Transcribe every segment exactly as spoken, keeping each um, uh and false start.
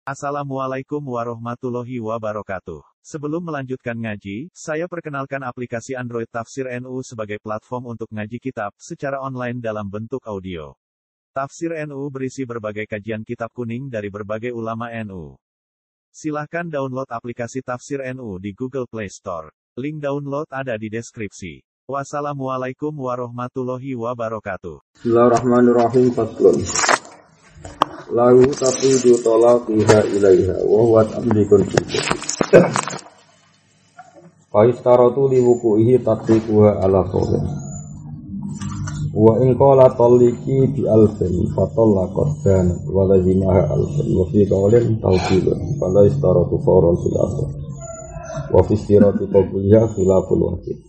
Assalamualaikum warahmatullahi wabarakatuh. Sebelum melanjutkan ngaji, saya perkenalkan aplikasi Android Tafsir N U sebagai platform untuk ngaji kitab secara online dalam bentuk audio. Tafsir N U berisi berbagai kajian kitab kuning dari berbagai ulama N U. Silahkan download aplikasi Tafsir N U di Google Play Store. Link download ada di deskripsi. Wassalamualaikum warahmatullahi wabarakatuh. Bismillahirrahmanirrahim. Faslun. Lahu tafidu talaqiha ilaiha wa huwa amlikun fiha. Fa istaratu li wuqu'ihi tatbiquha ala qawlin. Wa in qala talliqi bi alfin fa talaqat kana wa lazimaha alfin wa fi qawlin tawqilun fala istaratu fawran fil asr. Wa fi istirati qabliha khilaful wajib.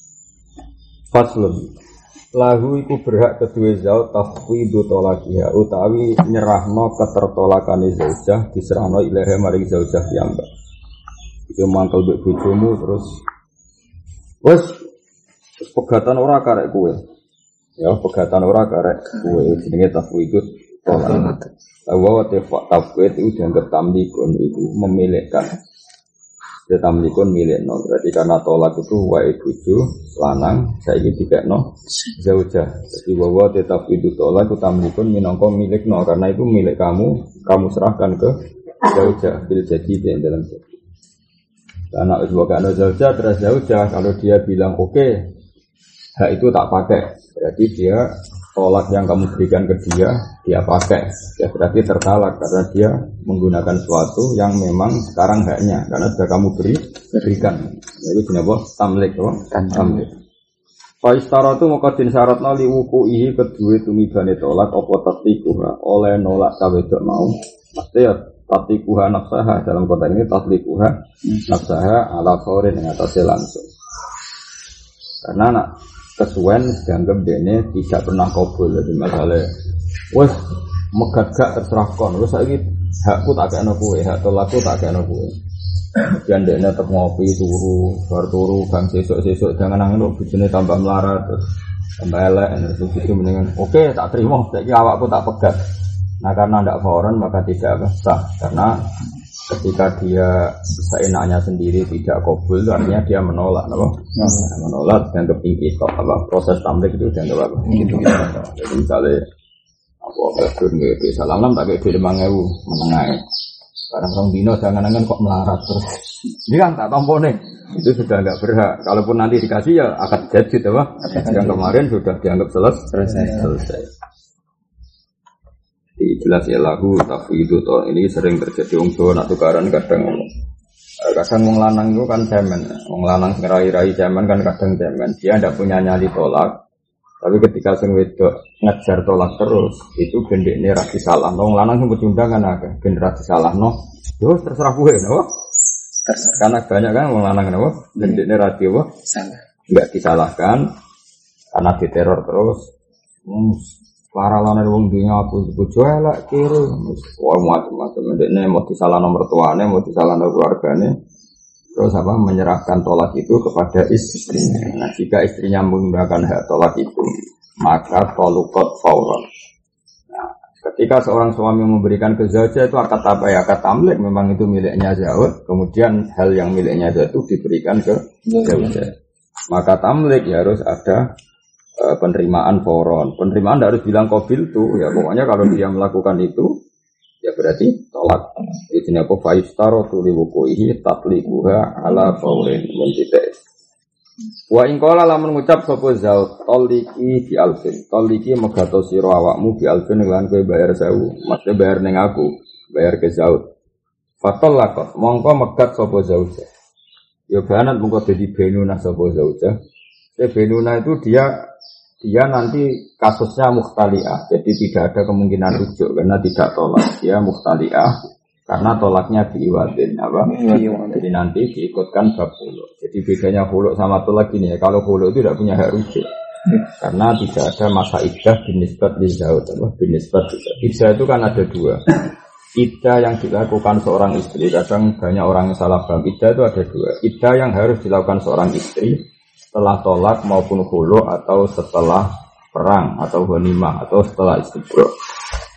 Faslun. Lahu iku berhak kedua zaud tafwidu tolakiha utawi nyerahno ketertolakane zaujah diserahno ilaha maring zaujah piyambak. Iku mangkel mbek bojomu terus wis terus pegatan ora karek kowe. Ya pegatan ora karek kowe jenenge tafwidu tolak. Lawa tefak tafwid itu dianggap tamlikun itu memilikkan. Ya tamlikun milikno berarti karena tolak itu wae bojo lanang saiki dikekno zaujah. Jadi bahwa tetap itu tolak itu tamlikun minangka milikno karena itu milik kamu, kamu serahkan ke zaujah bil jadi di dalam jadi. Karena wis wakana zaujah terus zaujah kalau dia bilang oke, okay, hak itu tak pakai. Berarti dia tolak yang kamu berikan ke dia, dia pakai. Ya berarti tertalak karena dia menggunakan sesuatu yang memang sekarang haknya karena sudah kamu beri berikan. Itu jenenge tamlik kan tamlik. Fa istaratu muqaddin syaratna li wuqu'ihi kedue tumibane tolak apa tatliquha oleh nolak sawedok mau. Mesti ya tatliquha nafsaha dalam konteks ini tatliquha nafsaha ala faurin yang atasnya langsung. Karena nak kesuwen dianggap dene tidak pernah kabul. Jadi masalah wes megat gak terserah kon. Wes saiki hakku tak kena kowe, hak tolakku tak kena kowe. Kemudian dene tetep ngopi turu, bar turu bang sesuk-sesuk jangan nang ngono bojone tambah melarat terus tambah elek terus itu mendingan oke tak terima saiki awakku tak pegat. Nah karena ndak fauran maka tidak sah karena ketika dia seenaknya sendiri tidak kabul artinya dia menolak apa? Nah, menolak dan kepingin apa proses tamlik itu dianggap apa? Gitu. Jadi misalnya apa betul nggak bisa salam tak kayak lima ribu menengah. Sekarang orang dino jangan-jangan kok melarat terus. Ini kan tak tampone itu sudah nggak berhak. Kalaupun nanti dikasih ya akan jadi apa? Yang kemarin sudah dianggap selesai. Selesai. Jelas ya lagu tafwidu toh ini sering terjadi untuk nak tukaran kadang kadang wong lanang itu kan cemen, wong lanang ngerai-rai cemen kan kadang cemen dia tidak punya nyali tolak tapi ketika sing wedok ngejar tolak terus itu gendekne ra disalah wong lanang sing pecundangan akeh ben ra disalah no yo terserah kowe no karena banyak kan wong lanang no gendekne ra diwo salah enggak disalahkan karena diteror terus hmm. Para lawan wong dunya aku bojo elek kiri wah macam-macam ndekne mau disalah nomor tuane mau disalah nomor keluargane terus apa menyerahkan tolak itu kepada istrinya. Nah jika istrinya menggunakan hak tolak itu maka tolukot fauran. Nah ketika seorang suami memberikan ke zaujah itu akad apa ya akad tamlik memang itu miliknya zauj kemudian hal yang miliknya zauj itu diberikan ke zaujah maka tamlik ya harus ada penerimaan foron. Penerimaan tidak harus bilang qabil tuh ya pokoknya kalau dia melakukan itu ya berarti tolak. Ini apa faistaro li wuqu'ihi tatliquha ala faurin muntitai. Wa in qala lamun ngucap sapa zaud taliki bi alfin. Taliki megato sira awakmu bi alfin lan kowe bayar sewu. Maksudnya bayar ning aku, bayar ke zaud. Fatallaqat mongko megat sapa zaud. Ya banat mongko dadi benuna sapa zaud. Ya benuna itu dia dia nanti kasusnya mukhtali'ah, jadi tidak ada kemungkinan rujuk karena tidak tolak, dia mukhtali'ah karena tolaknya diiwatin apa? Jadi nanti diikutkan bab khulu. Jadi bedanya khulu sama tolak ini ya, kalau khulu itu tidak punya hak rujuk karena tidak ada masa iddah binisbat li zaud, apa? Binisbat iddah itu kan ada dua. Iddah yang dilakukan seorang istri, kadang banyak orang yang salah paham. Iddah itu ada dua. Iddah yang harus dilakukan seorang istri setelah tolak maupun khulu atau setelah perang atau ghanimah atau setelah istibra.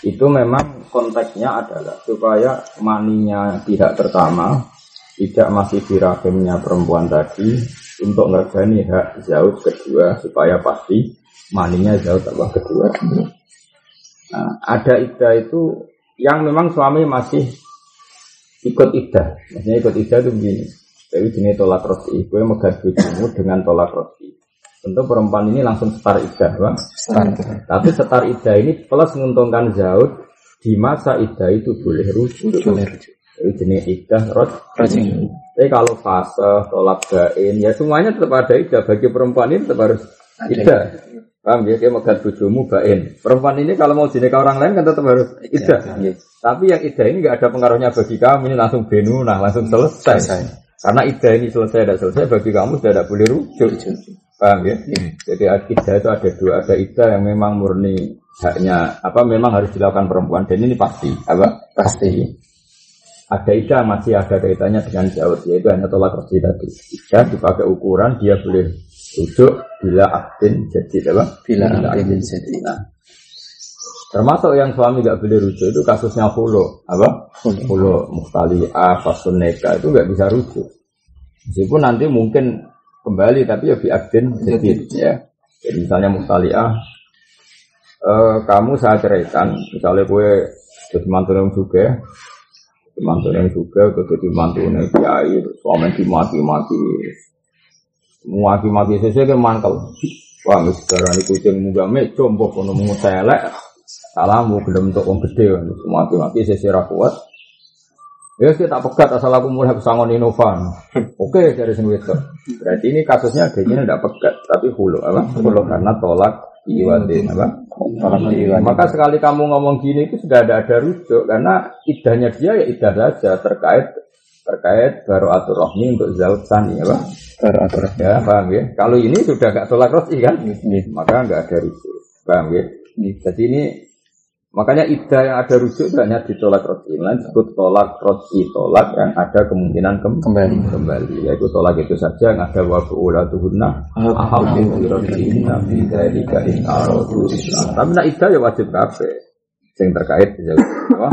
itu memang konteksnya adalah supaya maninya pihak pertama tidak masih di rahimnya perempuan tadi untuk ngergani hak zaud kedua supaya pasti maninya zaud apa kedua. Nah, ada iddah itu yang memang suami masih ikut iddah. Maksudnya ikut iddah itu begini. Jadi jenis tolak roti, gue megat bojomu dengan tolak roti. Tentu perempuan ini langsung setar iddah, Bang. Setar. Tapi setar iddah ini plus menguntungkan zaud di masa iddah itu boleh rujuk. Boleh rujuk. Jadi jenis iddah roti. Tapi kalau fase tolak bain, ya semuanya tetap ada iddah. Bagi perempuan ini tetap harus iddah. Paham ya? Dia megat bojomu bain. Perempuan ini kalau mau dinikah orang lain kan tetap harus iddah. Tapi yang iddah ini nggak ada pengaruhnya bagi kamu, ini langsung benunah, langsung selesai. selesai. Karena iddah ini selesai tidak selesai bagi kamu sudah tidak boleh rujuk. Paham ya? Hmm. Jadi iddah itu ada dua, ada iddah yang memang murni haknya apa memang harus dilakukan perempuan dan ini pasti apa? Pasti. Ada iddah masih ada kaitannya dengan zaud yaitu hanya tolak roti tadi. Iddah dipakai ukuran dia boleh rujuk bila akdin jadi apa? Bila, bila akdin jadi. Nah, termasuk yang suami nggak boleh rujuk itu kasusnya hulu, apa? Hulu muhtali'ah, fasun neka itu nggak bisa rujuk. Meskipun nanti mungkin kembali tapi ya biadin jadi ya. Jadi misalnya muhtali'ah, eh, kamu saya ceraikan, misalnya gue jadi mantu yang juga, mantu yang juga, atau jadi mantu yang kiai, suami dimati-mati, mati-mati sesuai ke mantel. Wah, misalnya ini kucing muga meco, mbok kono mengutelek. Salamu belum untuk orang gede, mati-mati sesirah kuat. Ya saya tak pegat asal aku mulai pesangon inovan. Oke dari sini itu. Berarti ini kasusnya adanya tidak pegat, tapi hulu apa? Hulu karena tolak iwadin apa? Tolak iwadin. Maka sekali kamu ngomong gini itu sudah ada ada rujuk karena iddahnya dia ya iddah saja terkait terkait baru atur rohmi untuk zaud sani apa? Baru atur ya paham ya? Kalau ini sudah gak tolak rohmi kan? Maka nggak ada rujuk. Paham ya? Jadi ini makanya iddah yang ada rujuk hanya ditolak roti, lain disebut tolak roti tolak yang ada kemungkinan kem- kembali kembali, yaitu tolak itu saja yang ada waktu ulatuhunna ahadun birotina bidzalika in aradu islam. Tapi nak iddah ya wajib kabeh yang terkait apa?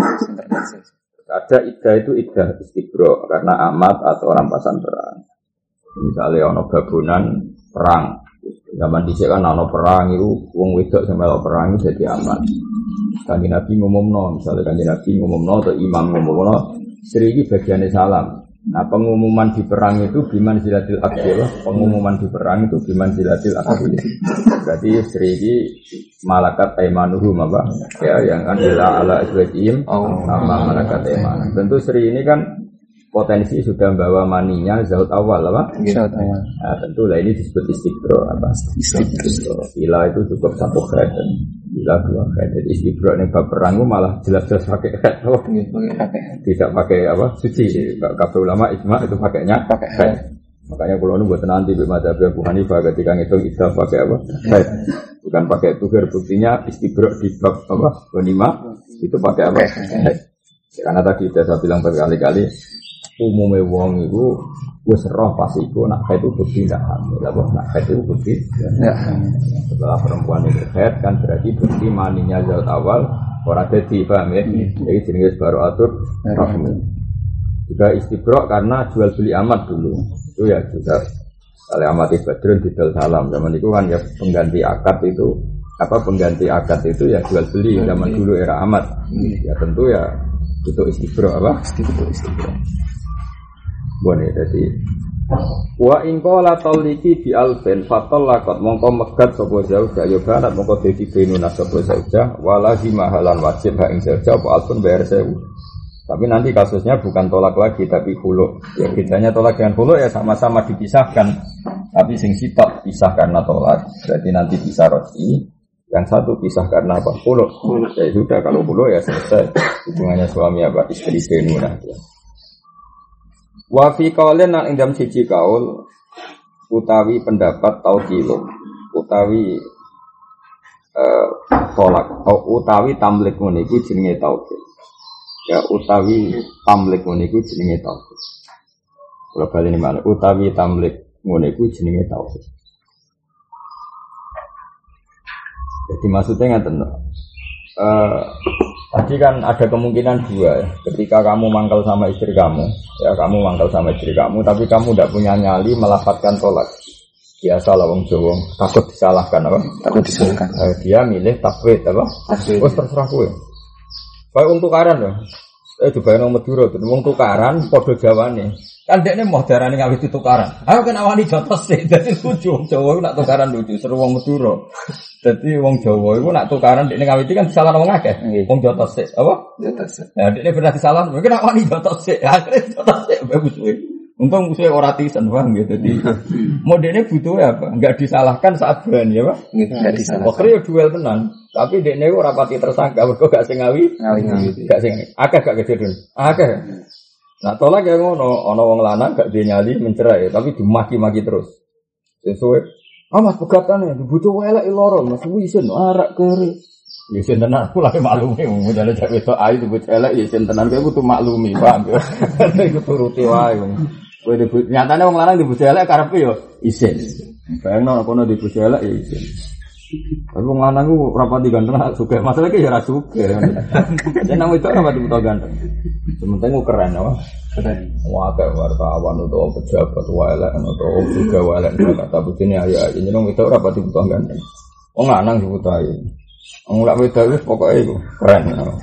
Ada iddah itu iddah istibro karena amat atau rampasan perang. Misalnya ono babonan perang. Zaman dhisik kan ana perang itu wong wedok sing melok perang jadi aman. Kanjeng Nabi ngumumno, misalnya Kanjeng Nabi ngumumno atau imam ngumumno, Sri iki bagiane salam. Nah, pengumuman di perang itu biman zilatil akil, pengumuman di perang itu biman zilatil akil. Berarti Sri iki malakat aimanuhum apa? Ya, yang kan ila ala azwajihim sama malakat aiman. Tentu Sri ini kan potensi sudah membawa maninya zaud awal apa? Zaud awal. Nah, tentu lah ini disebut istibro apa? Istibro. Bila itu cukup satu khat, bila dua khat. Jadi istibro ini bab perang malah jelas-jelas pakai khat. Oh, tidak pakai apa? Suci. Kabeh ulama ijma itu pakainya pakai khat. Makanya kalau nu buat nanti di mazhab Abu Hanifah ketika ngitung idah pakai apa? Khat. Bukan pakai tuhir. Buktinya istibro di bab apa? Ghanimah itu pakai apa? Khat. Karena tadi sudah saya bilang berkali-kali umumnya wong itu wis roh pas iku nak haid itu bukti ndak hamil. Lah nak haid itu bukti ya. Setelah perempuan itu haid kan berarti bukti maninya zaud awal ora dadi paham ya. Jadi jenenge baru atur rahmi. Juga istibra karena jual beli amat dulu. Itu ya juga oleh amati badrun didol salam. Zaman itu kan ya pengganti akad itu apa pengganti akad itu ya jual beli zaman dulu era amat. Ya tentu ya itu istibra apa? Istibra istibra. Boleh jadi wa in qala taliki bi alfen fatallaqat mongko megat sapa zaujah ya barat mongko dadi benuna sapa zaujah walahi mahalan wajib ha ing zaujah apa alfun bayar sewu. Tapi nanti kasusnya bukan tolak lagi tapi khulu. Ya bedanya tolak dengan khulu ya sama-sama dipisahkan. Tapi sing sitok pisah karena tolak. Berarti nanti bisa roti. Yang satu pisah karena apa? Khulu. Ya sudah kalau khulu ya selesai. Hubungannya suami apa istri benuna. Wa fi qaulin nang ing dalem siji kaul utawi pendapat taukilun utawi eh tolak atau utawi tamlik ngene iku jenenge taukil. Ya utawi tamlik ngene iku jenenge taukil. Kalau bali ini mana utawi tamlik ngene iku jenenge taukil. Jadi maksudnya ngaten eh Tadi kan ada kemungkinan dua ya. Ketika kamu mangkal sama istri kamu, ya kamu mangkal sama istri kamu, tapi kamu tidak punya nyali melafadzkan tolak. Biasa lah wong Jawa, takut disalahkan apa? Takut disalahkan. Eh, dia milih tafwid apa? Tafwid. Wes terserah kowe. Kayak wong tukaran lho. Eh dibayar nang Madura, wong tukaran padha jawane. Kan dekne mau darane ngawit tukaran. Ayo kan awani jotos sih, dadi lucu wong Jawa nak tukaran lucu, seru wong Madura. Dadi wong Jawa iku nak tukaran dekne ngawit kan disalahno wong akeh. Wong jotos sih, apa? Jotos. Ya dekne bener disalahno, mungkin awani jotos sih. Akhire jotos sih bagus kuwi. Untung saya ora tisen paham gitu. Jadi modelnya butuh apa? Enggak disalahkan saat berani ya, Pak? Enggak disalahkan. Pokoknya ya duel tenan, tapi dekne ora pati tersangka, mergo gak sing ngawi. Ngawi. Gak sing akeh gak kejadian. Akeh. Nah, tolak ya ngono, ana wong lanang gak duwe nyali mencerai, tapi dimaki-maki terus. Sesuai. Ah Mas pegatane dibutuh elek loro, Mas wisen arak kere. Ya sen tenan kula maklumi wong jane cek wedok ayu dibutuh elek ya sen tenan kowe kudu maklumi, paham ya. Iku turuti wae wong. Kowe dibutuh nyatane wong lanang dibutuh elek karepe yo isin. Bayangno kono dibutuh elek ya isin. Tapi wong lanang ku ora pati ganteng sugih. Masalah ki ya ora sugih. Yen nang wedok ora pati butuh ganteng. Sementing ku keren apa? Keren. Wah, kayak wartawan atau pejabat wae elek atau juga wae elek kata bujine ayo ayo nyeneng wedok ora pati butuh ganteng. Wong lanang dibutuh ayu. Wong lak wedok wis pokoke iku keren.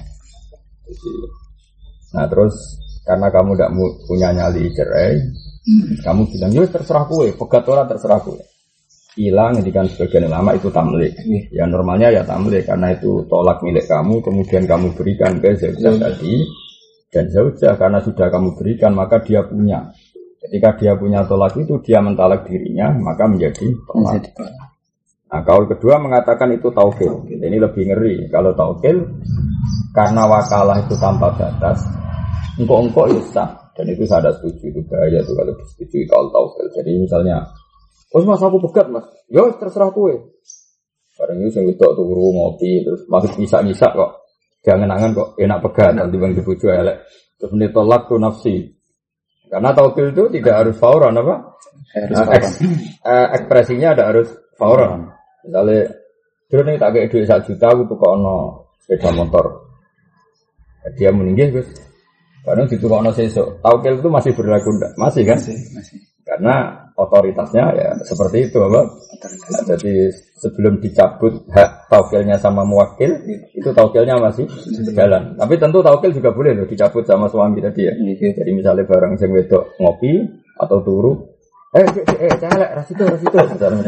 Nah, terus karena kamu tidak punya nyali cerai, hmm. kamu bilang, ya terserah kowe, pegat ora terserah kowe. Hilang, ngendikan sebagian ulama itu tamlik. Hmm. Ya normalnya ya tamlik, karena itu tolak milik kamu, kemudian kamu berikan ke zaujah hmm. tadi, dan zaujah karena sudah kamu berikan, maka dia punya. Ketika dia punya tolak itu, dia mentalak dirinya, maka menjadi tolak. Nah, kaul kedua mengatakan itu taukil. Ini lebih ngeri. Kalau taukil, karena wakalah itu tanpa batas, engkau-engkau ya sah, dan itu saya ada setuju, itu bahaya tuh kalau disetujui kaul taukil. Jadi misalnya, oh mas aku pegat mas, ya terserah kue. Barang itu saya wedok turu ngopi, terus masuk bisa-bisa kok, jangan-jangan kok enak pegat, nanti bang dibujuk elek. Terus menitolak tuh nafsi, karena taukil itu tidak harus fauran apa? Harus uh, eks, uh, ekspresinya ada harus fauran. Misalnya, dulu nih tak kayak duit satu juta, aku tuh kok ono sepeda motor, dia meninggal guys. Kadang situ kalau sesok, taukil itu masih berlaku enggak? Masih kan? Masih, masih. Karena otoritasnya ya seperti itu, Bapak. Nah, jadi sebelum dicabut hak taukilnya sama muwakil, itu taukilnya masih berjalan. Tapi tentu taukil juga boleh loh dicabut sama suami tadi ya. Jadi misalnya barang sing wedok ngopi atau turu, eh eh eh celek rasito rasito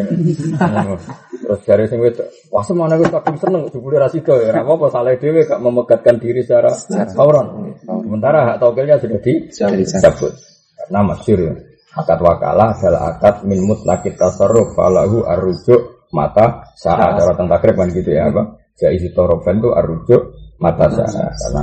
terus dari sing wedok, wah semana wis kadung seneng jebule rasito ya ora apa-apa salah dhewe gak memegatkan diri secara fauran. Sementara hak taukilnya sudah dicabut. Karena masyhur ya. Akad wakalah adalah akad min mutlaqit tasarruf falahu arrujuk mata saat cara tentang takrib kan gitu ya apa? Jaiz tarafan itu arrujuk mata saat karena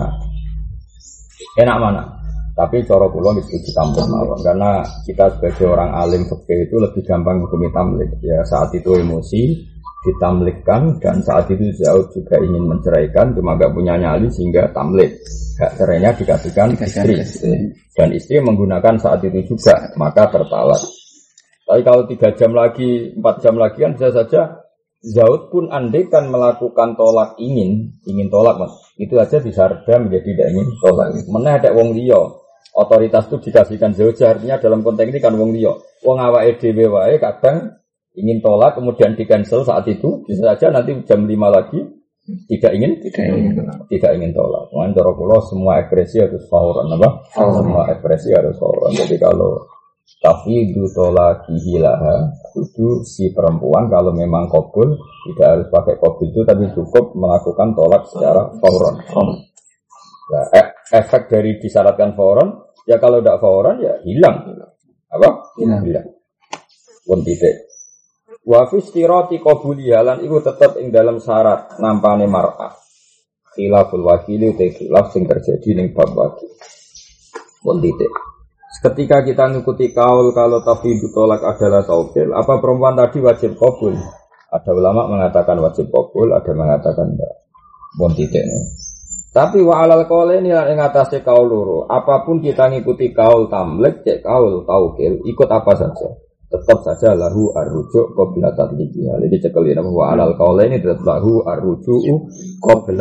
enak mana? Tapi cara kula wis ditampa mawon karena kita sebagai orang alim fikih itu lebih gampang hukumi tamlik. Ya saat itu emosi ditamlikkan dan saat itu Zaud juga ingin menceraikan cuma enggak punya nyali sehingga tamlik. Hak cerainya dikasihkan istri. Dan istri menggunakan saat itu juga maka tertalak. Tapi kalau tiga jam lagi, empat jam lagi kan bisa saja Zaud pun andai kan melakukan tolak ingin, ingin tolak mas, itu aja bisa reda menjadi tidak ingin tolak. Mana ada wong liya. Otoritas itu dikasihkan zaujah, artinya dalam konteks ini kan wong liya. Wong awake dhewe wae kadang ingin tolak kemudian di cancel saat itu, bisa saja nanti jam lima lagi tidak ingin tidak ingin tidak ingin tolak. Mungkin cara kula semua ekspresi harus fauran apa? Oh. Semua ekspresi harus fauran. Jadi kalau tafidu tolaqihi laha itu si perempuan kalau memang qabul tidak harus pakai qabul itu tapi cukup melakukan tolak secara fauran. Nah, efek dari disyaratkan fauran ya kalau tidak fauran ya hilang. Apa? Hilang. Hilang. Pun titik. Wa fi istirati qabuliha lan iku tetep ing dalam syarat nampane mar'ah. Khilaful wakili te khilaf sing terjadi ning bab wakil. Pun titik. Ketika kita ngikuti kaul kalau tafidu tolak adalah taukil, apa perempuan tadi wajib qabul? Ada ulama mengatakan wajib qabul, ada mengatakan enggak. Pun titik. Tapi wa alal qaul ini ing atase kaul loro. Apapun kita ngikuti kaul tamlik, cek kaul taukil, ikut apa saja. Tetap saja lahu arrujuk qabla tatliqiha. Jadi cekel ini wa alal qaul ini tetap lahu arrujuk qabla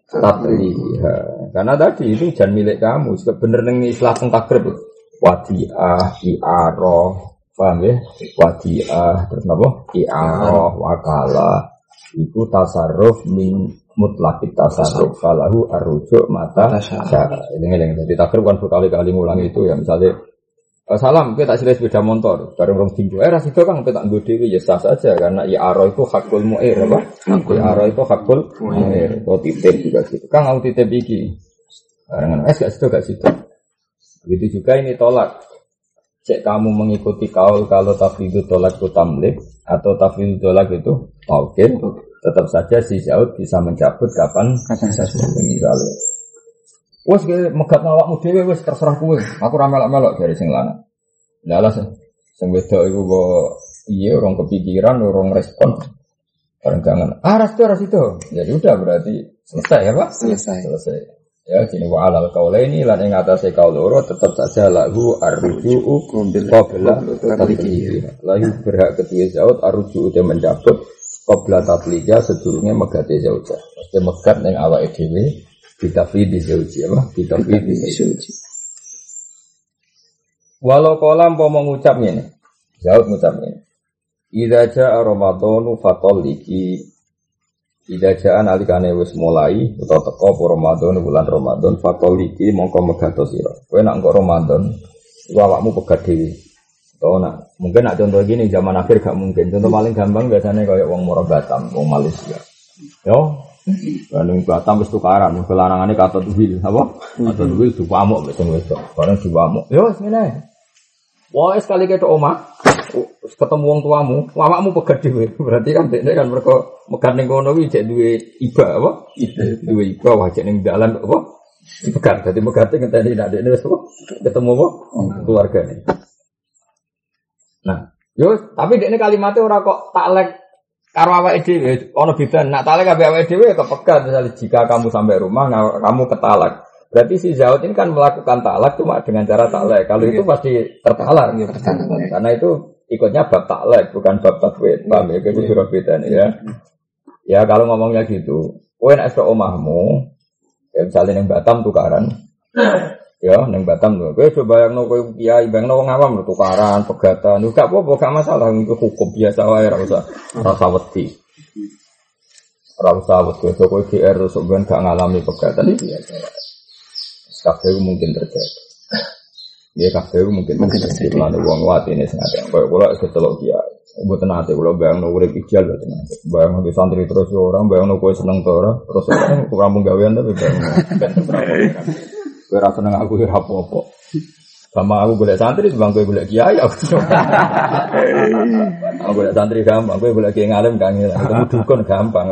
tabliha. Karena tadi itu jangan milik kamu. Sebenarnya ning istilah teng takrib wadiah, i'arah, paham ya? Wadiah terus apa? I'arah, wakalah. Itu tasarruf min mutlaqit tasarruf falahu arrujuk mata syara. Ini yang jadi takrib kan berkali-kali ngulang itu ya misalnya salam, kita tak silih sepeda motor, bareng rong tinggu. Eh, ras itu kan kita nggo dhewe ya sah saja karena i'arah itu hakul mu'ir apa? I'arah itu hakul mu'ir. Atau titip juga gitu. Kang aku titip iki. Barengan es gak situ gak situ. Begitu juga ini tolak. Cek kamu mengikuti kaul kalau tafwidhu tolak itu tamlik atau tafwidhu tolak itu taukid, tetap saja si Zaud bisa mencabut kapan saja. Misalnya wes ge megat awakmu dhewe wis terserah kowe. Aku ra melok-melok dari sing lanang. Lah alas sing wedok iku kok piye orang kepikiran, orang respon. Bareng jangan. Ah ras itu ras itu. Ya udah berarti selesai ya, Pak? Selesai. Selesai. Ya sini wa alal qaulaini lan ing atase kaul loro tetep saja lahu arruju'u qabla tatliqi. Lahu berhak kedua Zaud arruju'u dia mencabut qabla tatliqa sedurunge megate Zaujah. Mesti megat ning awake dhewe ditafid di zauji apa? Ditafid di zauji. Walau kolam mau mengucap ini, Zaud mengucap ini. Idza jaa Ramadhanu fatalliki. Idza jaa nalikane wis mulai utawa teka apa Ramadan bulan Ramadan fatalliki mongko megato sira. Kowe nak engko Ramadan iku awakmu pegat dhewe. Utawa nak mungkin nak contoh gini zaman akhir gak mungkin. Contoh paling gampang biasanya kayak wong Moro Batam, wong Malaysia. Yo Bandung Batam wis tukaran, kelarangane kata tuhil, apa? Kata tuhil diwamuk wis wedok. Bareng diwamuk. Yo wis ngene. Wah, sekali ketok omah, ketemu wong tuamu, awakmu pegat dhewe. Berarti kan dekne kan mergo megat ning kono kuwi jek duwe iba apa? Duwe iba wajek ning dalan apa? Pegat. Dadi megate ngenteni nek dekne wis ketemu apa? Keluargane. Nah, yo tapi dekne kalimate ora kok taklek karo awake dhewe ana beda nak talak ambek awake dhewe kepegat misalnya jika kamu sampai rumah nah, kamu ketalak berarti si Zaud ini kan melakukan talak cuma dengan cara talak kalau itu pasti tertalak ya, karena itu ikutnya bab talak bukan bab tafwid paham ya itu sudah beda nih ya ya kalau ngomongnya gitu kowe nek esuk omahmu ya misalnya ning Batam tukaran ya ning Batam lho kowe coba bayangno kowe kiai bayangno wong awam lho tukaran pegatan gak apa-apa gak masalah itu hukum biasa wae ora usah rasa wedi ora usah wedi kowe G R sok ben gak ngalami pegatan iki biasa kabeh mungkin terjadi ya kabeh mungkin mungkin terjadi lan wong watine sing ate kowe kula kecelok kiai mboten ate kula bayangno urip ideal lho tenan bayangno santri terus orang bayangno kowe seneng to ora terus ora mung gawean tapi bayangno kowe ra seneng aku ora apa-apa. Sama aku golek santri sebang kowe golek kiai aku. Aku golek santri gampang, kowe golek kiai ngalim kangen. Ketemu dukun gampang.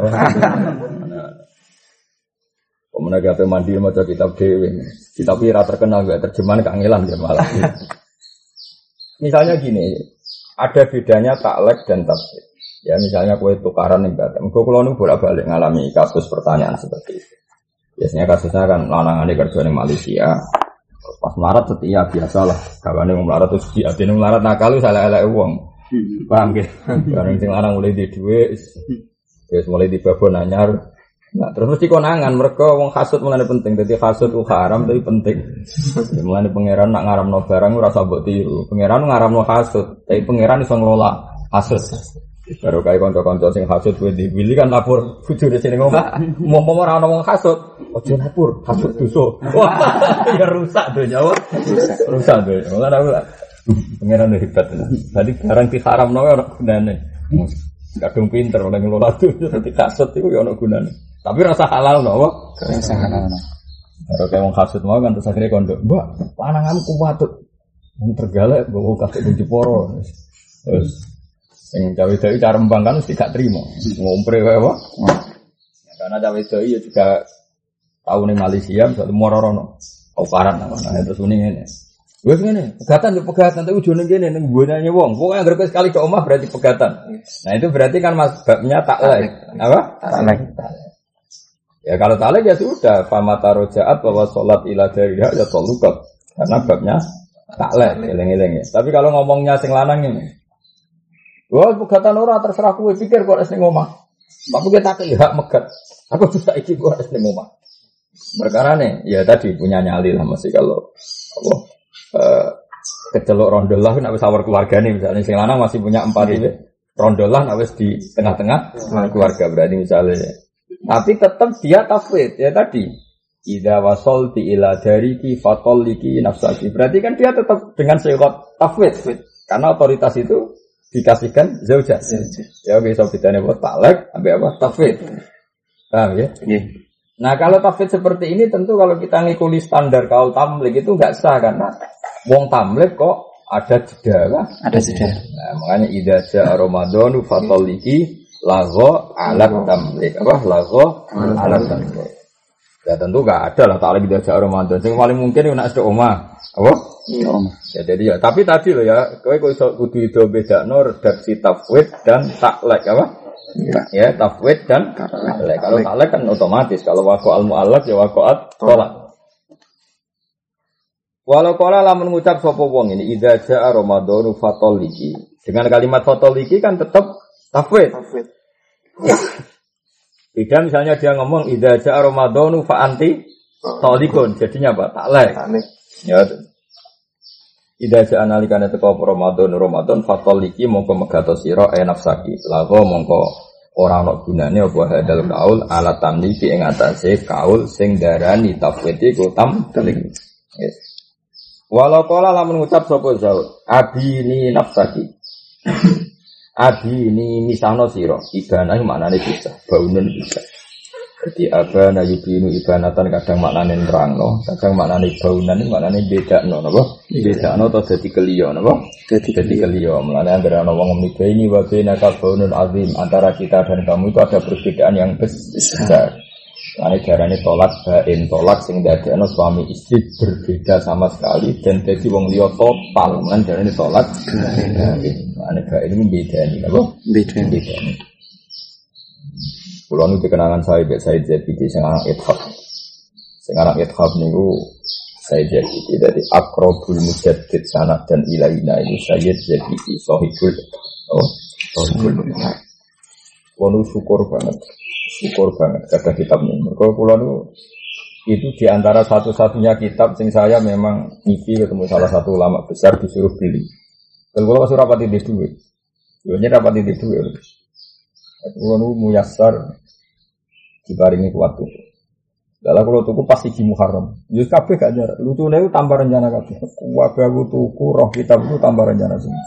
Pemenang gawe mandi maca kitab dhewe. Kitab ora terkenal gak terjemahan kangelan ya malah. Misalnya gini, ada bedanya taklek dan tafsir. Ya misalnya kowe tukaran ning Batam. Kok kula nu bolak-balik ngalami kasus pertanyaan seperti itu. Biasanya kasusnya kan lanangane kerja ning Malaysia. Pas melarat setia biasalah. Kawane wong melarat terus diatine melarat nakal salah-salah wong. Paham nggih? Bareng sing lanang mulai di dhuwit wis mulai dibabon anyar. Nah, terus mesti konangan mereka wong hasud mulane penting. Dadi hasud ku haram tapi penting. Mulane pangeran nak ngaramno barang ora usah mbok tiru. Pangeran ngaramno hasud, tapi pangeran iso ngelola hasud. Baru kaya kanca-kanca sing hasud kuwi dipilih kan lapor bojone sing ngomong. Momo ora ana wong hasud, aja lapor, hasud dosa. Wah, ya rusak donya, wah. Rusak donya. Mulane aku pangeran hebat. Tadi barang diharamno ora gunane. Kadung pinter oleh ngelola donya dadi hasud iku ya ana gunane. Tapi rasa halal no, wah. Rasa halal no. Baru kaya wong hasud mau kan terus akhire kondo, "Mbak, pananganmu kuat." Wong tergalak bawa kakek kunci poro. Terus yang cawe doi cara membangkan mesti gak terima, ngompre kayak apa? Karena cawe doi ya juga tahu nih Malaysia, satu mororono, kaukaran namanya terus uning ini. Gue gini, pegatan tuh pegatan, tapi ujungnya gini, neng gunanya wong, pokoknya agar sekali ke omah berarti pegatan. Nah itu berarti kan masbabnya taklek, apa? Taklek. Ya kalau taklek ya sudah, famata rojaat bahwa sholat ila dariha ya tolukat, karena babnya taklek, eleng-eleng ya. Tapi kalau ngomongnya sing lanang ini. Wah, pegatan ora terserah kowe pikir kok nek ning omah. Apa kita tak hak megat. Aku bisa iki kok nek ning omah. Perkara nih, ya tadi punya nyali lah masih kalau apa uh, kecelok rondolah nak wis awar keluarga nih misalnya sing lanang masih punya empat itu rondolah nak wis di tengah-tengah keluarga berarti misalnya. Tapi tetap dia tafwid ya tadi. Idza wasalti ila dariki fatalliki nafsaki. Berarti kan dia tetap dengan syarat tafwid karena otoritas itu dikasihkan zaujah. Ya oke so bedane apa talak sampai apa tafwid. Paham ya? Nggih. Nah kalau tafwid seperti ini tentu kalau kita ngikuti standar kaul tamlik itu enggak sah karena wong tamlik kok ada jeda kan? Ada jeda. Nah makanya idza jaa ramadhanu fatalliki lagho alat tamlik apa lagho alat tamlik. Ya tentu enggak ada lah taklik idza jaa ramadhan. Sing paling mungkin nek nek omah. Apa? Iya omah. Ya jadi ya tapi tadi loh ya kowe kok iso kudu iso bedakno redaksi tafwid dan taklek apa? Ya, ya tafwid dan talak. Kalau talak kan otomatis. Kalau waqo al muallaq ya waqoat tolak. Walau qala lamun ngucap sapa wong ini idza jaa ramadhanu fatalliki. Dengan kalimat fatalliki kan tetap tafwid. Tafwid. Beda misalnya dia ngomong idza jaa ramadhanu fa anti talikun. Jadinya apa? Talak. Ya. Idza jaa nalikane teko Ramadan Ramadan fatalliki mongko megato sira e nafsaki lago mongko ora ana gunane apa hadal kaul ala tamliki ing atase kaul sing darani tafwid iku tamlik. Yes. Walau kala lamun ngucap sapa zaud abini nafsaki. Abini misahno sira ibana maknane bisa baunun bisa. Jadi abana yubinu ibanatan kadang maknane nerangno, kadang maknane baunan maknane bedakno napa? Bedakno atau dadi keliyo napa? Dadi dadi keliyo. Mulane anggere ana wong ngomong ini wa baina kaunun azim antara kita dan kamu itu ada perbedaan yang besar. Mulane jarane tolak bain tolak sing dadekno suami istri berbeda sama sekali dan dadi wong liya total. Mulane jarane tolak. Mulane bain ini bedani napa? Bedani. Kulo nu dikenangan saya Mbak Said Zabidi sing anak ithaf. Sing anak ithaf niku Said Zabidi dari Aqrabul Mujaddid sanad dan ilaina itu Said Zabidi sahibul oh sahibul. Kulo syukur banget. Syukur banget kata kitab niku. Mergo kulo nu itu di antara satu-satunya kitab sing saya memang ngipi ketemu salah satu ulama besar disuruh beli. Dan kulo pas ora pati duwe. Yo nyek rapati duwe. Kulo muyassar diparingi kuat tuku. Dalah kulo tuku pas iki Muharram. Yo kabeh gak jarak. Lucune tambah rencana kabeh. Kabeh aku tuku roh kitab itu tambah rencana semua.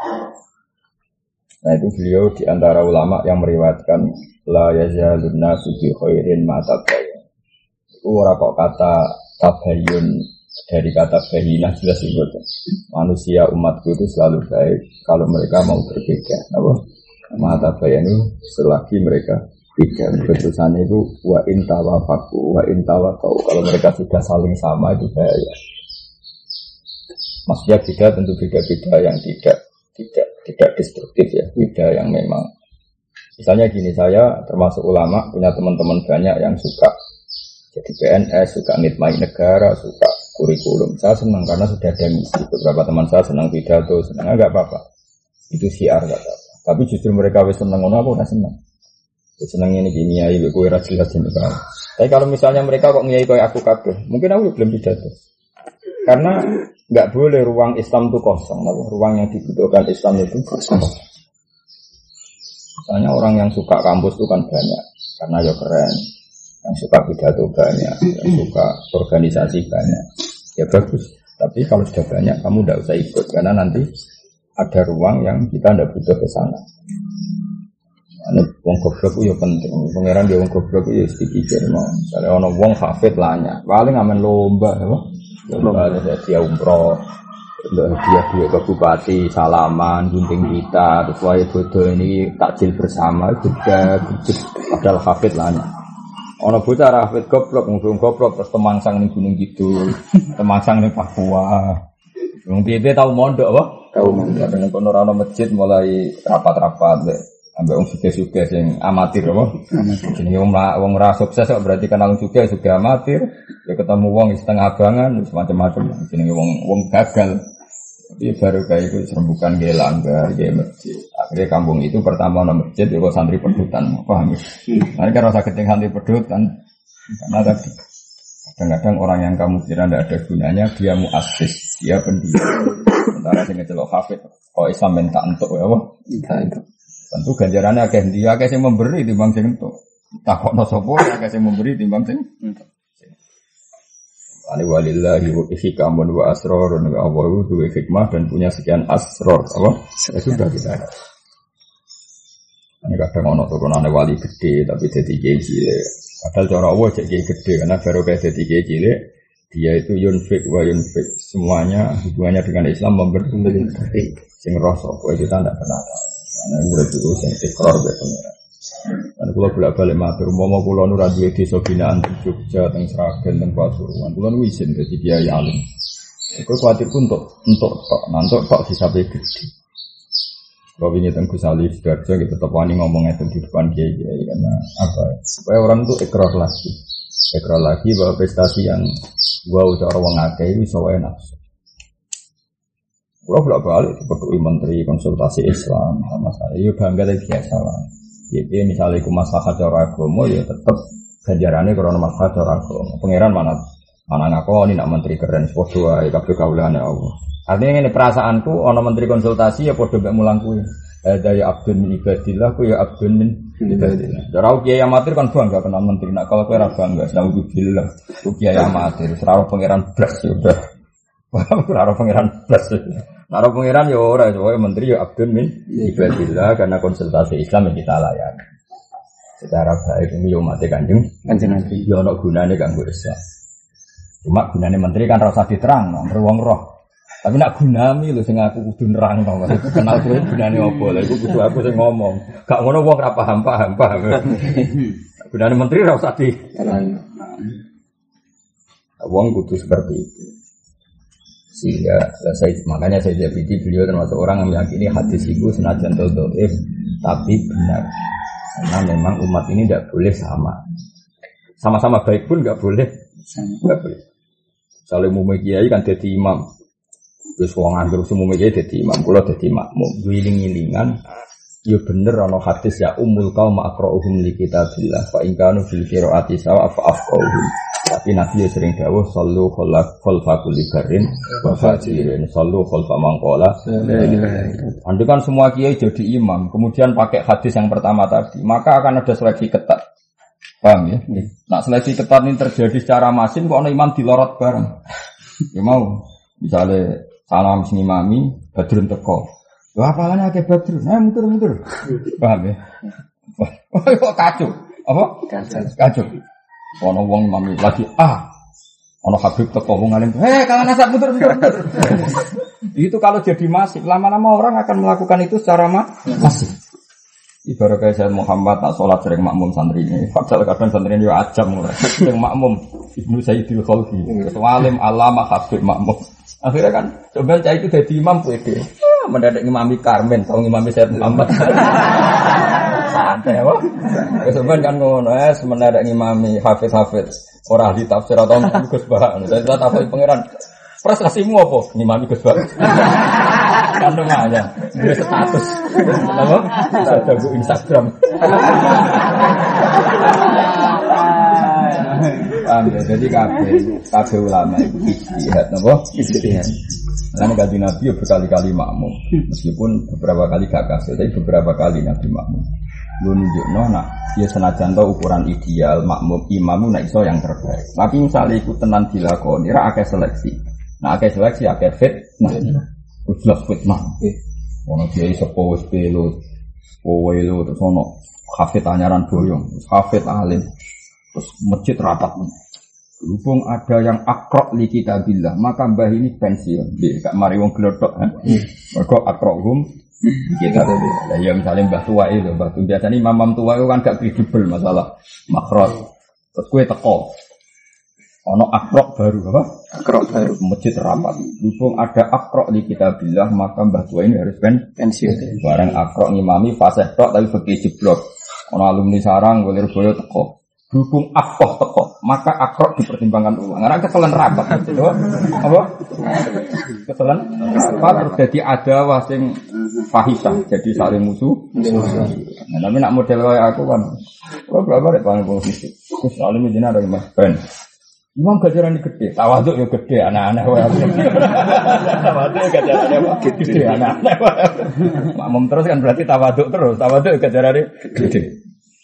Nah itu beliau di antara ulama yang meriwayatkan la yazalun nasu bi khairin ma tabayyan. Itu ora kok kata tabayyun dari kata bayinah jelas itu. Manusia umatku itu selalu baik kalau mereka mau berbeda. Apa? Mata bayanu selagi mereka tidak keputusannya itu wa intawa faku wa intawa kau kalau mereka sudah saling sama itu bahaya. Maksudnya beda tentu beda-beda yang tidak tidak tidak destruktif ya, beda yang memang misalnya gini saya termasuk ulama punya teman-teman banyak yang suka jadi P N S suka ngitmai negara suka kurikulum saya senang karena sudah ada misi beberapa teman saya senang pidato senang enggak apa-apa itu siar enggak apa-apa. Tapi justru mereka wis seneng ngono aku ora seneng. Wis seneng ini gini ae kowe ora jelas jenenge. Tapi kalau misalnya mereka kok ngiyai koyo aku kabeh, mungkin aku belum pidato. Karena enggak boleh ruang Islam itu kosong, nah, ruang yang dibutuhkan Islam itu kosong. Misalnya orang yang suka kampus itu kan banyak, karena ya keren. Yang suka pidato banyak, yang suka organisasi banyak. Ya bagus. Tapi kalau sudah banyak kamu enggak usah ikut karena nanti ada ruang yang kita tidak butuh ke sana. Ini wong goblok itu ya penting. Pangeran dia wong goblok itu ya sedikit. Misalnya orang wong hafid lanya, paling aman lomba, apa? Lomba ada dia umroh, dia dia ke bupati, salaman, gunting kita, terus wajib bodoh ini takjil bersama juga, padahal hafid lanya. Orang bocah hafid goblok, ngomong goblok terus temangsang nih gunung gitu, temangsang nih Papua. Wong piye tahu mondok apa? Tahu mondok dengan kono masjid mulai rapat-rapat deh. Ambek wong suge-suge sing amatir apa? Jenenge wong wong ora sukses kok berarti kenal juga sudah amatir. Ya ketemu wong setengah abangan macam-macam. Jenenge wong wong gagal. Tapi baru kayak itu serembukan ge langgar, ge masjid. Akhirnya kampung itu pertama ana masjid ya kok santri pedutan, paham ya? Nah, kan rasa keting santri pedut kan karena tadi Kadang-kadang orang yang kamu kira tidak ada gunanya, dia muassis, dia pendiri. Sementara sing ngecelok hafid, kok Islam minta entuk ya apa? Tentu ganjarannya akeh ndi akeh sing memberi timbang sing entuk. Takokno sapa akeh sing memberi timbang sing entuk. Ani walillahi wa hikamun wa asrarun wa Allah itu hikmah dan punya sekian asrar apa? Ya sudah kita ada. Ini kadang ono turunane wali gede tapi dadi kiai cilik. Padahal cara Allah cek kiai gede karena baru kayak dadi kiai cilik dia itu yunfik wa yunfik semuanya hubungannya dengan Islam memberi sing roh sapa kita ndak pernah tahu. Ana murid itu sing ikrar be pengira. Ana kula bolak-balik matur umpama kula nu ra duwe desa binaan teng Jogja teng Sragen teng Pasuruan kula nu isin dadi kiai alim. Iku kuwatir ku untuk untuk tok nantuk tok disape gede. Kalau ini tentang Gus Ali Sidoarjo kita tetap wani ngomongnya di depan kiai kiai karena apa? Supaya orang itu ikrar lagi, ikrar lagi bahwa prestasi yang gua udah orang ngakei bisa enak. Gua bolak balik seperti menteri konsultasi Islam sama saya, yo bangga lagi biasa lah. Jadi misalnya aku masalah cara agama ya tetap ganjarannya karena masalah cara agama. Pangeran mana mana ngakoni nak menteri keren, sepodo ae kabeh kawulane Allah. Artinya ini perasaanku, ono menteri konsultasi ya podo mbek mulang kuwi. Ada ya abdun min ibadillah, ku ya abdun min ibadillah. Darau kiai amatir kan bangga kenal menteri. Nak kalau kowe ora bangga, alhamdulillah. Ku kiai amatir, ora pangeran blas ya udah. Ora pangeran blas. Ora pangeran ya ora, soalnya menteri ya abdun min ibadillah karena konsultasi Islam yang kita layani. Secara baik ini yo mate Kanjeng Kanjeng Nabi. Yo ono gunane kanggo Islam. Cuma gunane menteri kan ora usah diterang, wong roh. Tapi nak gunami lho sing aku kudu nerang to, maksudku kenal kowe gunane opo lha iku kudu aku sing ngomong. Gak ngono wong ora paham-paham paham. Gunane menteri ora usah di wong kudu seperti itu. Sehingga saya makanya saya jadi beliau termasuk orang yang meyakini hadis itu senajan dhaif tapi benar. Karena memang umat ini tidak boleh sama. Sama-sama baik pun enggak boleh. Enggak boleh. Saling umum kiai kan jadi imam. Terus wong anggur semua kiai jadi imam, kula dadi makmum. Wiling-wilingan ya bener ana hadis ya ummul qaum aqra'uhum li kitabillah fa in kanu fil qiraati sawa fa afqahuhum. Tapi Nabi ya sering dawuh sallu khalfa kulli barin wa fajirin sallu khalfa man qala. Andai kan semua kiai jadi imam, kemudian pakai hadis yang pertama tadi, maka akan ada seleksi ketat. Paham ya? Nah, seleksi ketat ini terjadi secara masin kok ana imam dilorot bareng. Ya mau misalnya salam sing imami Badrun teko. Lha apalane akeh Badrun? Nah muter-muter. Paham ya? Wah, kok kacau. Apa? Kacau. Ono wong imami lagi ah. Ono Habib teko wong alim. Heh, kangen asap muter-muter. Itu kalau jadi masif, lama-lama orang akan melakukan itu secara masif. Ibarat kayak saya Muhammad tak sholat sering makmum santri ini. Padahal kadang santri ini ajam mulai. Sering makmum Ibnu Sayyidil Khalqi. Ketua alim alama Habib makmum. Akhirnya kan coba cah itu jadi imam pede. Ah, mendadak ngimami Karmen, tau ngimami Sayyid Muhammad. Santai apa? Kesuwen kan ngono, es mendadak ngimami Hafiz-hafiz. Ora ahli tafsir atau Gus Bah. Saya tak tahu pangeran. Prestasimu apa? Ngimami Gus Bah. Kan namanya, dia status. Apa? Ada bu Instagram. Paham ya, jadi kabeh kabeh ulama itu ijtihad napa? Ijtihad. Karena kanjeng Nabi ya berkali-kali makmum. Meskipun beberapa kali gak kasil, tapi beberapa kali Nabi makmum. Lu nunjukno nak ya senajan to ukuran ideal makmum imam nek iso yang terbaik. Tapi misalnya ikut tenan dilakoni ra akeh seleksi. Nah akeh seleksi akeh fit. Nah, jelas fitnah. Ono kiai sepo wis pelo. Kowe lho terus ono hafid anyaran boyong, hafid alim. Terus masjid rapat. Berhubung ada yang akrok li kitabillah, maka mbah ini pensiun. Nggih, gak mari wong glodok, ha. Mergo akrohum kitabillah. Lah ya misalnya mbah tua itu, mbah tua biasane imam tua itu kan gak kredibel masalah makhraj. Terus kowe teko. Ono akrok baru apa? Akrok baru masjid rapat. Berhubung ada akrok li kitabillah, maka mbah tua ini harus pensiun. Barang akrok ngimami fasih tok tapi fikih jeblok. Ono alumni sarang golir boyo teko. Berhubung akoh teko, maka akrok dipertimbangkan ulang. Karena kesalahan rapat, gitu. Apa? Kesalahan rapat terus jadi ada wasing fahisah, jadi saling musuh. Nah, tapi nak model kayak aku kan, aku berapa deh paling posisi. Terus saling menjadi ada mas Ben. Imam gajaran gede, tawaduk ya gede, anak-anak wae. Tawaduk gajarannya gede, anak-anak wae. Makmum terus kan berarti tawaduk terus, tawaduk gajarannya gede.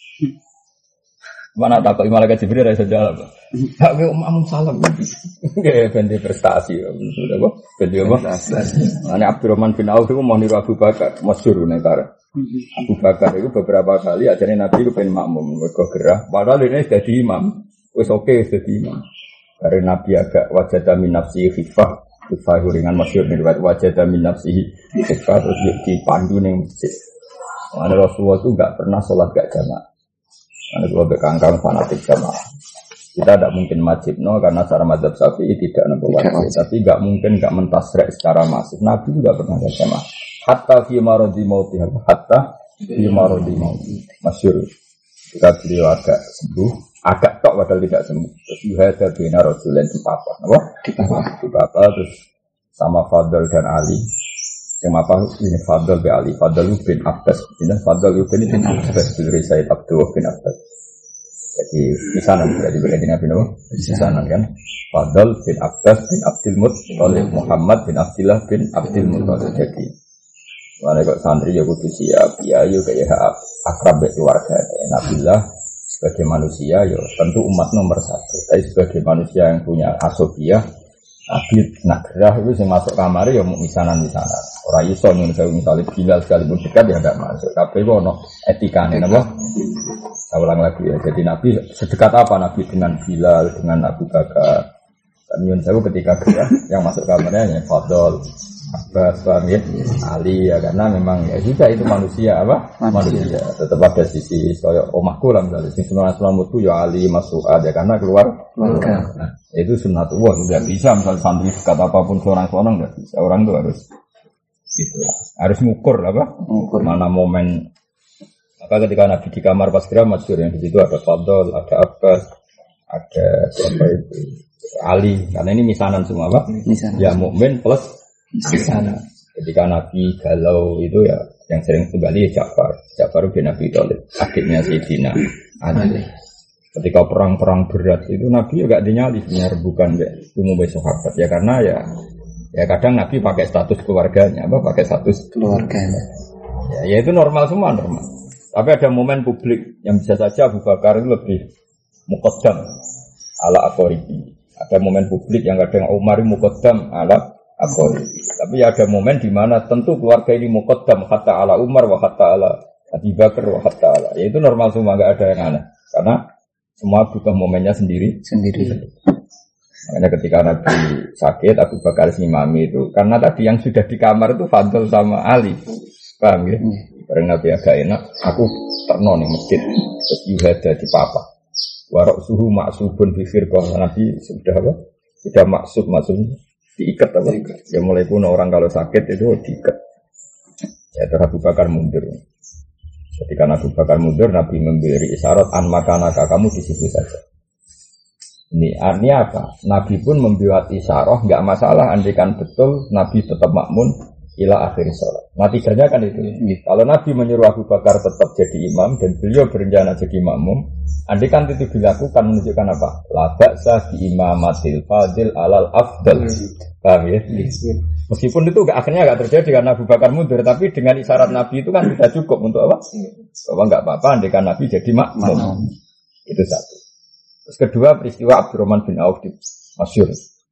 Mana takut malaikat Jibril ra iso jawab. Tak kowe makmum salam. Nggih ben prestasi. Sudah kok. Ben apa? Ana Abdurrahman bin Auf itu mau niru Abu Bakar, masyhur negara. Abu Bakar itu beberapa kali ajarnya Nabi itu pengen makmum, mereka gerah. Padahal ini jadi imam, wes oke okay, jadi imam. Karena Nabi agak wajada min nafsihi khifah, khifah ringan masyhur nih, wajada min nafsihi khifah terus dipandu nih masjid. Karena Rasulullah itu nggak pernah sholat gak jamaah. Karena kalau bekangkang fanatik jamaah. Kita tidak mungkin wajib no karena cara mazhab Syafi'i tidak nampak wajib, tapi nggak mungkin nggak mentasrek secara masif. Nabi juga pernah gak jamaah. Hatta fi maradi mauti, hatta fi maradi mauti. Masyhur. Ketika beliau agak sembuh, agak tok padahal tidak sembuh. Terus yuhada bina rajulan di papa, apa? Di papa, di papa terus sama Fadl dan Ali. Yang apa ini Fadl bin Ali, Fadl bin Abbas. Ini Fadl bin Abbas bin Said Abdullah bin Abbas. Jadi misanan berarti berarti Nabi Nabi misanan kan. Fadl bin Abbas bin Abdul Muttalib, Muhammad bin Abdullah bin Abdul Muttalib. Jadi mana kok santri ya kudu siap, ya yo kayak akrab keluarga. Nabilah sebagai manusia ya tentu umat nomor satu. Tapi sebagai manusia yang punya asobiah, Nabi nak gerah itu yang masuk kamar ya mau misanan-misanan. Orang iso yang saya misalnya Bilal sekalipun dekat ya tidak masuk. Tapi kok no etikanya, apa? Saya ulang lagi ya. Jadi Nabi sedekat apa Nabi dengan Bilal, dengan Abu Bakar? Dan Yun Sewu ketika gerah yang masuk kamarnya ya Fadl, Abbas, Fahmi, Ali ya karena memang ya juga itu manusia apa manusia, manusia. Tetap ada sisi soal omahku lah misalnya sisi sunnah selamatku ya Ali Mas'ud ya karena keluar keluar nah, itu sunnatullah tidak bisa misalnya santri dekat apapun seorang-seorang tidak bisa orang itu harus gitu harus ngukur apa ngukur mana momen maka ketika Nabi di kamar pas kira masyhur yang di situ ada Fadl ada Abbas ada siapa itu Ali karena ini misanan semua apa misanan. Ya mukmin plus di sana. Ketika Nabi galau itu ya yang sering kembali ya Ja'far, Ja'far bin Abi Thalib, adiknya Sayyidina Ali. Ketika perang-perang berat itu Nabi juga dinyali sebenarnya bukan umum sahabat ya karena ya ya kadang Nabi pakai status keluarganya apa pakai status keluarganya. Ya, ya itu normal semua normal. Tapi ada momen publik yang bisa saja Abu Bakar itu lebih muqaddam ala aqoribi. Ada momen publik yang kadang Umar muqaddam ala Akor. Tapi ada momen di mana tentu keluarga ini muqaddam hatta ala Umar wa hatta ala Abu Bakar wa hatta ala. Ya itu normal semua enggak ada yang aneh. Karena semua butuh momennya sendiri sendiri. Makanya ketika Nabi sakit Abu Bakar ngimami itu karena tadi yang sudah di kamar itu Fadl sama Ali. Paham ya? Karena Nabi agak enak, aku terno nih masjid. Terus yuhada di papa. Warok suhu maksubun bi firqah. Nabi sudah apa? Sudah maksud maksudnya diikat apa? Ya mulai kuno orang kalau sakit itu diikat. Ya terus Abu Bakar mundur. Ketika Abu Bakar mundur, Nabi memberi isyarat an makanaka kamu di situ saja. Ini artinya apa? Nabi pun membuat isyarat, enggak masalah andikan betul Nabi tetap makmun ila akhir sholat. Natijanya kan itu. Kalau Nabi menyuruh Abu Bakar tetap jadi imam dan beliau berencana jadi makmum, andikan itu dilakukan menunjukkan apa? La ba'sa bi imamatil fadil alal afdal. Paham ya? Meskipun itu akhirnya enggak terjadi karena Abu Bakar mundur, tapi dengan isyarat Nabi itu kan sudah cukup untuk apa? Bahwa enggak apa-apa andikan Nabi jadi makmum. Itu satu. Terus kedua peristiwa Abdurrahman bin Auf di masyhur.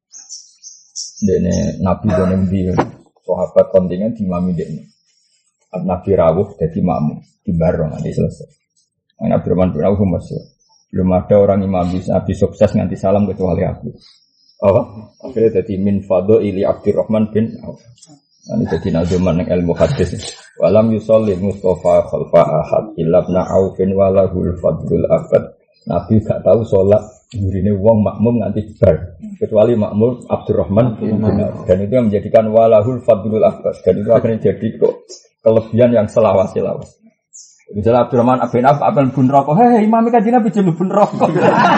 Dene Nabi dene ndi sahabat kontingen di mami dekne. Nabi rawuh jadi makmum di bareng nanti selesai. Nabi Abdurrahman bin Auf masyhur. Belum ada orang imam Nabi sukses nganti salam kecuali aku. Oh, akhirnya jadi min fadhili Abdurrahman bin Auf. Ini jadi nazuman yang ilmu hadis. Walam yusolli Mustafa khalfa ahad illa ibn Aufin walahul fadlul abad. Nabi gak tahu sholat yurine wong makmum nganti bar kecuali makmum Abdurrahman bin Auf. Dan itu yang menjadikan walahul fadlul abad. Dan itu akhirnya jadi kok kelebihan yang selawas-selawas. Misalnya Abdurrahman bin Auf apel bun rokok, hei imam kan Nabi jelu bun rokok.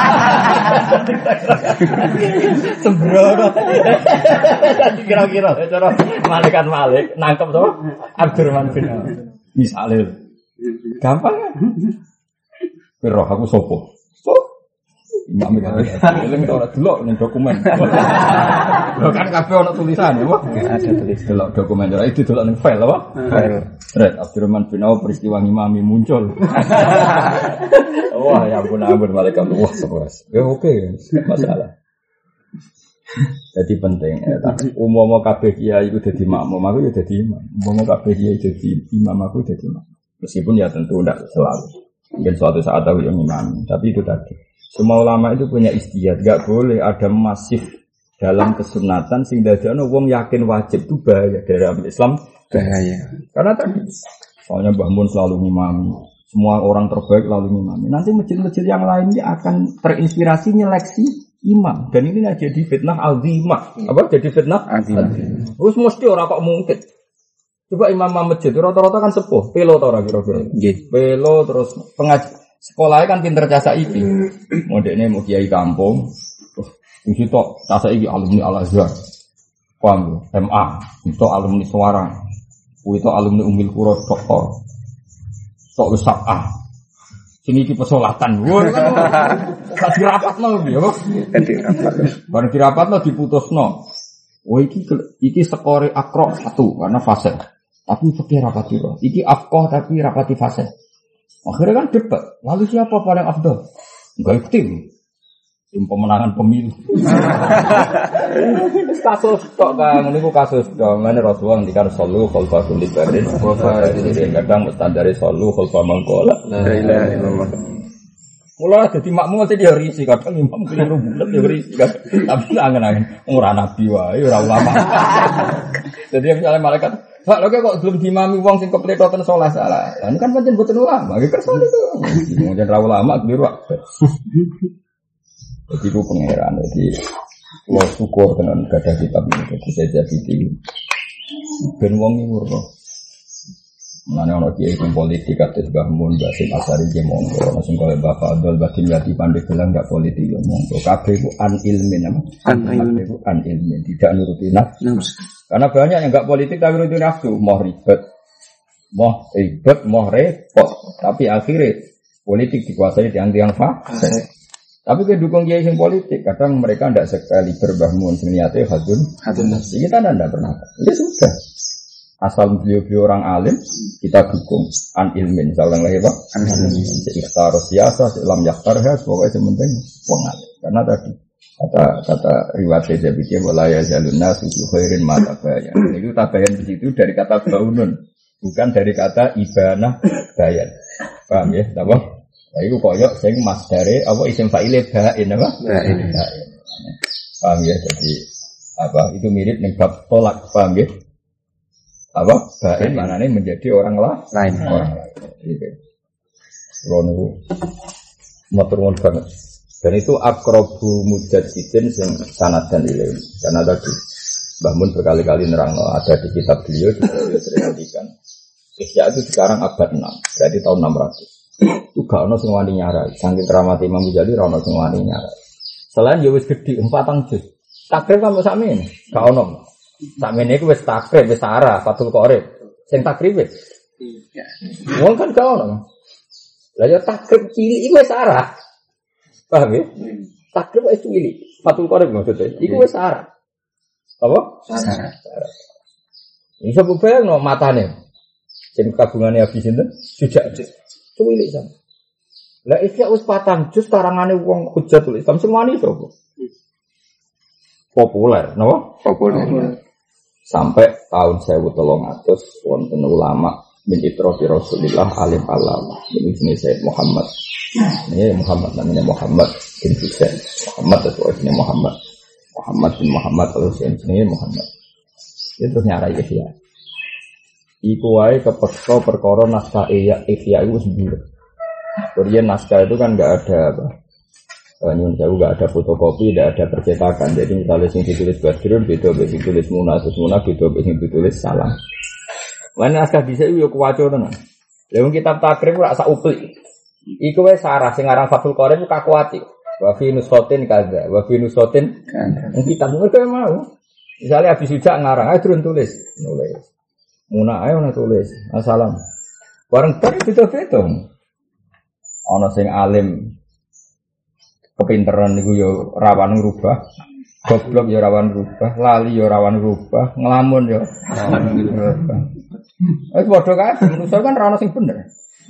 Sembrono. Tadi kira-kira cara malaikat Malik nangkep to Abdurrahman bin Auf. Misale. Gampang kan? Roh aku sopo. So, imam iki. Eling ora delok ning dokumen. Lho kan kabeh ana tulisan ya, Pak. Ada tulis. Delok dokumen ora itu delok ning file apa? File. Red Abdurrahman bin Auf peristiwa ngimami muncul. Wah, ya ampun ampun malaikat wah sekeras. Ya oke, masalah. Jadi penting ya, umum kabeh kiai itu jadi makmum, aku ya jadi imam. Umum kabeh kiai jadi imam, aku jadi imam. Meskipun ya tentu tidak selalu. Mungkin suatu saat aku yang imam, tapi itu tadi. Semua ulama itu punya istihad, gak boleh ada masif dalam kesunatan sehingga ada wong yakin wajib itu bahaya dari Islam bahaya. Karena tadi, soalnya Mbah Mun selalu ngimami, semua orang terbaik lalu ngimami. Nanti masjid-masjid yang lainnya akan terinspirasi nyeleksi imam, dan ini jadi fitnah azimah. Apa? Jadi fitnah azimah. Terus mesti orang kok mungkin. Coba imam masjid rata-rata kan sepuh, pelo ta ora kira-kira. Nggih. Pelo terus pengaji sekolahnya kan pinter jasa iki. Modene mau kiai kampung. Wis tok jasa iki alumni Al-Azhar. Paham M A, itu alumni Suara. Kuwi tok alumni Umil Qura doktor. Tok wis sabah. Sing iki pesolatan. Wah kan. Gak dirapatno piye, Pak? Kan dirapat. Bareng dirapatno diputusno. Oh iki iki skore akro satu karena fase. Tapi fikih rapati roh. Iki afqah tapi rapati fase. Akhirnya kan debat. Lalu siapa paling afdal? Enggak tim. Tim pemenangan pemilu. Kasus tok Kang, niku kasus tok. Mane Rasulullah ngendikane sallu khalfa kulli barin. Jadi kadang mustandare sallu khalfa mangkola. La ilaha illallah. Mula dadi makmum mesti dia risi kadang imam keliru bulet ya risi. Tapi angen-angen ora nabi wae ora ulama. Jadi misalnya malaikat Pak, lho kok belum dimami wong sing kepletoten salah salah. Lah ini kan pancen boten ulama, iki kersan itu. Mungkin ra ulama keliru. Jadi ku pangeran iki kula syukur tenan gadah kitab iki dadi saya jadi ben wong ngurus. Mane ana kiai sing politik kados Mbah Mun, Mbah Sim Asari ge monggo, ana sing kaya Mbah Fadl, Mbah Dimyati Pandhe gelang gak politik yo monggo. Kabeh ku an ilmin apa? An ilmin, an ilmin, tidak nuruti nafsu. Karena banyak yang enggak politik tapi nuruti nafsu, mau ribet. Mau ribet, mau repot, tapi akhirnya politik dikuasai tiang-tiang fasik. Tapi kedukung kiai sing politik, kadang mereka ndak sekali Mbah Mun sing niate hadun, hadun nafsi. Kita ndak pernah. Ya sudah. Asal beliau-beliau orang alim, kita dukung an ilmin. Saya ulang lagi Pak, an ilmin. Ikhtar siasa, selam yaktarha, pokoknya sementing pengalim. Karena tadi kata kata riwayat Jabir wala ya jalunna susu khairin mata bayan. Itu tabayan di situ dari kata baunun, bukan dari kata ibanah bayan. Paham ya? Apa? Nah, itu koyok sing masdare apa isim fa'ile bain apa? Bain. Paham ya? Jadi apa? Itu mirip ning bab tolak, paham ya? Apa? Bain manane menjadi orang lain, orang lain. Gitu. Rono motor banget. Dan itu akrobu mujadidin yang sanad dan ilmu. Karena tadi Mbah Mun berkali-kali nerang ada di kitab beliau juga beliau terjadikan. Ihya itu sekarang abad enam, berarti tahun enam ratus. Itu gak ono sing wani nyarai. Saking keramat Imam Ghazali ra ono sing wani nyarai. Selain ya wis gedhi empatang juz. Takrib kok sakmene, gak ono. Sakmene iku wis takrib, wis arah, Fathul Qorib. Sing takrib wis. Iya. Wong kan gak ono. Lah ya takrib cilik iku wis arah. Paham ya? Takrib wis cilik. Fathul Qorib maksudnya. Iku wis arah. Apa? Arah. Iso bayangno matane. Sing kabungane habis sinten? Sujak. Cilik sama. Lah Ihya wis patang juz karangane wong Hujatul Islam sing wani sapa? Populer, napa? Populer. Sampai tahun seribu tiga ratus wonten ulama min itrofi Rasulillah alim alama. Ini sini Sayyid Muhammad. Ini Muhammad namanya Muhammad bin Husain. Muhammad atau ini Muhammad. Muhammad bin Muhammad terus ini Muhammad. Dia terus nyarai Ihya. Iku wae kepeksa perkara naskah Ihya Ihya itu sendiri. Kemudian naskah itu kan enggak ada apa. Nyun sewu enggak ada fotokopi, enggak ada percetakan. Jadi misalnya sing ditulis Badrun beda beda sing ditulis Munah, terus Munah beda beda sing ditulis Salam. Lan naskah dhisik yo kuwaco tenan. Lha wong kitab takrib ora sak uplik. Iku wae sarah sing aran Fathul Qorib kakuati. Wa fi nusotin kaza, wa fi nusotin kan. Kitab mereka mau. Misalnya habis sujak ngarang, ayo turun tulis, nulis. Munah ayo ana tulis. Assalam. Bareng bar beda-beda. Ana sing alim kepinteran niku yo rawan ngrubah, goblok yo rawan ngrubah, lali yo rawan ngrubah, ngelamun yo rawan ngrubah. Wis padha kae, manusa kan ra ono sing bener.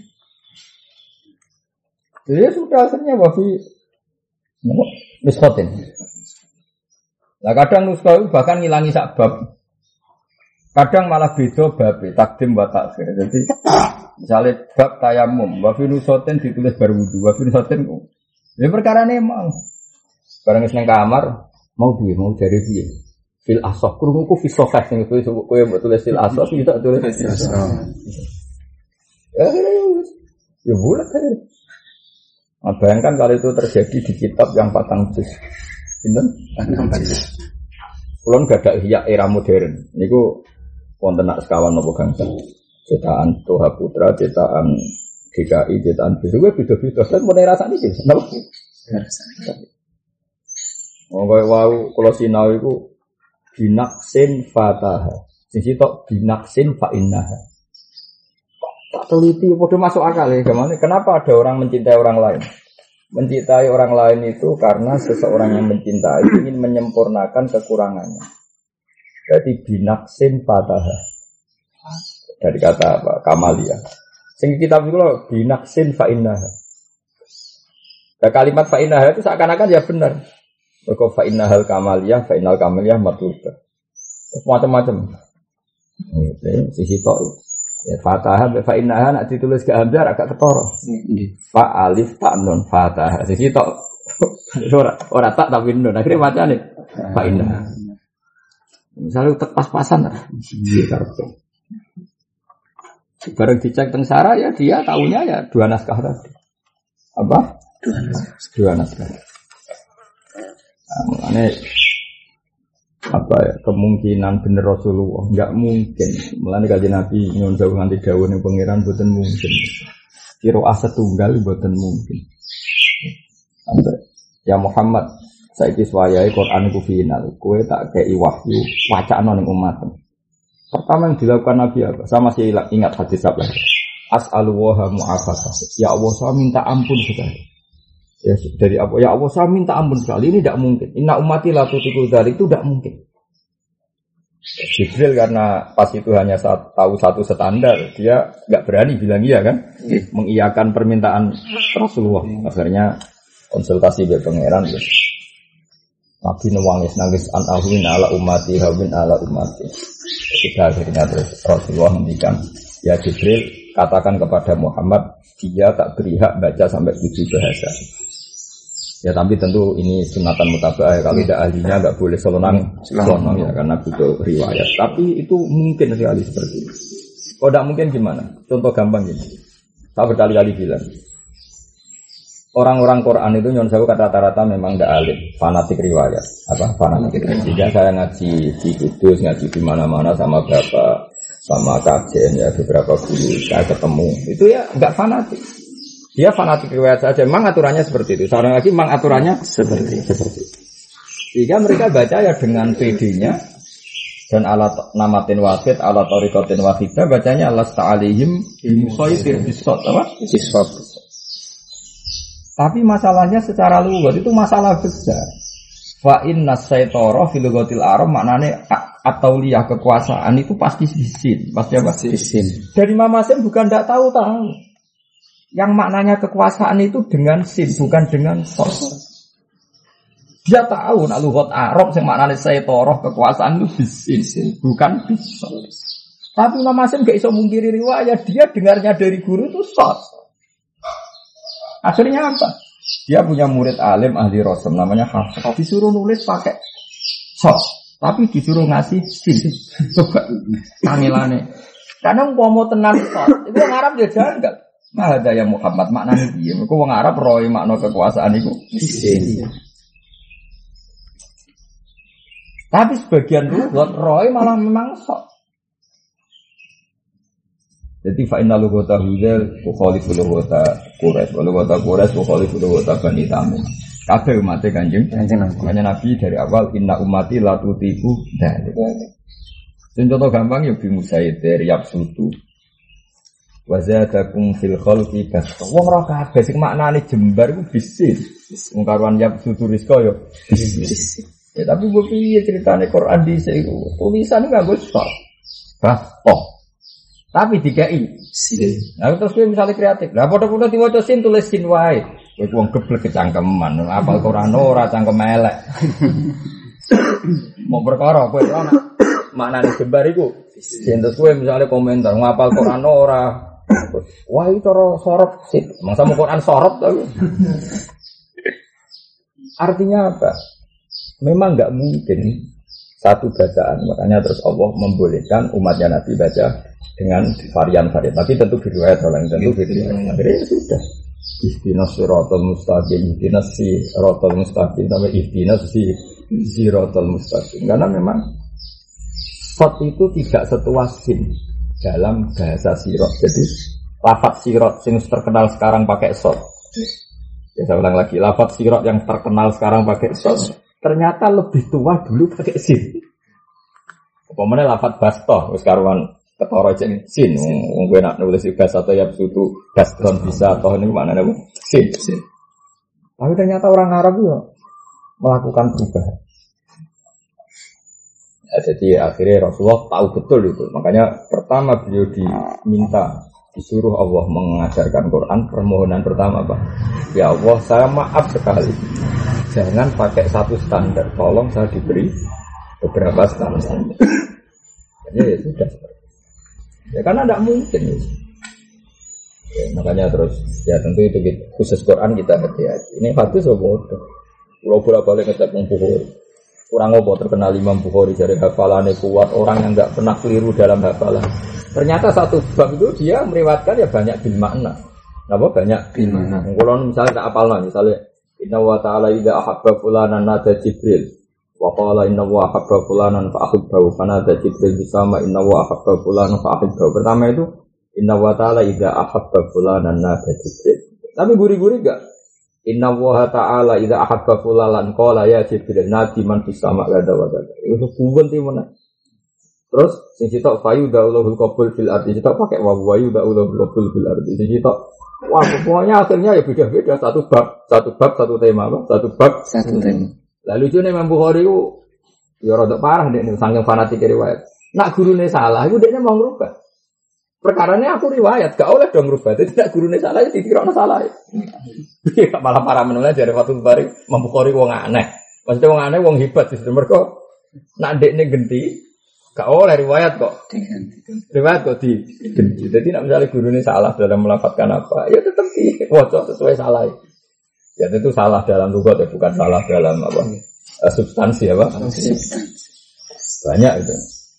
Jadi sudah akhirnya wafi nuskotin. Nah kadang nuskah itu bahkan ngilangi sak bab. Kadang malah beda bab, takdim wa takhir. Jadi misalnya bab tayamum, wafi nuskotin ditulis bar wudu, wafi nuskotin ya perkara ini mau. Barang seneng kamar mau piye, mau jare piye. Fil asaf krungu ku fi sofah sing kowe kowe mbok tulis fil asaf iki tak tulis fil asaf. Ya ya boleh kan. Nah, bayangkan kalau itu terjadi di kitab yang patang juz. Pinten? Patang juz. Kulon gak ada hiyak era modern. Niku wonten nak sekawan napa gangsal. Cetakan Toha Putra, cetakan D K I, cetakan B S W beda-beda. Kan mulai rasane iki. Napa? Oh, kowe wau kula sinau iku binaksin fataha. Sing sitok binaksin fa innaha. Tak teliti, bodoh masuk akal ya. Gimana? Kenapa ada orang mencintai orang lain? Mencintai orang lain itu karena seseorang yang mencintai ingin menyempurnakan kekurangannya. Berarti binaksin fataha. Dari kata apa? Kamalia. Sing kitab itu loh binaksin fa innaha. Nah, kalimat fa innaha itu seakan-akan ya benar. Berko fa innahal kamaliyah, fa innal kamaliyah matluba. Macam-macam. Ini sisi tok. Ya, fatah fa innaha nak ditulis ke hamzah agak ketara. Fa alif ta nun fatah. Sisi tok ora ora tak tapi nun. Akhire macane fa innaha. Misalnya tek pas-pasan ta. Iya karepe. Bareng dicek teng Sarah ya dia taunya ya dua naskah tadi. Apa? Dua naskah. Dua naskah. Nah, ini apa ya kemungkinan bener Rasulullah enggak mungkin. Mulane kanjeng Nabi nyuwun dawuh nganti dawuh ning pangeran boten mungkin. Kira asa tunggal boten mungkin. Sampai ya Muhammad saiki wayahe Quran ku final. Kowe tak kei wahyu wacana ning umat. Pertama yang dilakukan Nabi apa? Saya masih ingat hadis apa? As'alullaha mu'afasah. Ya Allah saya minta ampun sekali. Ya dari apa? Ya Allah saya minta ampun sekali. Ini tidak mungkin. Inna ummati la tutikul dzalik itu tidak mungkin. Jibril karena pas itu hanya saat, tahu satu standar, dia nggak berani bilang iya kan, mengiyakan permintaan Rasulullah. Akhirnya konsultasi dengan pangeran, terus Nabi nangis nangis an ahwin ala ummati hawin ala ummati. Sudah akhirnya terus Rasulullah mendikan, ya Jibril katakan kepada Muhammad, dia tak beri hak baca sampai tujuh bahasa. Ya tapi tentu ini sunatan mutaba'ah. Kalau tidak ahlinya nggak boleh selonang, selonang ya karena butuh riwayat. Tapi itu mungkin sekali seperti itu. Kalau tidak mungkin gimana? Contoh gampang gini. Saya berkali-kali bilang, orang-orang Quran itu nyon sewu rata-rata memang tidak alim, fanatik riwayat. Apa? Fanatik riwayat. Jika saya ngaji di Kudus, ngaji di mana-mana sama bapak, sama kajian ya beberapa guru saya ketemu, itu ya nggak fanatik. Dia fanatik riwayat saja. Memang aturannya seperti itu. Seorang lagi memang aturannya seperti seperti itu. Sehingga mereka baca ya dengan P D-nya dan alat namatin wahid, alat tariqatin wahidah, bacanya alas ta'alihim musaytir bisot apa? Bisot. Tapi masalahnya secara lugat itu masalah besar. Fa inna syaitara fil lughatil arab maknane at-tauliyah kekuasaan itu pasti bisin, pasti apa? Bisin. Dari Mama Sem bukan enggak tahu-tahu. Yang maknanya kekuasaan itu dengan sin, bukan dengan sos. Dia tahu nak lughat Arab yang maknanya saytoroh kekuasaan itu bisin, bukan bisos. Tapi Imam Hasim gak iso mungkiri riwayat, dia dengarnya dari guru itu sos. Akhirnya apa? Dia punya murid alim ahli Rasul namanya Hafs. Disuruh nulis pakai sos, tapi disuruh ngasih sin. Coba tangilane. Karena umpama tenan sos, itu orang Arab dia janggal. Nah, ada yang Muhammad maknanya dia. Mereka orang Arab roy makna kekuasaan itu. Tapi sebagian lughat roy malah memang sok. Jadi fa inna lughata hudal mukhalifu lughata Quraisy, wa lughata Quraisy mukhalifu lughata Bani Tamim. Kabeh umat Kanjeng Kanjeng Nabi dari awal inna ummati la tutiku dzalik. Contoh gampang ya bi Musaidir Yabsutu. Wa zadakum fil khalqi basta. Wong ora kabeh sing maknane jembar ku bisnis. Wong karuan ya sutu rizqa yo bisnis. Ya tapi gue piye ceritane Quran dhisik iku. Tulisan nganggo stop. Basta. Tapi dikai sin. Nah terus kowe misale kreatif. Lah padha-padha diwaca sin tulis sin wae. Kowe wong geblek kecangkeman, apal Quran ora cangkem elek. Mau perkara kowe ora maknane jembar iku. Sin terus kowe misale komentar ngapal Quran ora. Wah itu cara sorot sih. Masa mau Quran sorot tapi. Artinya apa? Memang enggak mungkin satu bacaan. Makanya terus Allah membolehkan umatnya Nabi baca dengan varian-varian. Tapi tentu riwayat orang tentu riwayat. Akhirnya sudah. Ihdinas siratal mustaqim, ihdinas siratal mustaqim, sampai ihdinas siratal mustaqim. Karena memang sot itu tidak setuas sin dalam bahasa sirot. Jadi lafaz sirot yang terkenal sekarang pakai sot. Ya saya ulang lagi, lafaz sirot yang terkenal sekarang pakai sot ternyata lebih tua dulu pakai sin. Pemene lafaz basto wis karuan ketara jeneng sin. Wong kowe nak nulis bahasa atau ya sutu baston bisa atau niku maknane apa? Sin. Tapi ternyata orang Arab ya melakukan perubahan. Ya, jadi akhirnya Rasulullah tahu betul itu. Makanya pertama beliau diminta disuruh Allah mengajarkan Quran, permohonan pertama apa? Ya Allah, saya maaf sekali. Jangan pakai satu standar. Tolong saya diberi beberapa standar. Jadi ya sudah. Ya karena tidak mungkin. Ya, makanya terus ya tentu itu gitu. Khusus Quran kita hati-hati. Ini hadis bodoh. Pulau bola balik ngecek Bukhari. Kurang apa terkenal Imam Bukhari dari hafalannya kuat, orang yang enggak pernah keliru dalam hafalan. Ternyata satu bab itu dia meriwayatkan ya banyak bil makna. Apa banyak bil makna. Kalau misalnya tak hafalnya, misalnya inna wa ta'ala idza ahabba fulanan nada Jibril wa qala inna wa ahabba fulanan fa ahibbahu fanada Jibril bisama inna wa ahabba fulanan fa ahibbahu. Pertama itu inna wa ta'ala idza ahabba fulanan nada Jibril. Tapi guri-guri enggak. Inna wa ta'ala idza ahabba fulanan qala ya Jibril nadi man bisama gada wa gada. Itu kuwen ti mana. Terus sing sitok fayu da'ulul qabul fil ardi sitok pakai wa wayu da'ulul qabul fil ardi. Sing sitok wah, pokoknya akhirnya ya beda-beda satu bab, satu bab, satu tema, apa? Satu bab, satu tema. Lalu lucunya Imam Bukhari itu ya rada parah nek saking fanatik riwayat. Nak gurune salah, iku dekne mau ngrubah. Perkarane aku riwayat, gak oleh dong ngrubah. Dadi nak gurune salah ya dikirane salah. Iya, malah parah menolak dari Fathul Bari, Imam Bukhari wong aneh. Maksudnya wong aneh wong hebat sistem mergo nak dekne genti gak oleh riwayat kok. Riwayat kok di genti. Jadi nak misalnya gurunya salah dalam melafadzkan apa, ya tetap diwaca sesuai salah. Ya itu salah dalam lughat ya, bukan salah dalam apa? Uh, substansi apa? Banyak itu.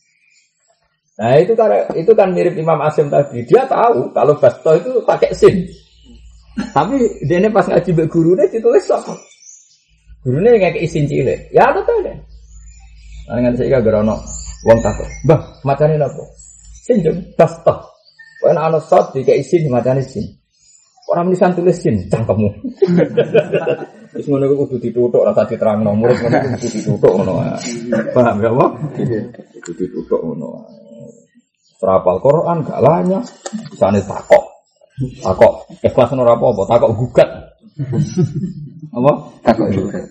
Nah, itu kan itu kan mirip Imam Asim tadi. Dia tahu kalau basto itu pakai sin. Tapi dia pas ngaji mbek gurune ditulis apa? Gurune ngekeki sin cilik. Ya betul deh. Nah, ngan saiki gara ono wong takok, "Mbah, macane napa?" Sin jeng basto. Kowe ana sot dikeki sin macane sin. Ora menisan tulis sin cangkemmu. Wis ngono iku kudu dituthuk ora tadi terangno, murid ngono iku kudu dituthuk ngono. Paham ya apa? Kudu dituthuk ngono. Serapal Quran gak lanya, bisane takok. Takok ikhlas ora apa-apa, takok gugat. Apa? Takok gugat.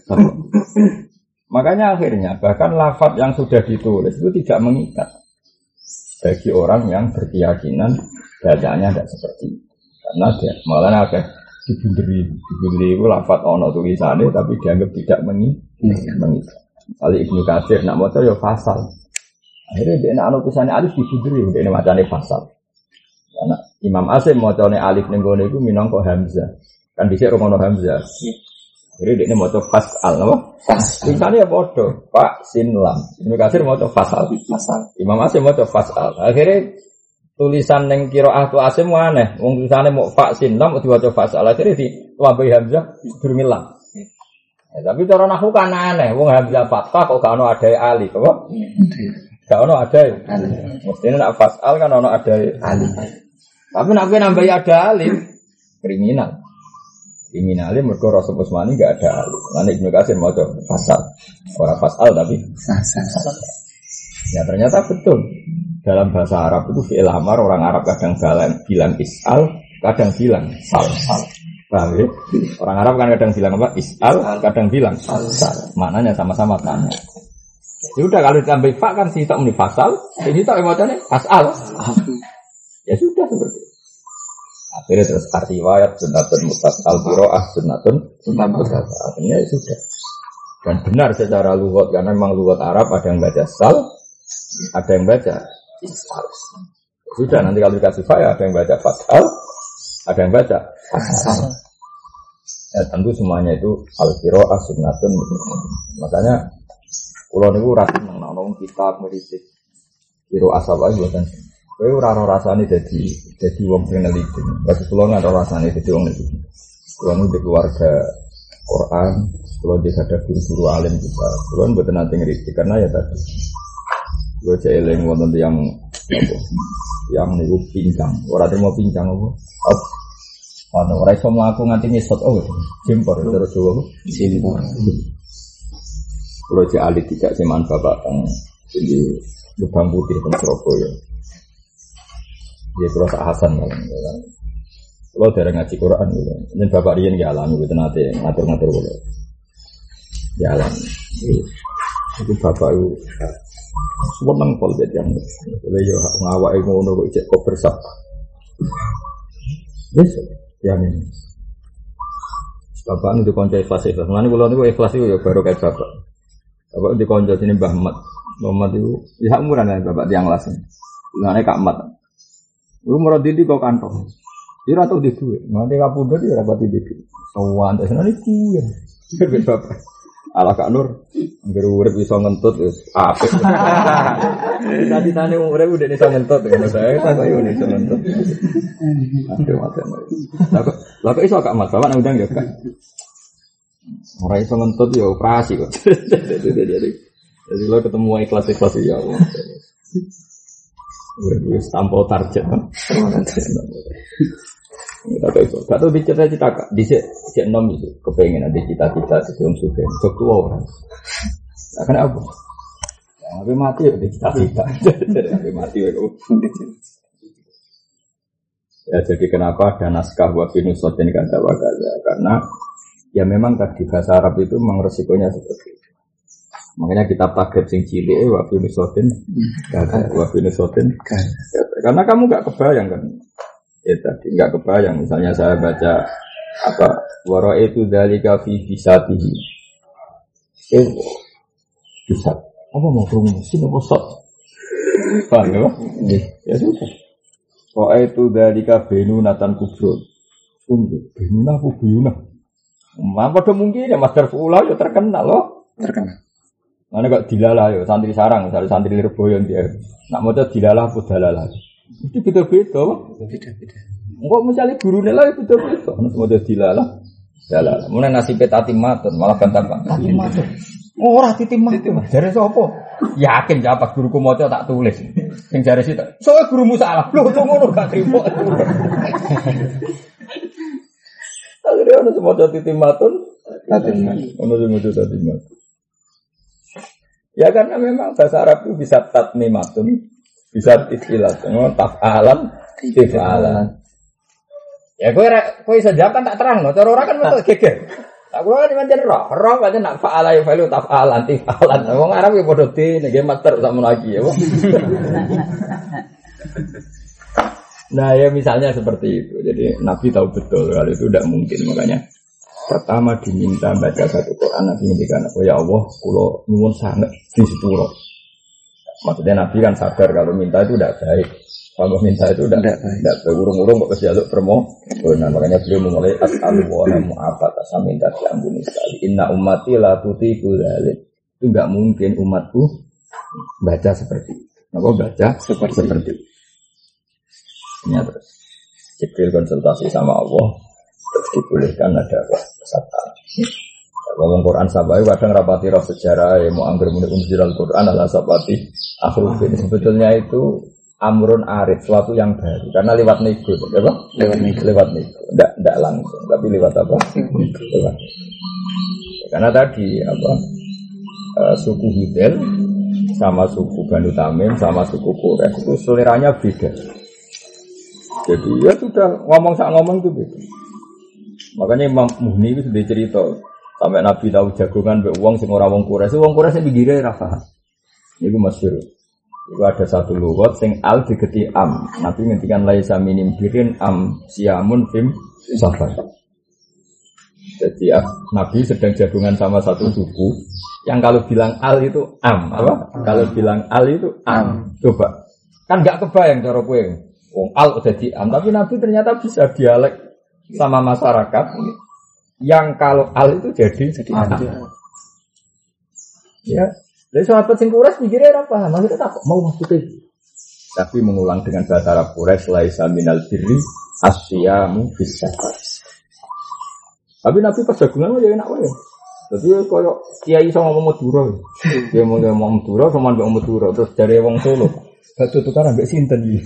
Makanya akhirnya bahkan lafaz yang sudah ditulis itu tidak mengikat bagi orang yang berkeyakinan bacanya tidak seperti itu. Karena dia malah agak dibunderi, dibunderi itu lafaz ono tulisannya tapi dianggap tidak mengikat. Kali Ibnu Katsir nak maca ya fasal. Akhirnya dia nak ono tulisannya alif dibunderi, dia macane fasal. Karena Imam Asim macane alif ning gone iku minangka hamzah. Kan dhisik romono hamzah. Jadi dia maca fasal apa? Fasal. Tulisannya bodoh, Pak Sin Lam. Ibnu Katsir maca fasal. Fasal. Imam Asim maca fasal. Akhirnya tulisan ning qiraah tu Asim aneh. Wong tulisane mau fa sin lam diwaca fasal. Akhire ditambahi hamzah durung lam. Ya, tapi cara nahwu kan aneh. Wong hamzah fathah kok gak ono adae alif, apa? Gak ono adae. Mestine nek fasal kan ono adae alif. Tapi nek nambahi ada alif kriminal. Kriminalnya mergo Rasul Utsmani enggak ada alif. Lan Ibnu Katsir maca fasal. Ora fasal tapi fasal. Ya ternyata betul. dalam bahasa Arab itu fi'il amar, orang Arab kadang bilang, bilang is'al, kadang bilang sal. Sal. Paham ya? Orang Arab kan kadang bilang apa? Is'al, kadang bilang sal. Sal. Maknanya sama-sama tanya. Ya udah kalau ditambah fa kan si tak muni fasal, ini tak emotane fasal. Ya sudah seperti itu. Akhirnya terus arti riwayat sunnatun mutasal qiraah sunnatun mutasal. Akhirnya ya sudah. Dan benar secara lughat karena memang lughat Arab ada yang baca sal, ada yang baca isal. Sudah nanti kalau dikasih fa ya ada yang baca fasal, ada yang baca fasal. Ya tentu semuanya itu al-qiraah sunnatun. Makanya kula niku ora seneng ana kitab ngritik kira asal ae mboten. Kowe ora ora rasane dadi dadi wong sing neliti. Bagi kula ora rasane dadi wong neliti. Kula nu di keluarga Quran, kula di ada guru-guru alim juga. Kula mboten nate ngritik karena ya tadi. Kula cek eling wonten yang apa? Yang niku pincang. Ora terima pincang apa? Ana ora iso mlaku nganti ngesot oh jempor terus Jawa jempor. Kalau cek alit tidak seman bapak tang di Lubang Putih teng Surabaya. Dia kalau tak Hasan malah. Kalau dari ngaji Quran gitu. Ini bapak riyen nggih alami gitu nate ngatur-ngatur kula. Ya alami. Itu bapak itu seneng pol bet yang. Lha yo ngawake ngono kok cek kok bersab. Yes, ya ini. Bapak nu dikonco ikhlas ikhlas. Mulane kula niku ikhlas iku ya baru kayak bapak. Bapak dikonco sini Mbah Mat. Mbah Mat itu ya umuran ya bapak tiang las. Ngene Kak Mat. Lu merot didi kok kantong. Dia atau di duit. Nanti kapundhut ya rapati didi. Sawan terus nang iku ya. Bapak. Ala Kak Nur, anggere urip iso ngentut wis apik. Tadi-tadi urip udah iso ngentut ngono saya tak yo iso ngentut. Aduh mate. Lah kok iso Kak Mat, bapak nang undang ya Kak. Ora iso ngentut ya operasi kok. Jadi jadi lo ketemu ikhlas-ikhlas ya Allah. Udah tampil target kan. Kita tahu itu. Gak tahu dicita-cita kak. Di sini enam itu kepengen ada cita-cita sebelum sudah. Sok tua orang. Nah, kenapa? Ya, tapi mati ya di cita-cita. Tapi mati ya. Ya jadi kenapa ada naskah wabinu sotin kata wakaza? Karena ya memang tadi bahasa Arab itu memang resikonya seperti itu. Makanya kita target sing cilik wabinu sotin kata wabinu sotin. Karena kamu gak kebayang kan? Ya tadi enggak kebayang misalnya saya baca apa wara itu dalika fi bisatihi eh bisa apa mau kurung mesin apa sok paham ya ya sudah wara itu dalika benunatan kubro benunah kubuyuna apa tuh mungkin ya master fulah ya terkenal loh terkenal mana kok dilalah ya santri sarang misalnya santri Lirboyo dia nak mau dilalah apa dalalah itu beda-beda, beda-beda. Enggak misalnya gurunya lah beda-beda. Harus mau jadi dilalah, dilalah. Mulai nasib tatim matun, malah bantah pak. Tatim matun. Oh, orang tatim matun. Dari siapa? Yakin jawab guruku mau tak tulis. Yang dari situ. Soalnya gurumu salah. Loh, tunggu lu gak terima. Akhirnya harus mau jadi tatim matun, tatim matun. Harus mau jadi tatim matun. Ya karena memang bahasa Arab itu bisa tatmimatun. Bisa istilah semua tafalan tifalan. Ya kowe kowe iso jawab kan tak terang no. Cara ora kan betul geger. Tak kula kan pancen roh, roh pancen nak faala ya falu tafalan tifalan. Wong Arab ya padha di nggih master sakmono lagi ya. Nah ya misalnya seperti itu. Jadi Nabi tahu betul kalau itu tidak mungkin makanya pertama diminta baca satu Quran Nabi ngendikan oh ya Allah kula nyuwun sanget di sepuro. Maksudnya Nabi kan sadar kalau minta itu tidak baik. Kalau minta itu tidak tidak berurung-urung kok kejaluk permo. Nah, makanya beliau memulai as'alu wa mu'afat asal minta diampuni sekali. Inna ummati la tutiku dzalik. Itu enggak mungkin umatku baca seperti itu. Napa baca seperti seperti itu. Ini terus Jibril konsultasi sama Allah terus dibolehkan ada peserta. Kalau Quran sabai kadang rapati roh sejarah ya mau anggur muni unzilal Quran ala sabati akhruf ini sebetulnya itu amrun arif suatu yang baru karena lewat nego apa lewat nego lewat nego enggak enggak langsung tapi lewat apa lewat karena tadi apa uh, suku Hudel sama suku Banu Tamim, sama suku Quraisy itu seleranya beda. Jadi ya sudah ngomong sak ngomong itu beda. Makanya Imam Muhni itu sudah cerita sampai Nabi tahu jagongan mbek wong sing ora wong Quraisy, wong Quraisy pinggire ra paham. Niku masyhur. Iku ada satu lugat sing al digeti am. Nabi ngendikan laisa minim birin am siamun fim safar. Jadi ah, Nabi sedang jagungan sama satu suku yang kalau bilang al itu am, apa? Kalau bilang al itu am. Coba. Kan enggak kebayang cara kowe. Wong al udah di am, tapi Nabi ternyata bisa dialek sama masyarakat yang kalau al itu jadi jadi am. Ya. Jadi sahabat sing Quraisy mikirnya apa? Maksudnya tak mau maksudnya. Tapi mengulang dengan bahasa Arab Quraisy laisa minal birri asyamu fis safar. Tapi Nabi pas jagungan ya enak wae. Dadi koyo kiai iso ngomong Madura. Dia mau ngomong Madura sama mbek Madura terus dari wong Solo. Batu tukaran mbek sinten iki.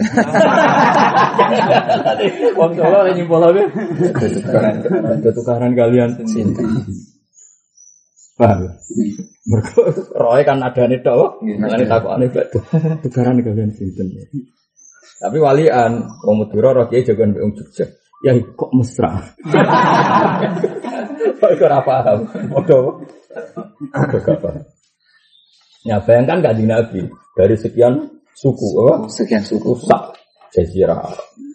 Wong Solo lagi nyimpulake tukaran. Batu tukaran kalian sinten. Paham? Mergo roe kan adane tok. Ngene takokane batu tukaran kalian sinten. Tapi walian wong Madura roh kiai jagoan mbek wong Jogja. Ya kok mesra. Kok ora paham. Bodoh. Ya bayangkan Kanjeng Nabi dari sekian suku apa? Sekian suku sak jazirah.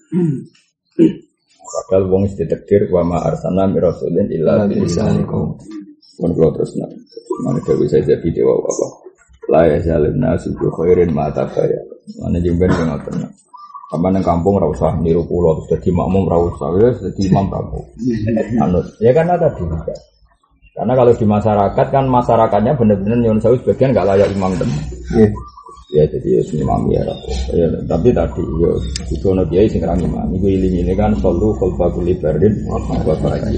Padahal wong ditakdir wa ma arsalna mir rasulin illa bilisanikum. Mun kula terus nak. Mane dewe saya jadi dewa apa? La ya zalim nasu bi khairin ma tabaya. Mane jemben ngoten. Sampai nang kampung ora usah niru kula terus dadi makmum ora usah wis dadi imam kamu. Anut. Ya karena tadi. Karena kalau di masyarakat kan masyarakatnya benar-benar nyon sewu sebagian enggak layak imam tem. Nggih. Ya jadi ya imam ya. Ya tapi tadi yo kudu ono kiai sing ra imam. Iku iling-iling kan sallu khalfa kulli bardin wa ta'ala.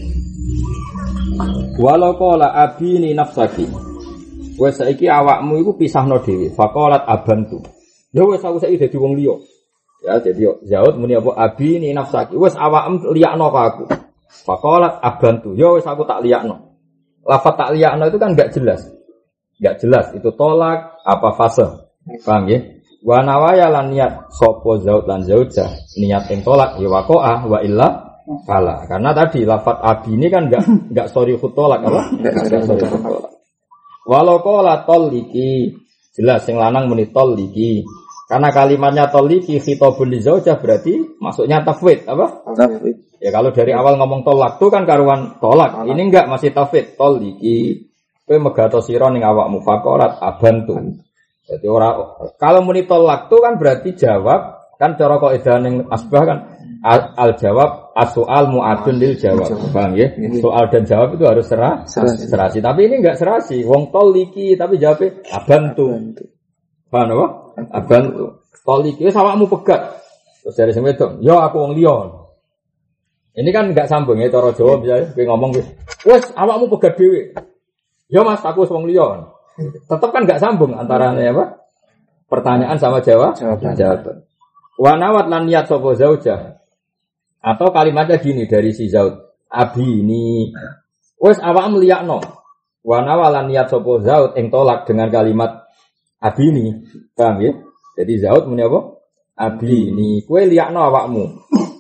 Walau qala abini nafsaki. Wes saiki awakmu iku pisahno dhewe. Faqalat abantu. Ya wes aku saiki dadi wong liya. Ya jadi Zaud muni apa abi ni nafsaki wis awakmu liyakno ka aku. Faqalat abantu. Ya wis aku tak liyakno. Lafaz tak liyakno itu kan enggak jelas. Enggak jelas itu tolak apa fase. Paham ya? Wa nawaya lan niat sapa Zaud lan Zaujah niat ing tolak ya waqa'a wa illa kala. Karena tadi lafaz abi ini kan enggak enggak sorry tolak apa? Enggak sorry tolak. Walau qala toliki jelas sing lanang muni toliki. Karena kalimatnya toliki khitabun li zaujah berarti maksudnya tafwid apa? Tafwid. Ya kalau dari awal ngomong tolak itu kan karuan tolak. Tolak. Ini enggak masih tafwid toliki. Kowe megato sira ning awakmu faqarat abantu. Jadi ora kalau muni tolak itu kan berarti jawab kan cara kaidah ning asbah kan al, al jawab as-soal mu'adun lil jawab. Paham ya? Soal dan jawab itu harus serah, serasi. serasi. Tapi ini enggak serasi. Wong toliki tapi jawabnya abantu. Paham apa? Abang toliki wis awakmu pegat. Terus dari sing wedok, "Ya aku wong liya." Ini kan enggak sambung ya cara Jawa biasa kowe ngomong wis, "Wis awakmu pegat dhewe." "Ya Mas, aku wis wong liya." Tetap kan enggak sambung antara apa? Pertanyaan sama jawab. Jawaban. Wa nawat lan niat sapa zaujah. Atau kalimatnya gini dari si Zaud, "Abi ini wis awakmu liyakno." Wa nawalan niat sapa Zaud ing tolak dengan kalimat abi ini, paham ya? Jadi Zaud muni apa? Abi ini, kue liyakno awakmu.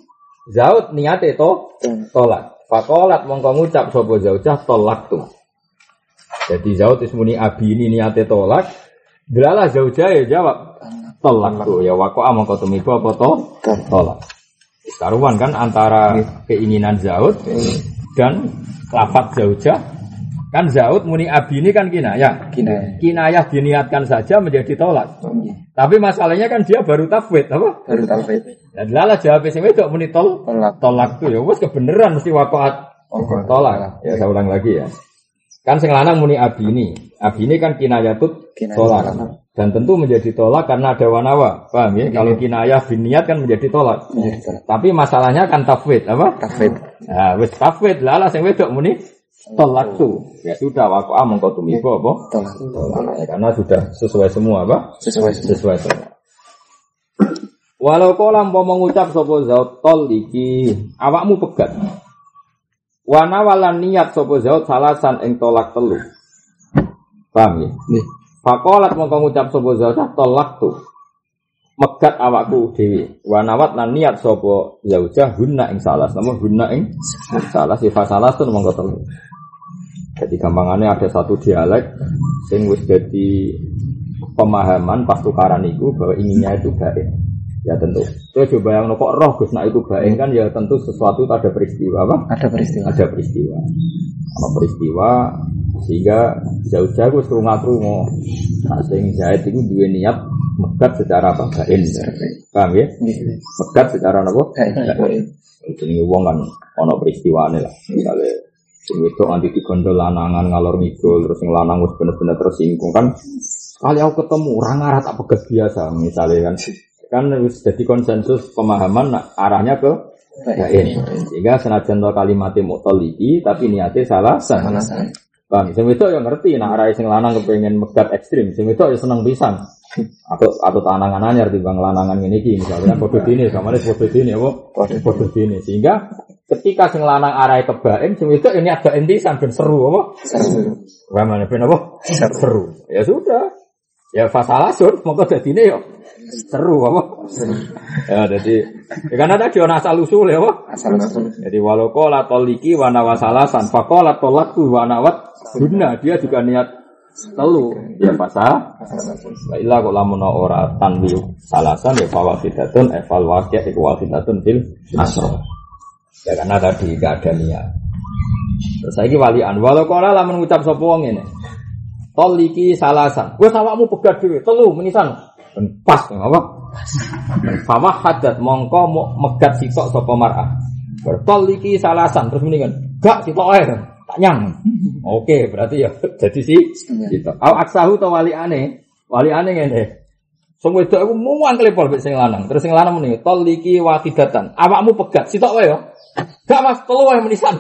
Zaud niate to tolak. Faqalat mongko ngucap sapa Zaujah tolak tu. Jadi Zaud wis muni abi ini niate tolak. Delalah Zaujah ya jawab tolak tu. Ya waqa'a mongko tumiba apa to? Tolak. Karuan kan antara keinginan Zaud dan lafaz Zaujah. Kan Zaud muni abi ini kan kinayah. Kinayah. Kinayah diniatkan saja menjadi tolak. Oh, iya. Tapi masalahnya kan dia baru tafwid, apa? Baru tafwid. Dan lala jawab sing wedok muni tol tolak. Tolak tuh ya wis kebenaran mesti waqaat oh, tolak. Ya saya ulang lagi ya. Kan sing lanang muni abi ini. Abi ini kan kinayah tut tolak. Dan tentu menjadi tolak karena ada wanawa. Paham ya? Kalau kinayah biniat kan menjadi tolak. Menjadi tolak. Tapi masalahnya kan tafwid, apa? Tafwid. Nah, wis tafwid lala sing wedok muni tolak tu, ya sudah aku among kau tumibo apa? Tolak, tolak. Ya, karena sudah sesuai semua apa? Sesuai semua. Sesuai semua. Walau kau lampau mengucap sopo Zaud tol iki, awakmu pegat. Wana walan niat sopo Zaud salasan eng tolak telu. Paham ya? Nih. Faqalat mongko ngucap sapa zaujah tolak tu. Megat awakku dhewe. Wa nawat lan niat sapa zaujah hunna ing salas. Namun hunna ing salas sifat salas tu mongko telu. Jadi gampangannya ada satu dialek sing wis dadi pemahaman pas tukaran itu bahwa inginnya itu baik. Ya tentu. Itu coba yang kok roh Gus nak itu baik kan ya tentu sesuatu ada peristiwa apa? Ada peristiwa. Ada peristiwa. Ada peristiwa sehingga jauh-jauh wis krungu-krungu. Nah sing Zaid itu duwe niat megat secara apa? Bain. Paham ya? Megat secara apa? Bain. Jenenge wong kan ana peristiwane lah. Misale sing wedok anti digondol lanangan ngalor ngidul terus sing lanang wis bener-bener tersinggung kan kali aku ketemu orang arah tak pegat biasa misalnya kan kan wis jadi konsensus pemahaman nah, arahnya ke bain sehingga senajan to kalimatnya mutoliki tapi niatnya salah salah bang sing wedok yang ngerti nah arah sing lanang kepengen megat ekstrim sing wedok ya seneng pisan atau atau tanangan anyar timbang lanangan ngene iki misalnya padha dene samane padha dene apa padha dene sehingga ketika sing lanang arahe kebaen sing wedok ini ada intisan ben seru apa seru ramane ben apa seru ya sudah ya fasalasun monggo dadine yo seru apa seru ya dadi ya kan ada ana asal usul ya apa asal usul jadi walau qala taliki wa nawasalasan faqala talaqtu wa nawat guna dia juga niat telu ya fasa la illa kok lamun ora tanwi salasan ya fawaqidatun eval waqi' iku waqidatun fil asra ya karena tadi gak ada niat terus saiki walian walau kala lamun ngucap sapa wong ngene taliki salasan wis awakmu pegat dhewe telu menisan pas apa fama hadat mongko megat sitok sapa mar'ah taliki salasan terus mendingan gak sitok ae tak nyang. Oke, berarti ya jadi si gitu. Au aksahu to waliane. Waliane ngene. Sing wedok iku muang klepol mek sing lanang. Terus sing lanang muni taliki waqidatan. Awakmu pegat sitok wae ya. Gak Mas, telu wae menisan.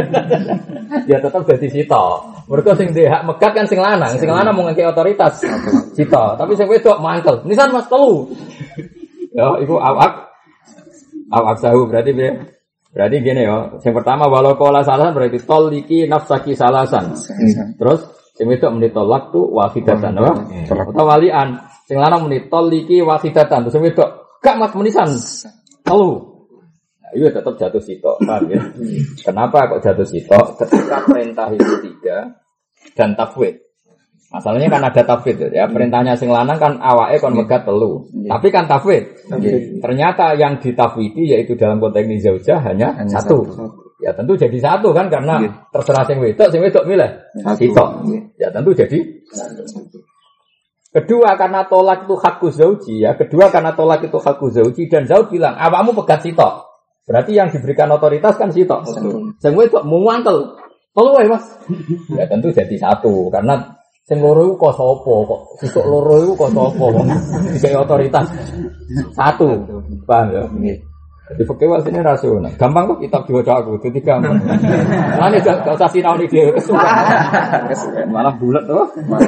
Ya tetep dadi sitok. Mergo sing ndek hak megat kan sing lanang. Sing lanang mung ngeki otoritas. Sitok. Tapi sing wedok mantel. Menisan Mas telu. Ya, iku awak awak sahu berarti be Berarti gini ya, yang pertama walau kola salasan berarti toliki nafsaki salasan. Terus yang itu menit tolak tu wafidatan, apa? Atau walian, yang lanang menit toliki wafidatan. Terus yang itu gak mas menisan, lalu, nah, itu tetap jatuh sitok, kan? Ya? Kenapa kok jatuh sitok? Ketika perintah itu tiga dan tafwid. Masalahnya kan ada tafwid ya, perintahnya sing lanang kan awake kon megat telu. Tapi kan tafwid. Ternyata yang ditafwidi yaitu dalam konteks ini zaujah hanya, hanya satu. satu. Ya tentu jadi satu kan karena terserah sing wedok, sing wedok milih sitok. Ya tentu jadi satu. Kedua karena tolak itu hakku zauji ya, kedua karena tolak itu hakku zauji dan zauj bilang, "Awakmu pegat sitok." Berarti yang diberikan otoritas kan sitok. Sing wedok muantel. Telu wae, Mas. Ya tentu jadi satu karena sing loro iku kok sapa kok sesuk loro iku kok sapa kok iki otoritas satu paham ya nggih dadi fikih wasine rasional gampang kok kitab diwaca aku dadi gampang ane gak usah sinau iki dhewe kesuwen malah bulet to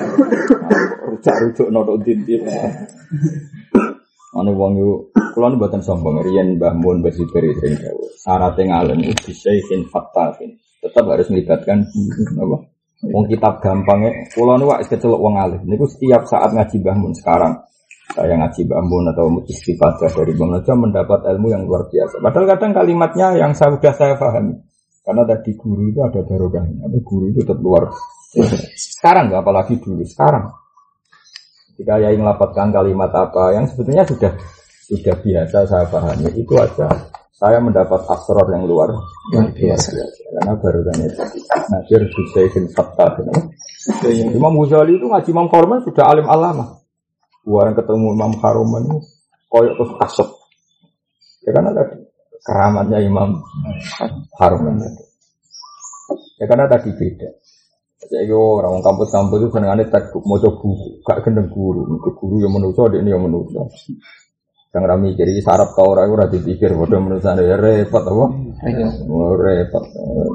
rujak-rujuk noto dintin ane wong yo kula mboten sombong riyen Mbah Mun Mbah Siberi sing dawuh syarat ngalim iki syai'in fattafin tetap harus melibatkan apa wong kitab gampangnya, kula niku wis kecelok wong alim. Niku setiap saat ngaji Mbah Mun sekarang, saya ngaji Mbah Mun atau istifadah dari Mbah Mun mendapat ilmu yang luar biasa. Padahal kadang kalimatnya yang saya sudah saya pahami. Karena tadi guru itu ada barokahnya. Tapi guru itu tetap luar. Sekarang enggak apalagi dulu, sekarang. Ketika Yai melapatkan kalimat apa yang sebetulnya sudah sudah biasa saya pahami, itu aja saya mendapat asrar yang luar biasa. Karena barokahnya tadi. Nadir Hussein Fattah. Imam Ghazali itu ngaji Imam Haruman sudah alim alama. Orang ketemu Imam Haruman itu koyok terus kasep. Ya karena tadi keramatnya Imam Haruman tadi. Ya karena tadi beda. Jadi orang kampus-kampus itu senengannya tekuk moco buku, gak gendeng guru, guru yang menuso, dia yang menuso. Yang rami jadi sarap tau orang itu rada dipikir, bodoh menuso ya repot apa? Repot.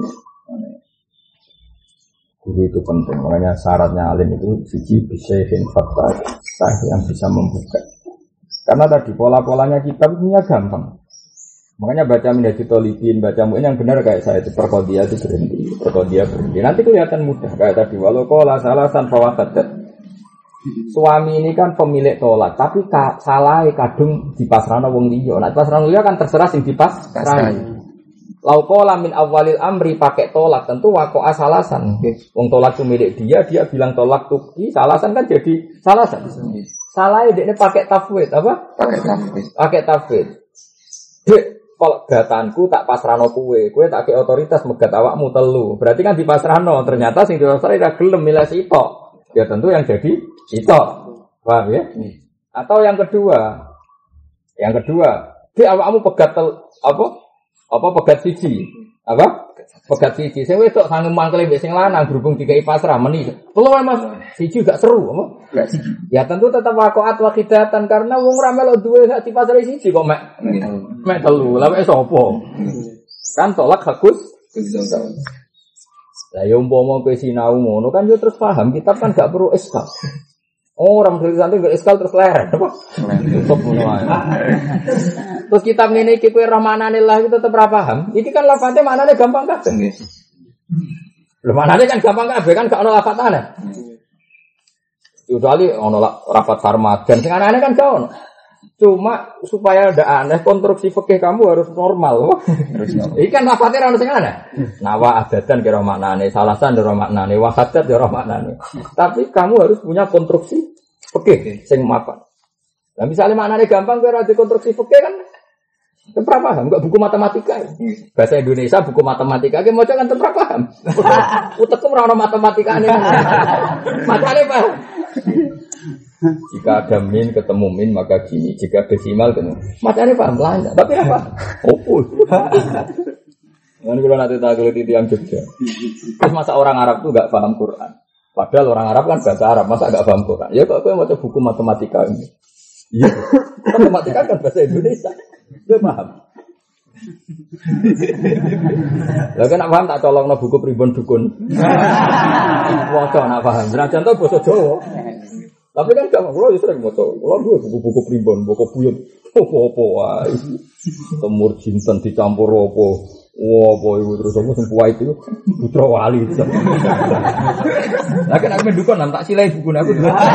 Guru itu penting, makanya syaratnya alim itu siji bisyai'in fattah yang bisa membuka. Karena tadi pola-polanya kitab punya gampang. Makanya baca Minhajul Thalibin, baca mu'in yang benar kayak saya itu perkodia itu berhenti, perkodia berhenti. Nanti kelihatan mudah kayak tadi walau qala salasan fawahadat. Suami ini kan pemilik tolak, tapi ka, salah kadung dipasrahno wong liya. Nek pasrahno liya kan terserah sing dipasrahno. Lau qala min awalil amri pakai tolak tentu waqa'a salasan. Wong tolak itu milik dia, dia bilang tolak tuki, salasan kan jadi salasan. Salahe dekne pakai tafwid apa? Pakai tafwid. Pakai tafwid. Dek, pegatanku tak pasrahno kowe, kowe tak kei otoritas megat awakmu telu. Berarti kan dipasrahno, ternyata sing dipasrahno ra gelem milih sitok. Ya tentu yang jadi itu, paham ya? Atau yang kedua, yang kedua, di awakmu pegat tel, apa? Apa pegat siji? Apa? Pegat siji. Sing wedok sangem mangkele mbek sing lanang berhubung dikai pasrah meni. Telu Mas, siji gak seru, apa? Ya tentu tetap waqa'at wa khidatan karena wong ra melok duwe sak dipasrahi siji kok mek mek telu. Lah wis sapa? Kan tolak hakus. Lah ya umpama kowe sinau ngono kan yo terus paham kitab kan gak perlu eskal. Orang tulisan itu gak eskal terus leren apa? Tutup ngono ae. Terus kitab ngene iki kowe rahmananillah itu tetep ra paham. Iki kan lafate maknane gampang kabeh. Lho maknane kan gampang kabeh kan gak ono lafatane. Kecuali ono rapat sarmadan sing aneh kan gak ono. Cuma supaya ndak aneh konstruksi fikih kamu harus normal. Iki kan lafate ora ono sing aneh. Nawa adatan kira maknane, salasan kira maknane, wahadat kira maknane. Tapi kamu harus punya konstruksi fikih sing mapan. Lah misalnya maknane gampang kowe ora di konstruksi fikih kan ora paham, enggak buku matematika. Bahasa Indonesia buku matematika ki maca kan ora paham. Utekku ora ono matematikane. Macane paham. Jika ada min ketemu min maka gini, jika desimal ketemu macamnya paham lancar, tapi apa? Opul. Kan kalau nanti tak kulit itu yang Jogja. Terus masa orang Arab tuh nggak paham Quran, padahal orang Arab kan bahasa Arab, masa nggak paham Quran? Ya kok aku yang baca buku matematika ini? Iya, matematika kan bahasa Indonesia, dia paham. Lah kan nak paham tak colongno buku pribon dukun. Waca nak paham. Senajan to basa Jawa. Tapi kan gak kalau sering maca. Kalau dua buku-buku primbon, buku buyut, apa-apa wae. Temur jinten dicampur apa. Wah, apa iku terus aku sing kuwait itu putra wali. Lah kan aku mendukun nang tak silai buku aku.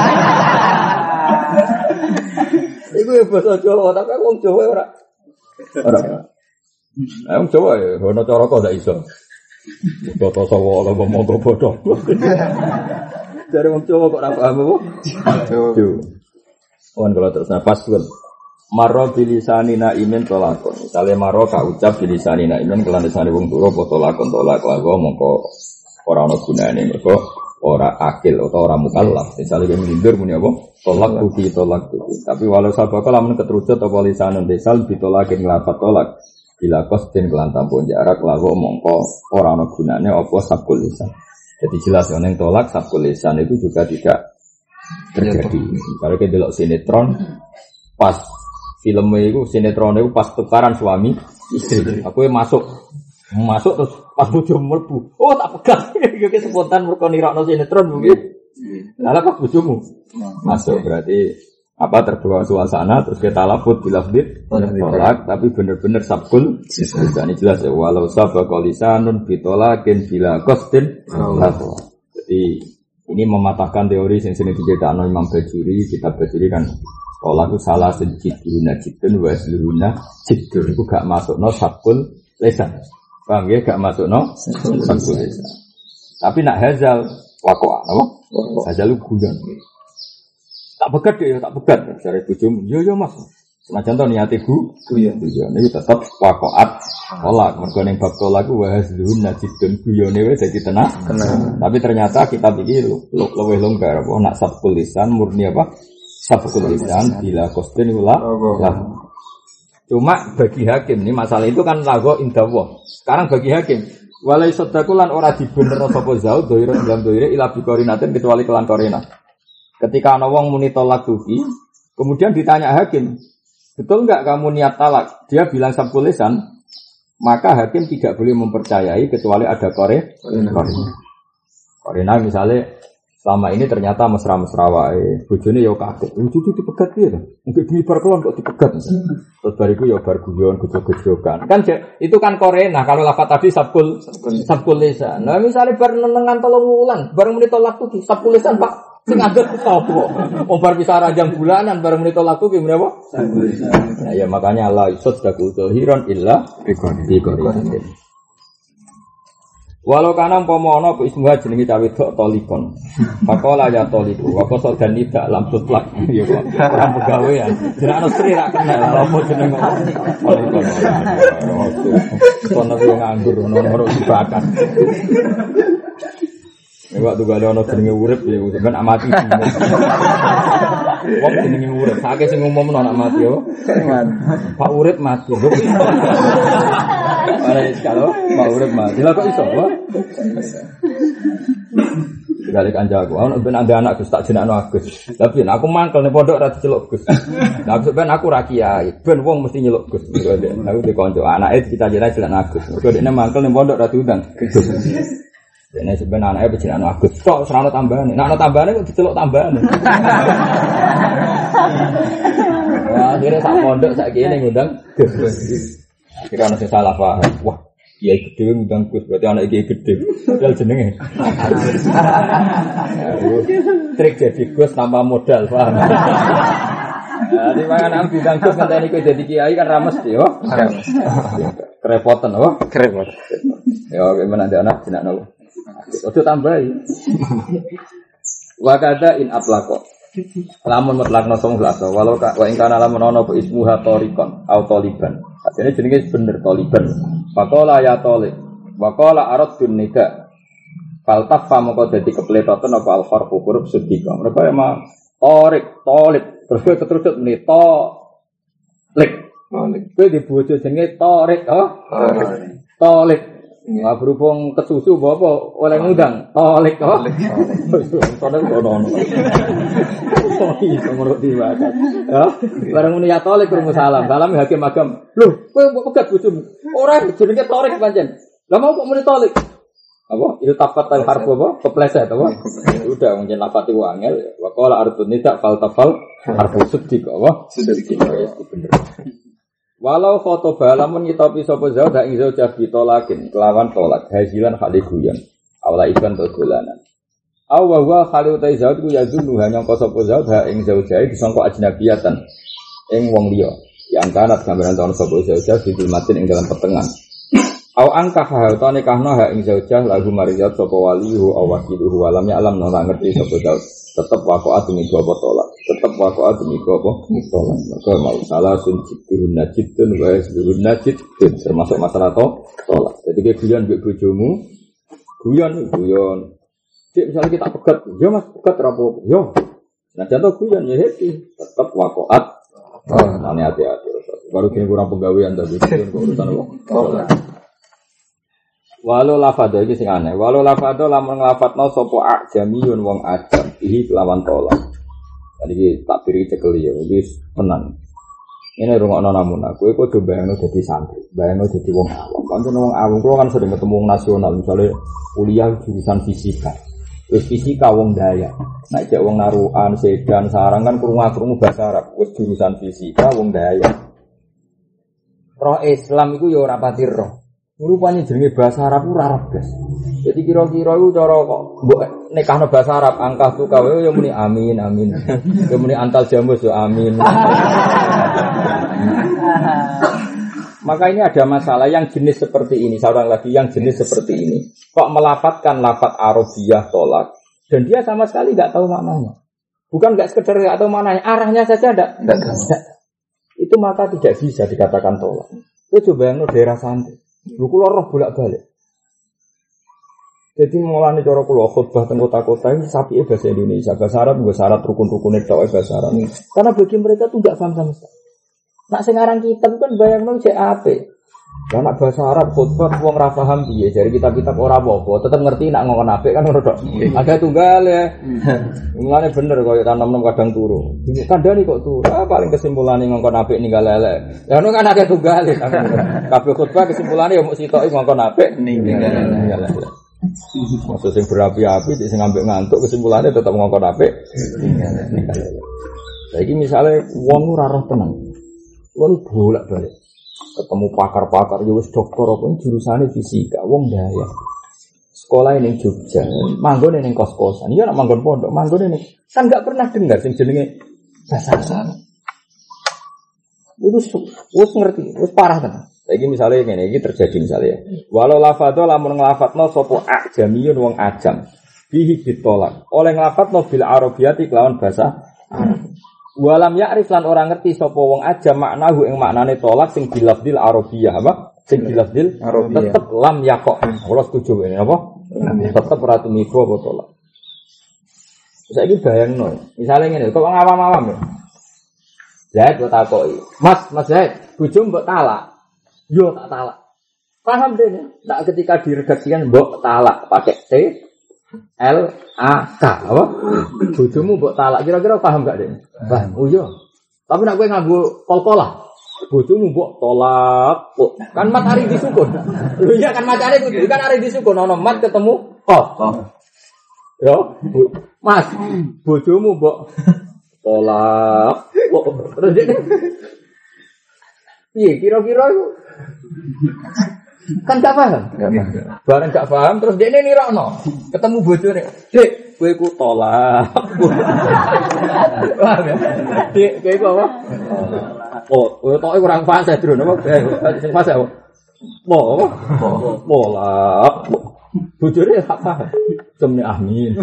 Iku ya basa Jawa, tapi wong Jawa ora. Ora. Lah wong Jawa ya ono cara kok ndak iso. Boto sawo lho ngomong bodoh. Dari wong Jawa kok ora paham apa? Yo. Wan kalau terus nafas kan. Maro bilisanina imen tolakon. Misale maro ka ucap bilisanina imen kelan lisane wong turu apa tolakon tolak lawa mongko ora ana gunane mergo ora akil utawa ora mukallaf. Misale yang ngindur muni apa? Tolak tuki tolak tuki. Tapi walau sabaka lamun ketrucut apa lisanun desal ditolakin lafat tolak. Bila kostin kelan tampun jarak lawa mongko ora ana gunane apa sabkul lisan. Jadi jelas yang tolak sabkul lisan itu juga tidak terjadi. Kalau kita delok sinetron pas filmnya itu sinetron itu pas tukaran suami istri. Aku masuk masuk terus pas bojo mlebu. Oh tak pegang. Iki spontan mergo nirakno sinetron mungkin. Lah pas bojomu masuk berarti apa terbawa suasana terus kita labut bilafdit tolak tapi benar-benar sabkul lisan jelas ya walau sabaqal lisanun bitolakin bila qasdin lato. Jadi ini mematahkan teori yang sering diceritakan Imam Bajuri. Kitab Bajuri kan tolak itu salah sejiduna jidun wa seluruhna jidun itu gak masuk no sabkul lisan. Paham ya gak masuk no sabkul lisan. Tapi nak hazal wakoa apa? Hazal guyon. Tak pegat ya, tak pegat. Cari bojomu, yo yo Mas. Senajan to niate bu, guyon guyon niku tetep waqaat tolak. Mergo ning bab tolak ku wahzun najidun guyone wis dadi tenang. Tapi ternyata kitab iki luwih longgar apa nak sabkul lisan murni apa? Sabkul lisan bila qasdin ula. Cuma bagi hakim ini masalah itu kan lago indawah. Sekarang bagi hakim walai sadakulan ora dibener sapa zau doire dalam doire ila biqorinatin kecuali kelan korina. Ketika ana wong muni tolak tuki, kemudian ditanya hakim, betul enggak kamu niat talak? Dia bilang sabkul lisan, maka hakim tidak boleh mempercayai kecuali ada kore. Korina. Korina misalnya selama ini ternyata mesra-mesra wae, bojone ya kaget. Cucu dipegat piye to? Mungkin dibar kelon kok dipegat. Terus bariku ya bar guyon gejog-gejogan. Kan itu kan korena kalau lafaz tadi sabkul sabkul lisan. Nah misalnya bar nenengan tolong wulan, bareng muni tolak tuki sabkul lisan Pak. Sing ngadeg sapa? Wong bar bisa ranjang bulanan bareng muni tolak ku ki muni apa? Nah ya makanya la isot dakutul hiron illa bikori. Walau kanang pomo ana apa ismuha jenenge cawe tok tolikon. Pakola ya toliku, wa koso dan tidak lam tutlak. Ya kok ora pegawean. Jenenge ana sri ra kenal apa jeneng tolikon. Kono ku nganggur ono-ono dibakat. Nek waktu gak ono jenenge urip ya ben amati. Wong jenenge urip, sakake sing umumno anak mati yo. Pak urip mati. Para iskalo, Pak urip mati. Lah kok iso, Pak? Dari kancaku, aku ben ada anak Gus tak jenakno Agus. Tapi aku mangkel ning pondok ra diceluk Gus. Lah ben aku ra kiai, ben wong mesti nyeluk Gus. Aku di kanca anake cita-cita jenakno Agus. Mergo dekne mangkel ning pondok ra diundang. Dene sebenarnya anake jenakno Agus. Kok serana tambahane. Nek ana tambahane kok diceluk tambahane. Wah, akhirnya sak pondok sak kene ngundang Gus. Kira ana sing salah paham. Wah, kiai gede ngundang Gus, berarti anak kiai gede. Padahal jenenge. Trik jadi Gus tanpa modal, paham. Nah, di mana nang bidang Gus ngenteni kowe dadi kiai kan ra mesti yo. Kerepotan apa? Kerepotan. Ya, gimana ada anak jenakno. Ojo tambahi. Wa kada in atlaqo. Lamun mutlakna song glaso walau ka wa ing kana lamun ana apa ismuha torikon au toliban. Artine jenenge bener toliban. Faqala ya tolik. Wa qala aradun nika. Fal tafa moko dadi kepletoten apa al harfu huruf sedika. Mereka emang torik, tolik. Terus keterusut meni to lik. Tolik. Kowe di bojo jenenge torik, oh? Tolik. Nggak berhubung kesusu bapak oleh ngundang tolik kok tolik kono menurut dia ya barang muni ya tolik kurung salam salam hakim agam loh kowe mbok pegat bojomu ora jenenge tolik pancen lah mau kok muni tolik apa itu tapat al harfu apa kepleset apa udah mungkin lafati wangel wa qala ardun nida fal tafal harfu siddiq apa siddiq bener. Walau khotoba lamun ngitopi sapa zau dak ing zaujah bitolakin kelawan tolak hazilan khali guyon awla ikan to dolanan aw wa wa khali utai zauj ku yazunu hanya sapa zau dak ing zaujah disangka ajnabiyatan ing wong liya yang kanat gambaran tahun sapa zaujah didulmatin ing dalam petengan aw angkah ha nikahno ha ing zaujah lagu mariyat sapa walihu aw wakiluhu walam ya alam ora ngerti sapa zau tetap waqa'at demi apa tolak tetap waqa'at demi apa tolak maka mau salah sunjidun najidun wa yasbirun najid termasuk masalah tolak jadi ke guyon mbek bojomu guyon guyon cek misalnya kita pegat yo Mas pegat ra apa yo nah contoh guyon ya happy tetap waqa'at oh ane hati-hati baru kene kurang penggawean tapi urusan tolak. Walau lafadho iki sing aneh. Walau lafadho lamun nglafatno sapa ajamiyun wong ajam iki lawan tolak. Tadi iki tak biri cekeli ya wis tenan. Ini rungokno namuna. Kowe kudu bayangno dadi santri, bayangno dadi wong awam. Kan wong awam kuwi kan sering ketemu wong nasional, misalnya kuliah jurusan fisika. Wis fisika wong Dayak. Nek cek wong Narukan, Sedan, Sarang kan krungu-krungu bahasa Arab. Wis jurusan fisika wong Dayak. Roh Islam iku ya ora pati roh. Rupanya jenenge bahasa Arab ora Arab, guys. Jadi kira-kira iku cara kok mbok nekahno bahasa Arab angkah tu kawe yo muni amin amin. Yo muni antal jamus yo amin. Maka ini ada masalah yang jenis seperti ini, seorang lagi yang jenis seperti ini. Kok melafatkan lafaz Arabiyah tolak dan dia sama sekali enggak tahu maknanya. Bukan enggak sekedar enggak tahu maknanya, arahnya saja enggak. Itu maka tidak bisa dikatakan tolak. Itu coba yang daerah santri. Lu kula roh bolak-balik. Jadi mulane cara kula khutbah teng kota-kota ini sapike bahasa Indonesia, bahasa Arab bahasa Arab rukun-rukune tok bahasa Arab. Karena bagi mereka tuh enggak paham sama sekali. Nak sing aran kitab kan bayangno cek ape. Lah nak bahasa Arab khutbah wong ra paham piye, jare kitab-kitab ora apa-apa, tetep ngerti nak ngomong apik kan ngono tok. Ada tunggal ya. Mulane bener koyo tanam-tanam kadang turu. Kandhani kok turu. Ah paling kesimpulane ngongkon apik ninggal elek. Ya ngono kan akeh tunggal. Kabeh khutbah kesimpulane ya mung sitoki ngongkon apik ninggal elek. Maksud sing berapi-api sing ngambek ngantuk kesimpulannya tetep ngongkon apik ninggal elek. Saiki misale wong ora roh tenang. Wong bolak-balik ketemu pakar-pakar ya wis dokter apa jurusane fisika wong Dayak sekolah ini Jogja, manggon ini kos-kosan. Iya nak manggon pondok, manggon ini kan nggak pernah dengar sing jenenge bahasa Arab. Itu wis ngerti, wis parah tenan. Saiki misale ngene iki terjadi misale. Walau lafadho lamun nglafatno sapa ajamiyun wong ajam. Bihi ditolak. Oleh nglafatno bil arabiyati kelawan bahasa Arab. Walam ya'rif lan ora ngerti sapa wong ajam maknahu ing maknane tolak sing bilafdil arabiyah apa? Sing bilafdil arabiyah. Tetep lam yaqo. Ora setuju ini apa? Tetep ora tumiba apa tolak. Saiki bayangno, misale ngene, kok wong awam-awam ya. Zaid kok takoki. Mas, Mas Zaid, bojo mbok talak. Yo tak talak. Paham deh, tak ketika diredaksikan mbok talak pakai T L A K apa? Bojomu mbok talak. Kira-kira paham enggak, Dek? Paham. Oh iya. Tapi nek kowe nganggo kol-kolah, bojomu mbok tolak. Oh, kan mat ari disukun. Lho iya kan macane kudu kan ari disukun ana mat ketemu kok. Yo, Mas, bojomu mbok tolak. Terus Dek. Iya, kira-kira itu kan gak paham. Barang gak paham, terus dia ini nirokno. Ketemu bojone, Dek, kowe ku tolak. Paham ya? Dek, kowe ku apa? Oh, kowe tok kurang fase, Dron. Apa? Sing fase apa? Mo, apa? Tolak. Bojone gak paham. Semne amin.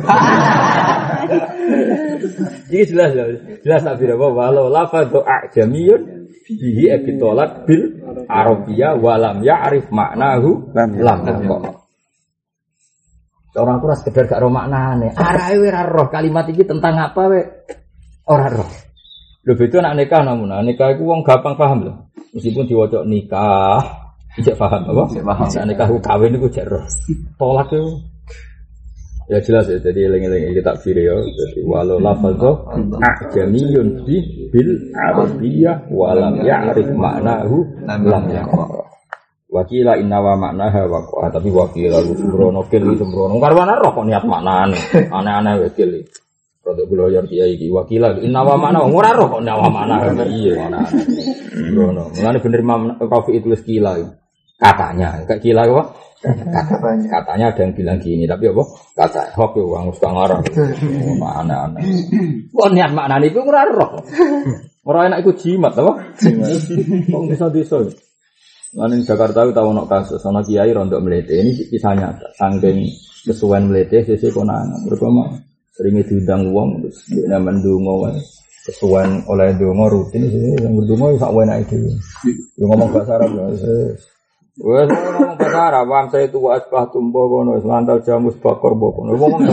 Iki jelas ya. Jelas tak bira apa? Walau lafadhu ajamiyun bihi abitolak bil arabiyah walam ya'rif maknahu lam kok. Orang ora sekedar gak ro maknane. Arahe ora roh kalimat iki tentang apa we? Ora roh. Lho beda nek nikah namun. Nikah iku wong gampang paham lho. Meskipun diwaca nikah, ijek paham apa? Ijek paham. Nek nikah kawin iku jek roh. Tolak itu ya jelas ya, jadi eling-eling kita takfir ya. Jadi walau lafadho ajamiyun bi bil arabiyah walam ya'rif maknahu lam yaqra. Wakila inna wa maknaha waqa'a, tapi wakila sembrono kil sembrono karwana roh kok niat maknane. Aneh-aneh wakil. Rodok kula yor kiai iki wakila inna wa makna ora roh kok inna wa makna. Iya ana. Sembrono. Mulane bener Imam Rafi itu wis kila. Katanya, kayak kila apa? Katanya. Katanya ada yang bilang gini, tapi apa? Kata hoax yo wong suka ngarang. Mana-mana. Kok niat maknane iku ora roh. Ora enak iku jimat apa? Jimat. Wong desa-desa. Lan ing Jakarta tahu ono kasus ana kiai rondok mlete. Ini kisahnya saking kesuwen mlete sesuk konangan. Berkoma sering diundang wong terus nek mendonga wae. Kesuwen oleh donga rutin sing ndonga sak wenake dhewe. Yo ngomong bahasa Arab lho. Wes ngomong bahasa Arab, wong saya itu asbah tumbuh kono, lantal jamus bakor kono. Ngomong.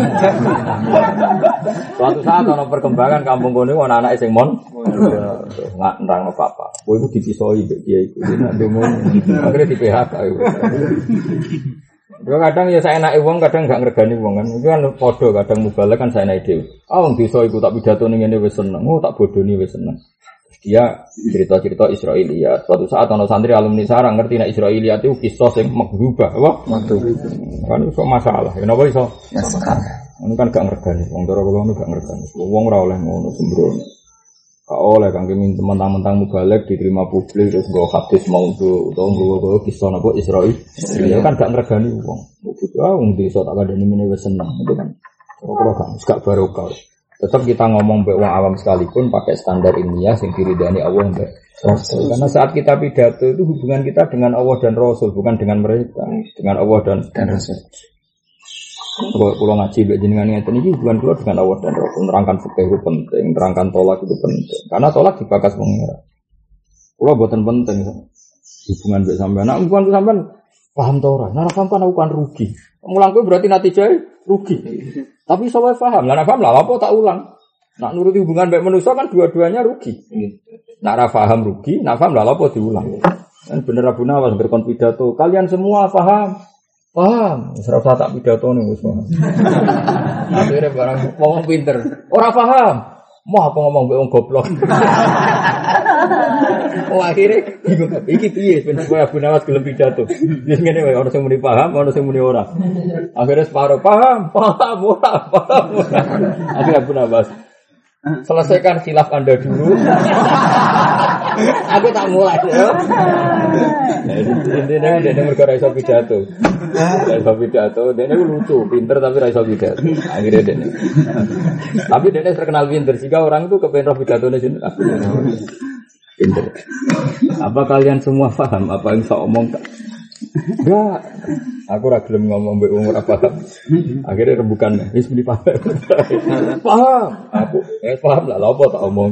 Suatu saat ana perkembangan kampung kono ana anake sing mon. Nggak nerangno apa-apa. Kowe iku dipisoi mbek kiai iku. Nek ndonga akhire di P H K iku. Yo kadang ya saenake wong, kadang gak ngregani wong kan. Iku kan padha kadang mubalek kan saenake dhewe. Ah wong desa iku tak pidato ning ngene wis seneng. Oh tak bodoni wis seneng. Dia cerita-cerita Israiliyat. Suatu saat ana santri alumni sarang ngerti nek Israiliyat itu kisah sing maghubah, apa? Maghubah. Kan iso masalah. Ya napa iso? Masalah. Ini kan gak ngergani. Wong cara kula gak ngergani. Wong ora oleh ngono sembrono. Gak oleh kangge mentang-mentang mubalek diterima publik terus nggo hadis maudhu utawa nggo kisah napa Israil. Ya kan gak ngergani wong. Ah wong desa tak kandhani ngene wis seneng. Itu kan ora gak barokah. Tetap kita ngomong mbek wong awam sekalipun pakai standar ilmiah sing diridani Allah mbek Rasul. Karena saat kita pidato itu hubungan kita dengan Allah dan Rasul, bukan dengan mereka, dengan Allah dan, dan Rasul. Kalau kula ngaji mbek jenengan ngeten iki hubungan kula dengan Allah dan Rasul. Nerangkan fikih itu penting, nerangkan tolak itu penting. Karena tolak dibakas pengira. Kula boten penting hubungan mbek sampean. Nek hubungan sampean paham ta ora? Nek paham kan aku kan rugi. Mulang kowe berarti natijane rugi. Tapi saya paham, lah paham lah apa tak ulang. Nak nuruti hubungan baik manusia kan dua-duanya rugi. Nak ra paham rugi, nak paham lah apa diulang. Kan bener Abu Nawas berkonpidato, kalian semua paham. Paham, ora usah tak pidato ning wis paham. Akhire barang ngomong pinter, ora paham. Mau apa ngomong mbek wong goblok. Oh akhirnya iki piye ben kowe Abu Nawas gelem pidato. Wis ngene wae ono sing muni paham, ono sing muni ora. Akhirnya separo paham, paham ora, paham. Akhirnya Abu Nawas selesaikan khilaf Anda dulu. Aku tak mulai. Intinya dia mergo ra iso pidato. Ra iso pidato, dia lucu, pinter tapi ra iso pidato. Akhirnya dia. Tapi dia terkenal pinter sehingga orang itu kepengen roh pidatone sinten. Pinter. Apa kalian semua paham apa yang saya omong? Enggak. Aku ora gelem ngomong mbek wong ora paham. Akhirnya rembukan wis muni paham. Paham. Aku eh paham lah lha apa tak omong.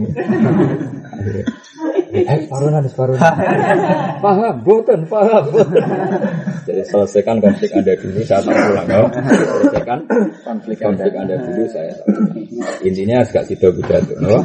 Eh parunan wis parunan. Paham, boten paham. Jadi selesaikan konflik Anda dulu saya tak pulang ya. Selesaikan konflik, konflik Anda dulu saya tak pulang. Intinya agak sido pidato, no?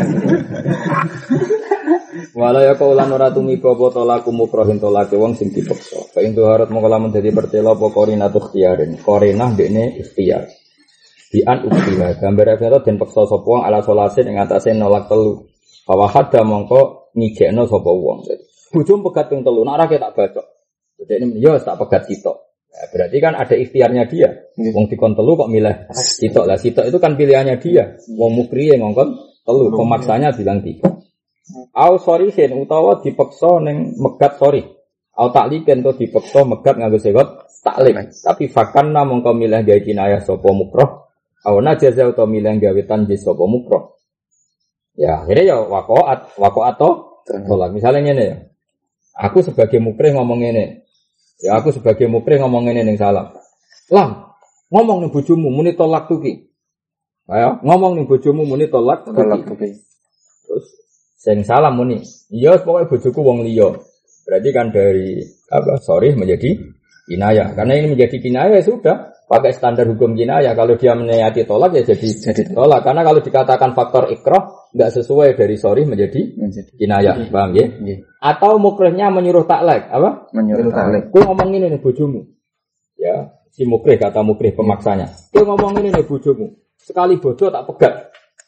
Wala ya kaulan ora tumiko apa tolaku mukrohin tolake wong sing dipeksa. Fa intu harut mongko lamun dadi pertela apa korina tukhtiarin. Korina ndekne ikhtiar. Bi an uktiha gambar karo den peksa sapa wong ala solasin ing atase nolak telu. Bahwa hadda mongko ngijekno sapa wong. Bojom pegat ping telu, nek ora tak bacok. Dene yo tak pegat sitok. Nah, berarti kan ada ikhtiarnya dia. Wong dikon telu kok milih sitok. Lah sitok itu kan pilihannya dia. Wong mukriye ngongkon telu, pemaksanya bilang tiga. Au sorry sen utawa dipeksa ning megat sorry. Au takliken to dipeksa megat nganggo sekot taklik. Tapi fakanna mongko milih gawe kinayah sapa mukroh. Au najaza utawa milih gawe tanjis sapa mukroh. Ya, akhirnya ya waqaat, waqaat to tolak. Misalnya ngene ya. Aku sebagai mukrih ngomong ngene. Ya aku sebagai mukrih ngomong ngene ning salam. Lam, ngomong ning bojomu muni tolak tuki. Ayo, ngomong ning bojomu muni tolak tuki. Terus sing salam muni, iya pokoknya bojoku wong liya. Berarti kan dari apa? Sorry menjadi kinayah. Karena ini menjadi kinayah ya sudah pakai standar hukum kinayah. Kalau dia meniati tolak ya jadi jadi tolak. Karena kalau dikatakan faktor ikrah enggak sesuai dari sorry menjadi, menjadi kinayah. Jadi, paham ya? Iya. Atau mukrihnya menyuruh taklek, apa? Menyuruh taklek. Kowe ngomong ngene ning bojomu. Ya, si mukrih kata mukrih pemaksanya. Kowe ngomong ngene ning bojomu. Sekali bojo tak pegat.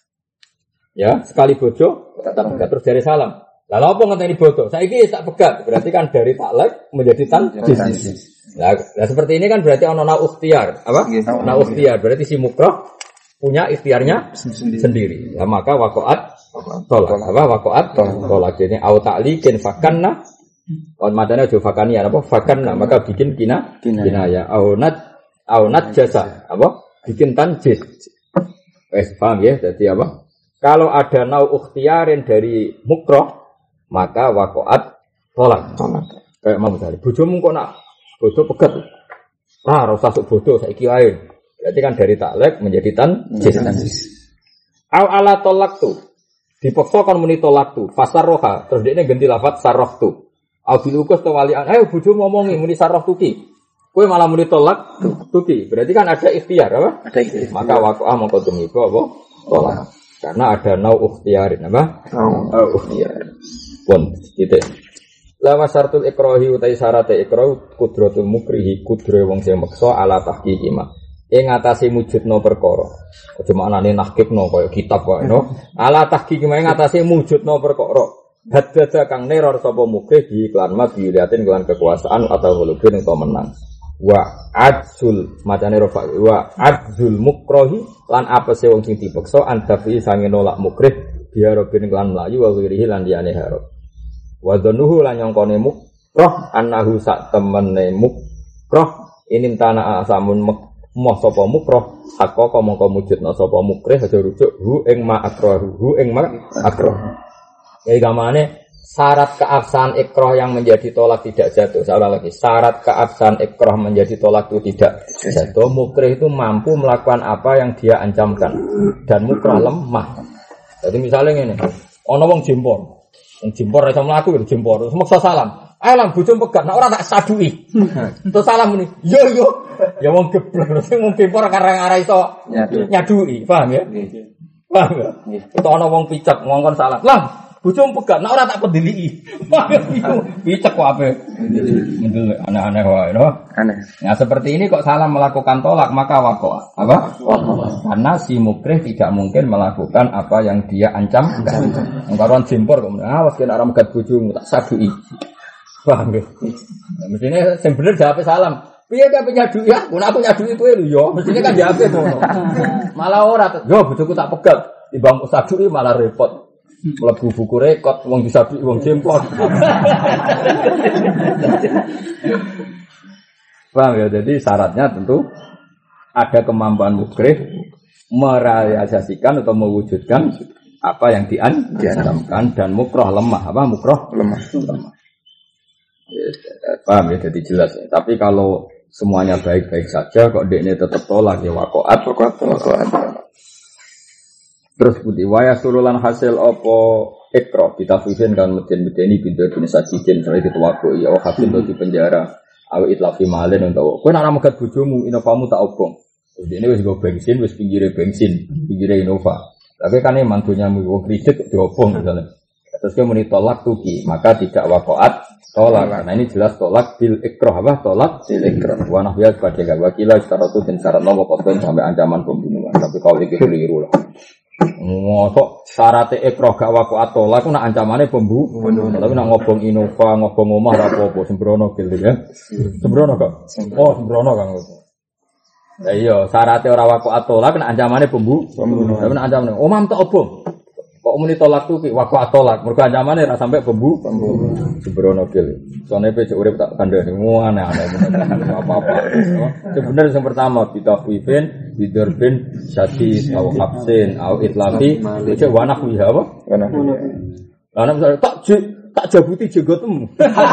Ya, sekali bojo tak pegat terus dari salam. Lalu apa ngenteni bojo? Saiki tak pegat. Berarti kan dari taklek menjadi tanjis. Nah, nah seperti ini kan berarti ana nau ikhtiar, apa? Nau ikhtiar. Berarti si mukrah punya ikhtiarnya sendiri. sendiri. Ya, maka waqaat tolak. Apa waqaat tolak. Jadi au ta'liqin fakanna. On madana jo fakania apa? Fakanna maka bikin kina kinaya. Au nat au nat jasa apa? Bikin tanjis. Wes paham ya? Jadi apa? Kalau ada nau ikhtiarin dari mukrah, maka waqaat tolak. Kayak mau misalnya, bojomu kok nak bojo pegat. Ah, ora usah sok bojo saiki wae. Berarti kan dari taklek menjadi tanjis. Au ala tolak tu. Dipaksa kan muni tolak tu. Fasar roha. Terus dekne ganti lafaz sarroh tu. Au bilukus to walian. Ayo bojo ngomongi muni sarroh tuki. Kowe malah muni tolak tuki. Berarti kan ada ikhtiar apa? Ada ikhtiar. Maka waqa'ah mongko tumiko apa? Tolak. Karena ada nau ikhtiarin apa? Nau ikhtiar. Pun titik. Lama syaratul ikrahi utai syarat ikrah kudratul mukrihi kudre wong sing meksa ala tahqiqi ma. Ing ngatasi mujudno perkara. Aja maknane nahqiqno kaya kitab kok no. Ala tahqiqi ma ing ngatasi mujudno perkara. Haddada kang neror sapa mukrih di iklan ma biuliatin kelan kekuasaan atau hulubin utawa menang. Wa adzul macane rofa wa adzul mukrahi lan apese wong sing dipeksa andafi sange nolak mukrih biar robin kelan mlayu wa wirihi lan liyane harap. Wa dhanuhu lan nyongkone mukrah annahu sak temene mukrah inim tanah asamun moh sapa mukrah hakka mongko mujudna sapa mukrih aja rujuk hu ing ma akrahu hu ing ma akrah. Ya gamane syarat keabsahan ikrah yang menjadi tolak tidak jatuh. Saya ulang lagi, syarat keabsahan ikrah menjadi tolak itu tidak jatuh. Mukrih itu mampu melakukan apa yang dia ancamkan dan mukrah lemah. Jadi misalnya ini, ono wong jimpor. Jimpor iso mlaku ya jimpor. Semeksa salam. Ayo lan bojo pegat, nek ora tak sadui. Terus salam muni. Yo yo. Ya wong geblek terus wong jimpor karang ora iso nyadui, paham ya? Paham ya? Itu ana wong picek ngongkon salam. Lah, bojo pegat, nek ora tak pediliki. Picek kok ape? Mendelek aneh-aneh wae, no? Aneh. Nah, seperti ini kok salam melakukan tolak, maka waqa'a. Apa? Waqa'a. Karena si mukrih tidak mungkin melakukan apa yang dia ancam. Engkaron jimpor kok, awas kena ora megat bojomu tak sadui. Paham ya? Nah, mestinya sing bener jawab salam. Piye gak nyadui ya? Mun aku nyadui kowe lho ya. Mestinya kan jawab ngono. Malah ora, yo bojoku tak pegat, timbang sadui malah repot. Mlebu buku rekod wong disabi wong jemplon. Paham ya? Jadi syaratnya tentu ada kemampuan mukrih merealisasikan atau mewujudkan apa yang diancamkan dan mukroh lemah. Apa mukroh lemah? lemah. Ya, paham ya? Jadi jelas. Ya. Tapi kalau semuanya baik-baik saja, kok dekne tetap tolak ya wakoat, wakoat, wakoat. Terus putih waya surulan hasil opo ekro kita fusin kan meden-medeni pintu bin sajidin soalnya dituwako ya hasil di penjara awi itlafi malen untuk kowe nek megat bojomu inovamu tak obong. Ini wis go bensin wis pinggire bensin, pinggire Innova. Tapi kan emang mantunya wong kredit diobong misalnya. Terus dia muni tolak tuki, maka tidak wakoat tolak. Nah ini jelas tolak bil ikroh apa? Tolak bil ikroh. Wa nahwiyat pada gak wakilah secara itu dan syarat nomor potong sampai ancaman pembunuhan. Tapi kalau itu keliru lah. Ngosok syarat ikroh gak wakoat tolak, nak ancamannya pembunuhan. Tapi nak ngobong Innova, ngobong omah apa-apa, sembrono gitu ya. Sembrono kok? Oh sembrono kan. Ya iya, syaratnya orang wakoat tolak, nak ancamannya pembunuhan. Tapi nak ancamannya omah tak obong. Kok muni tolak tuh waktu atolak mergo ancamannya ra sampai pembu sembrono gil. Soale pecuk urip tak kandhani ngono aneh apa-apa. Sebenarnya yang pertama kita kuifin bidurbin syadid au habsin au itlafi itu wanak wiha apa? Wanak. Lah nek misale tak tak jabuti jenggotem.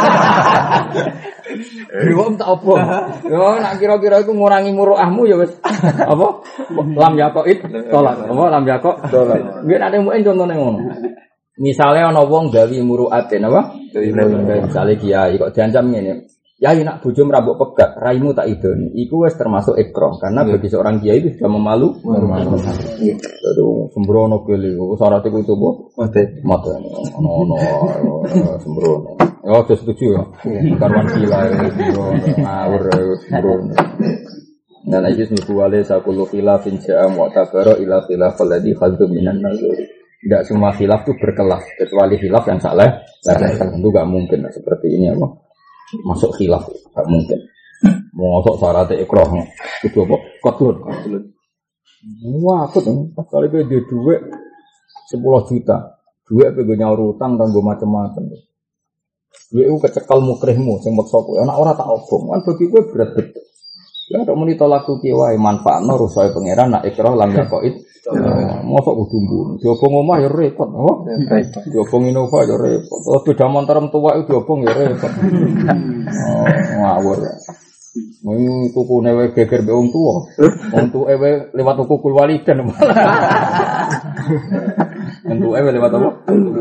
Wong tak apa? Yo nak kira-kira iku ngurangi muruahmu ya wis apa? Lam yakoid tolak. Apa lam yakok tolak. Nggih nek muen contone ngono. Misale ana wong gawe muruaten apa? Misale kiai kok diancam ngene. Ya nak bojomu rambut pegat, raimu tak idoni. Iku wis termasuk ikroh karena bagi seorang kiai itu sudah memalu. Aduh, sembrono kele. Syarat iku itu apa? Mate. Mate. Ono ono sembrono. Ya wis setuju ya. Karwan gila ngawur sembrono. Dan iki niku wale sakulu khilafin ja'a mu'tabara ila khilafal ladzi khaddu minan nazar. Tidak semua khilaf itu berkelas kecuali khilaf yang salah. Tentu enggak mungkin seperti ini apa? Masuk khilaf tak mungkin. Mau masuk syarat ikroh itu apa? Kotlun. Wah, aku tuh kali gue dia duit sepuluh juta. Duit apa gue nyaur utang dan gue macam-macam. Duit itu kecekal mukrihmu, sing maksa kowe. Anak ora tak obong. Kan bagi gue berat betul. Ya tok muni tolak tuki wae manfaatno rusae pangeran nak ikroh lam yakoid. Mosok kudu mbun. Diobong omah ya repot, apa? Repot. Diobong Innova ya repot. Terus beda montor tua itu diobong ya repot. Oh, ngawur. Mau tuku newe geger be wong tuwa. Wong tuwa ewe lewat tuku kul walidan. Wong ewe lewat apa?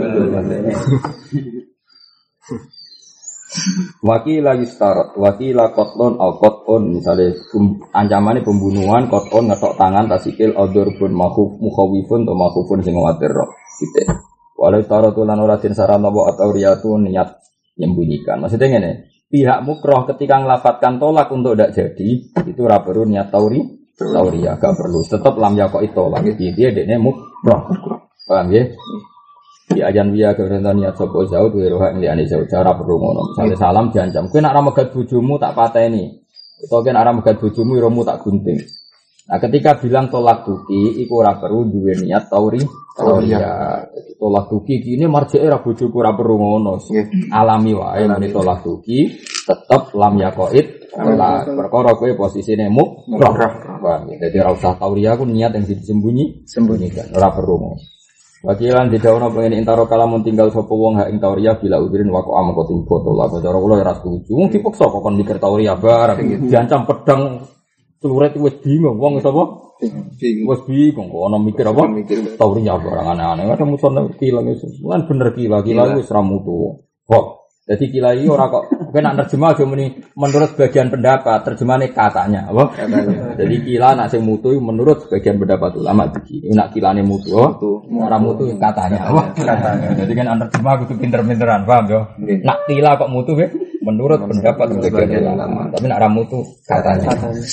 Wakila yustarat, wakila kotlon al kotlon misalnya ancamannya pembunuhan kotlon ngetok tangan tasikil audur pun makuf mukhawifun atau makufun sing ngawatir roh gitu. Walau yustarat ulan oratin sarana wa atau riyatu niat yang bunyikan. Maksudnya ini pihak mukroh ketika ngelafatkan tolak untuk tidak jadi itu ora perlu niat tauri tauriya gak perlu tetap lam yakok itu lagi dia dekne mukroh. Paham ya? Di ajan biya kebenaran niat sopo jauh tuh roh yang diane jauh cara perlu ngono. Misalnya salam diancam, kau nak ramegat bujumu tak pateni, atau kau nak ramegat bujumu romu tak gunting. Nah ketika bilang tolak tuki, iku ora perlu duwe niat tauri, tauria. Tolak tuki ini marjeke ra bojoku ora perlu ngono. Alami wae muni tolak tuki, tetep lam yakoid. Lah perkara kowe posisine muk, roh. Jadi ora usah tauria ku niat yang disembunyi, sembunyikan, ora perlu ngono. Wakilan di daun pengen intaro kalamun tinggal sapa wong hak ing tauria bila udirin wako am kok ting foto lah cara kula ora setuju. Wong dipaksa kok kon mikir tauria bareng diancam pedang celurit wis bingung wong sapa? Bingung. Wis bingung kok ana mikir apa? Tauria barang aneh-aneh. Kadang muson kilang iso. Kan bener kila, kila wis ra mutu. Kok jadi kila iki ora kok kowe nak terjemah aja muni menurut bagian pendapat, terjemahane katanya, apa? Jadi kila nak sing mutu menurut bagian pendapat ulama iki. Nak kilane mutu, ora mutu katanya, apa? Katanya. Jadi kan terjemah kudu pinter-pinteran, paham yo? Nak kila kok mutu ya menurut pendapat bagian ulama, tapi nak ora mutu katanya.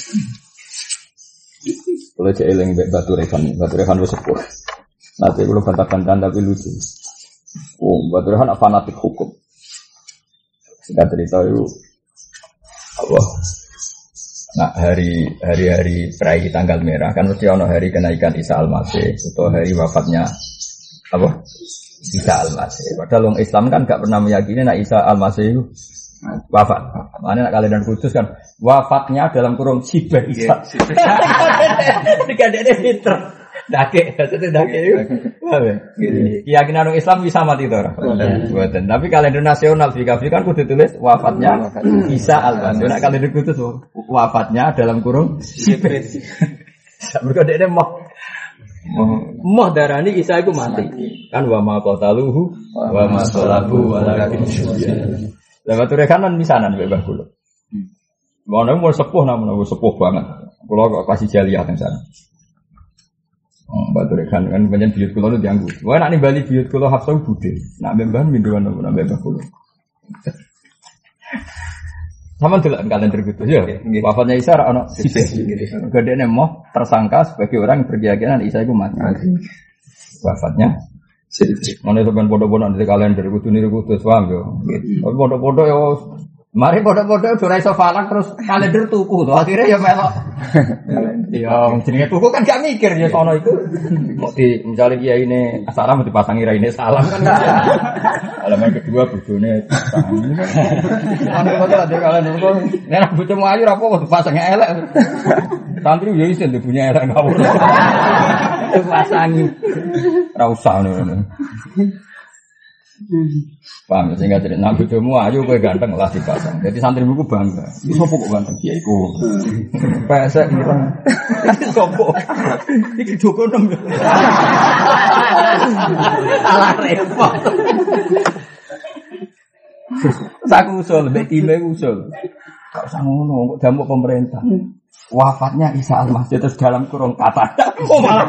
Kalau cek eling batu rekan, batu rekan wis sepuh. Nanti kalau bantah-bantahan tapi lucu. Oh, batu rekan fanatik hukum. Singkat cerita itu apa? Nah hari hari hari perayaan tanggal merah kan mesti ono hari kenaikan Isa Al-Masih atau hari wafatnya apa? Isa Al-Masih. Padahal orang Islam kan gak pernah meyakini nak Isa Al-Masih itu wafat. Makanya nak kalian kudus kan wafatnya dalam kurung sibah Isa. Tiga dede pinter. Dake, itu dake itu. Keyakinan orang Islam bisa mati itu orang. Buatan. Tapi kalender nasional Fikafi kan kudu tulis wafatnya Isa Al-Masih. Nak kalender kudus wafatnya dalam kurung sibah. Mereka dede mau Moh darani Isa iku mati. Kan wa ma qataluhu wa ma salabu walakin syubiha. Lah batu rekanan misanan mbek Mbah kula. Ngono mau sepuh namun wis sepuh banget. Kula kok kasih jaliah teng sana. Oh, batu rekan kan banyak biyut kula nu dianggu. Wah nek Bali biyut kula Hafsah budhe. Nak mbah minduan nang mbah kula. Sama delok kalender gitu ya. Wafatnya Isa ora ono sibeh. Gedene moh tersangka sebagai orang yang berkeyakinan Isa itu mati. Wafatnya sibeh. Mana sampean bodoh-bodoh di kalender kudu niru kudu paham yo. Tapi bodoh-bodoh yo mari bodoh-bodoh ora iso falak terus kalender tuku to. Akhire ya melok. Ya jenenge tuku kan gak mikir ya sono iku. Kok di misale kiai ini salam dipasangi raine salam kan. Alaman kedua bojone tangi. Ana kok ada kalender kok nek bojomu ayu ora apa dipasangi elek. Santri yo iso punya elek ngawur. Dipasangi. Ora usah ngono. Paham sehingga jadi nak bojomu ayu kowe ganteng lah dipasang. Jadi santrimu ku bangga. Iki sopo kok ganteng kiai ku. Pesek mireng. Sopo? Iki Joko nem. Alah repot. Saku usul, mbek time usul. Kok usah ngono, kok damuk pemerintah. Wafatnya Isa Al-Masih terus dalam kurung kata. Oh malah.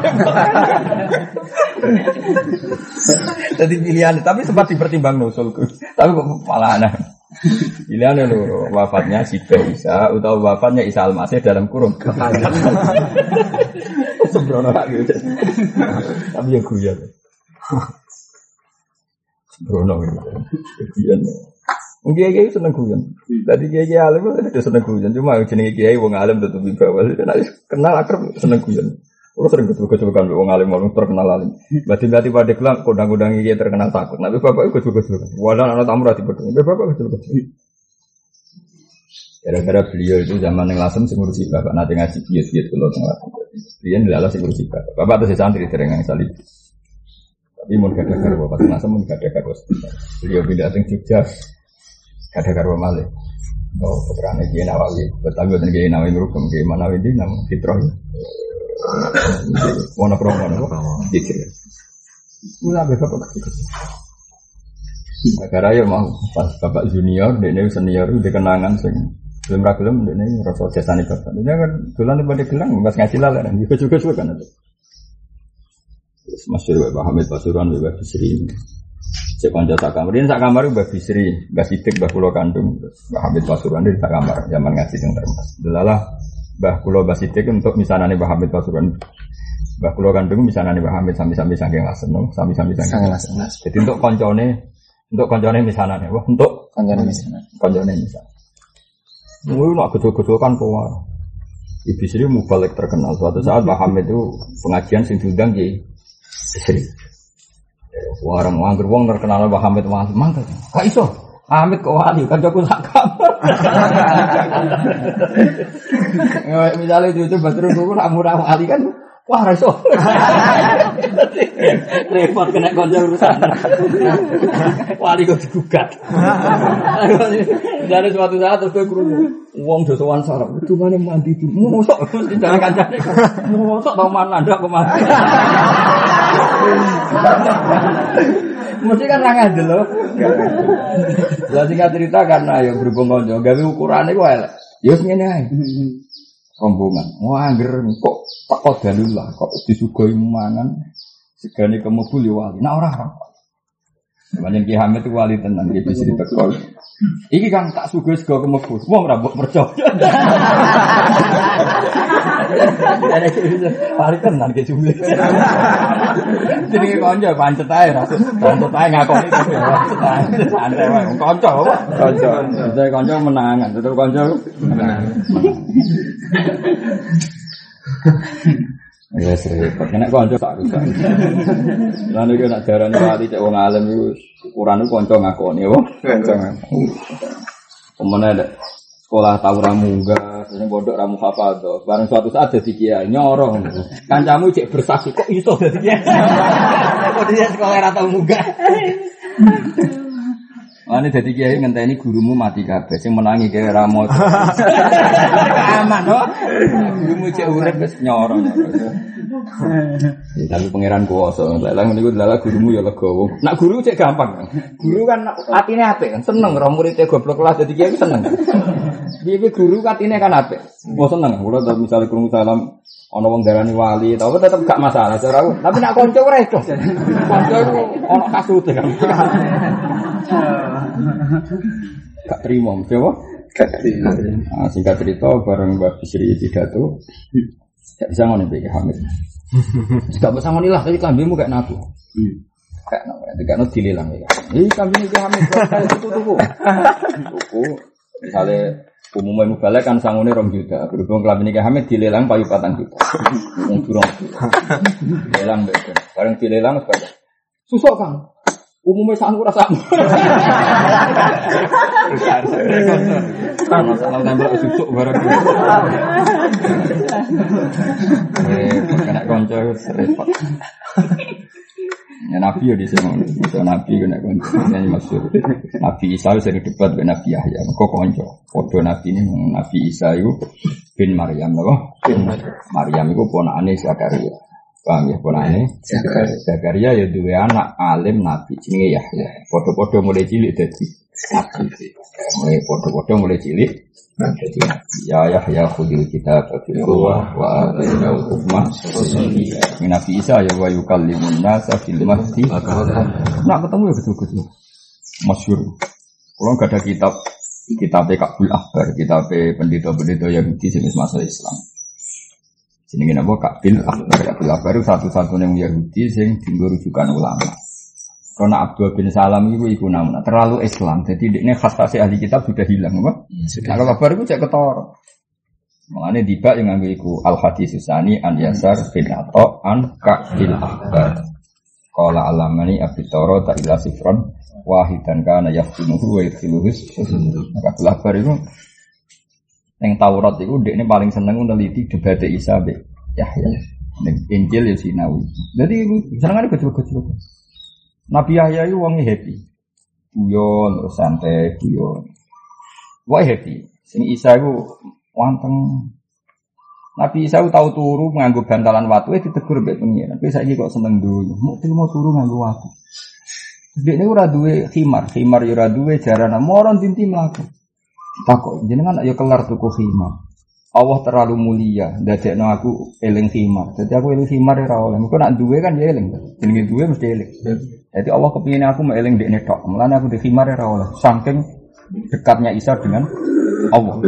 Jadi pilihan, tapi sempat dipertimbang nusulku. Tapi kok malah aneh. Pilihannya lho, wafatnya Sibah Isa atau wafatnya Isa Al-Masih dalam kurung kata. Sembrono lak gitu. Tapi ya guyon. Sembrono gitu. Guyon. Kiai kiai seneng guyon. Tadi kiai kiai alim itu seneng guyon. Cuma jenenge kiai wong alim tetep bawah. Kenal akrab seneng guyon. Kalau sering ketemu-ketemukan wong alim wong terkenal alim. Berarti-berarti pada kelang kodang-kodang kiai terkenal takut. Tapi bapak ikut ketemu-ketemu. Wadah anak tamu rati betul. Bapak ketemu-ketemu. Gara-gara beliau itu zaman yang lasem sing ngurusi bapak nate ngaji bias-bias kula teng lasem. Biyen lala sing ngurusi bapak. Bapak terus santri dereng salib. Tapi mun kadang-kadang bapak teng lasem mun kadang-kadang beliau pindah teng Jogja. Ada karwa malih. Oh, putrane Kiai Nawawi. Betul betul Kiai Nawawi merukem Kiai Manawi di nama Fitroh. Wono promo nopo? Dikir. Mula bapak kecil. Negara ya mau pas bapak junior, dekne senior di kenangan sing belum ra gelem dekne rasa jasane bapak. Dekne kan dolan pada gelang pas ngaji lalan juga juga kan. Masyhur Bapak Hamid Pasuruan Bapak Bisri. Cek kanca sak kamar, ini sak kamar Mbah Bisri, Mbah Sidik, Mbah Kula kandung, Mbah Hamid Pasuruan di sak kamar zaman ngaji teng Termas. Delalah Mbah Kula Mbah Sidik untuk misanane Mbah Hamid Pasuruan. Mbah Kula kandung misanane Mbah Hamid sami-sami saking lasen, sami-sami saking lasen. Jadi untuk koncone, untuk koncone misanane, wah untuk koncone misanane. Koncone misanane. Mulu nak gedhe-gedhe kan power. Ibu Bisri mubalek terkenal. Suatu saat Mbah Hamid itu pengajian sing diundang Ki Bisri. Warang angger wong terkenal Mbah Hamid wali mangkel. Kok iso? Hamid kok wali kan jago sak kamar. Misale dicoba terus kok nak murah wali kan wah ra iso. Repot kena kanca urusan. Wali kok digugat. Dari suatu saat terus kowe krungu wong dosowan sarap. Dumane mandi dulu. Mosok jangan kancane. Mosok tau man ndak kok mati. Mesti kan ra ngandel lho. Lah sing cerita karena ya berhubung kanca gawe ukurane ku elek. Ya wis ngene ae. Rombongan. Wah angger kok teko dalu lah kok disugoi mangan segane kemebul ya wali. Nah ora. Banyak Ki Hamid itu wali tenan iki bisa diteko. Iki kan tak sugoi sego kemebul. Wong ora mbok percaya. Wali tenan ki jumlah. Jadi kanca pancet ae ra. Pancet ae ngakoni kok ya. Santai wae kanca apa? Kanca. Dadi kanca menangan, tetep kanca menangan. Ya repot. Nek kanca tak rusak. Lan iki nek darane wali cek wong alim iku ukurane kanca ngakoni apa? Kanca ngakoni. Pemene sekolah tau ra munggah, sing pondok ra muhafadzah. Bareng suatu saat dadi kiai nyorong. Kancamu cek bersaksi kok iso dadi kiai. Kok dia sekolah ra tau munggah. Ane dadi kiai ngenteni gurumu mati kabeh sing menangi kaya ra moco. Aman kok. Gurumu cek urip wis nyorong. Tapi pangeran kuwasa, lha niku lha gurumu ya legowo. Nak guru cek gampang. Guru kan atine apik kan, seneng ora muridé goblok kelas dadi kiai seneng. Piye guru atine kan apik. Oh seneng, kula misale krungu salam ana wong darani wali, tapi tetep gak masalah cara aku. Tapi nak kanca ora iso. Kanca iku ana kasute kan. Gak terima, coba. Gak terima. Nah, singkat cerita bareng Mbak Bisri pidato. Gak bisa ngono iki Hamid. Gak bisa ngono lah, tadi kambingmu kayak nabu. Kayak nabu, gak ono dilelang ya. Ih, kambing iki Hamid kok tuku-tuku. Tuku. Misale umumnya mubalek kan sangune rong juta. Berhubung kambing iki Hamid dilelang payu patang juta. Wong durung. Dilelang mbek. Bareng dilelang sepeda. Susuk Kang. Umumnya sangu rasa. Kan masalah nembak susuk bareng. Eh, kena konco repot. Ya Nabi ya di sini, so Nabi kena konco. Ini maksud Nabi Isa sering debat dengan Nabi Yahya. Kok konco? Foto Nabi ini Nabi Isa itu bin Maryam, loh. Bin Maryam itu ponakane Zakaria. Paham ya ponakane Zakaria ya duwe anak alim Nabi jenenge Yahya. Foto-foto mulai cilik dadi Nabi. Mulai foto-foto mulai cilik dadi Nabi. Ya Yahya khudil kitab bil quwwah wa atainahu hukma. Nabi Isa ya wa yukallimun nasa fil mahdi. Nak ketemu ya betul-betul masyhur. Kalau enggak ada kitab kitab Kabul Ahbar, kitab pendeta-pendeta Yahudi jenis masa Islam. Jenenge napa Kabil Akbar. Kabil Akbar itu satu-satunya Yahudi sing dienggo rujukan ulama. Karena Abdul bin Salam itu iku namanya terlalu Islam. Jadi ini khas-khas ahli kitab sudah hilang apa? Nah, kalau Akbar itu cek ketara. Makane tiba yang nganggo iku Al-Hadis Susani an Yasar bin Atha an Kabil Akbar. Qala alamani Abi Toro ta ila sifron wahidan kana yaftinuhu wa yadkhiluhu. Kabil Akbar itu yang Taurat itu dia ini paling seneng meneliti debat Isa be Yahya. Injil ya Sinawi. Jadi senengane kecil-kecil. Nabi Yahya itu wonge happy. Guyon terus santai guyon. Wah happy. Sing Isa itu wanteng. Nabi Isa tahu turu nganggo bantalan watu e ditegur mbek pengiran. Tapi saiki kok seneng donya. Mau mau turu nganggo watu. Dekne ora duwe khimar, khimar ya ora duwe jarana moron tinti mlaku. Takok jenengan ayo kelar tuku khimar. Allah terlalu mulia, ndadekno aku eling khimar. Dadi aku eling khimar ora oleh. Engko nek duwe kan ya eling. Jenenge duwe mesti eling. Jadi Allah kepingin aku mau eling dekne tok. Mulane aku di khimar ora oleh. Saking dekatnya Isa dengan Allah.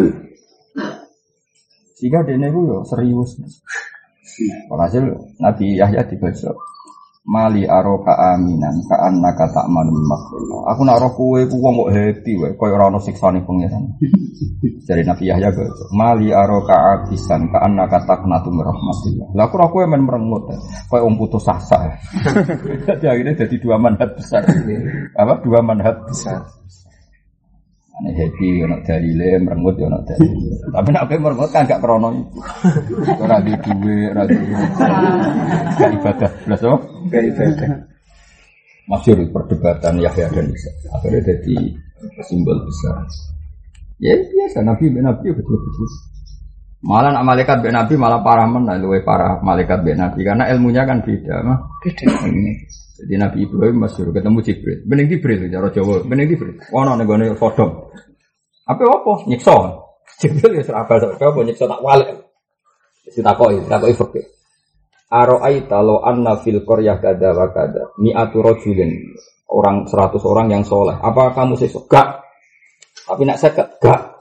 Sehingga dekne ku yo serius. Walhasil Nabi Yahya dibaca Mali aroka aminan ka annaka ta'manul makhluk. Aku nak roh kowe ku wong kok happy wae koyo ora ono siksane pangeran. Dari Nabi Yahya go. Mali aroka abisan ka annaka taqnatu min rahmatillah. Lah aku roh kowe men merengut koyo wong putus asa. Jadi akhirnya jadi dua manhat besar. Apa dua manhat besar. Ane happy ono dalile merengut yo ono dalile. Tapi nek ape merengut kan gak krono iku. Ora di duwe, ora di ibadah. Blas apa? Gak ibadah. Masyhur perdebatan Yahya dan Isa. Akhirnya jadi simbol besar. Ya biasa Nabi ben Nabi betul-betul. Malah nak malaikat ben Nabi malah parah men, luwih parah malaikat ben Nabi karena ilmunya kan beda, mah. Beda. Jadi Nabi Ibrahim masyhur ketemu Jibril. Bening Jibril cara Jawa, bening Jibril. Ono ning gone Sodom. Apa opo? Nyiksa. Jibril ya serabal sak apa nyiksa tak walik. Wis takoki, takoki fikih. Ara'aita law anna fil qaryah kadza wa kadza mi'atu rajulin orang seratus orang yang soleh. Apa kamu sesuk? Gak. Tapi nak seket gak.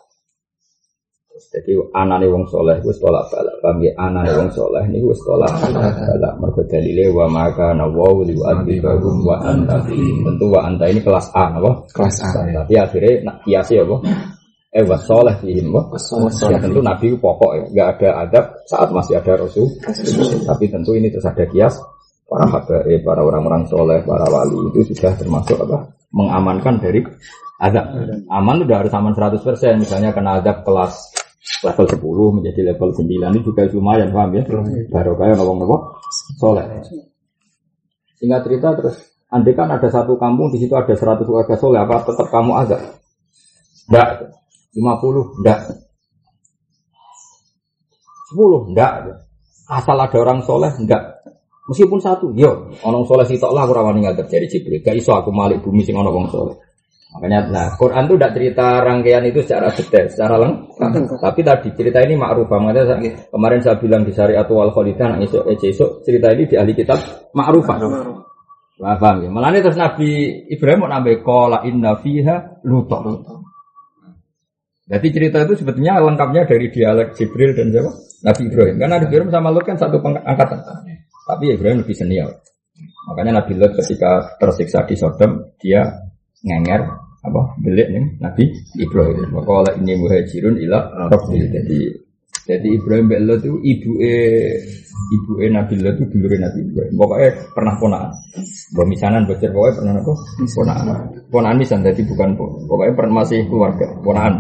Jadi anane wong soleh wis tolak balak, paham ya? Anane wong soleh niku wis tolak balak. Mergo dalile wa maka nawu li adibahum wa anta. Tentu wa anta ini kelas A apa? Kelas A. Tapi akhirnya nak kiasi apa? Eh wasoleh fihim wah. Ya tentu Nabi pokok ya, nggak ada adab saat masih ada Rasul. Tapi tentu ini terus ada kias para habaib, para orang-orang soleh, para wali itu sudah termasuk apa? Mengamankan dari adab. Aman udah harus aman seratus persen. Misalnya kena adab kelas level sepuluh menjadi level sembilan ini juga lumayan, paham ya? Baru kayak ngomong-ngomong soleh. Singkat cerita terus, andai kan ada satu kampung di situ ada seratus warga soleh, apa tetap kamu adab? Enggak. lima puluh enggak. sepuluh enggak. Asal ada orang soleh enggak. Meskipun satu, yo, orang soleh sitok lah aku rawani ngadep dari Jibril. Gak iso aku malik bumi sing ono wong soleh. Makanya nah, Quran itu tidak cerita rangkaian itu secara detail, secara lengkap. Tapi tadi cerita ini ma'rufah. Makanya kemarin saya bilang di Syariatul Wal Khalidah, nang esok esok cerita ini di ahli kitab ma'rufah. Wah, paham ya. Malane terus Nabi Ibrahim mau nambah qala inna fiha luta. Jadi cerita itu sebetulnya lengkapnya dari dialog Jibril dan siapa? Nabi Ibrahim. Karena Nabi Ibrahim sama Lut kan satu angkatan. Tapi Ibrahim lebih senior. Makanya Nabi Lut ketika tersiksa di Sodom, dia ngenger apa? Belik nih Nabi Ibrahim. Maka oleh ini muhajirun ila Rabbil. Jadi jadi Ibrahim bin Lut itu ibuke ibuke Nabi Lut itu dulure Nabi Ibrahim. Pokoknya pernah ponakan. Pemisanan bocor pokoknya pernah apa? Ponakan. Ponakan misan jadi bukan pokoknya pernah masih keluarga ponakan.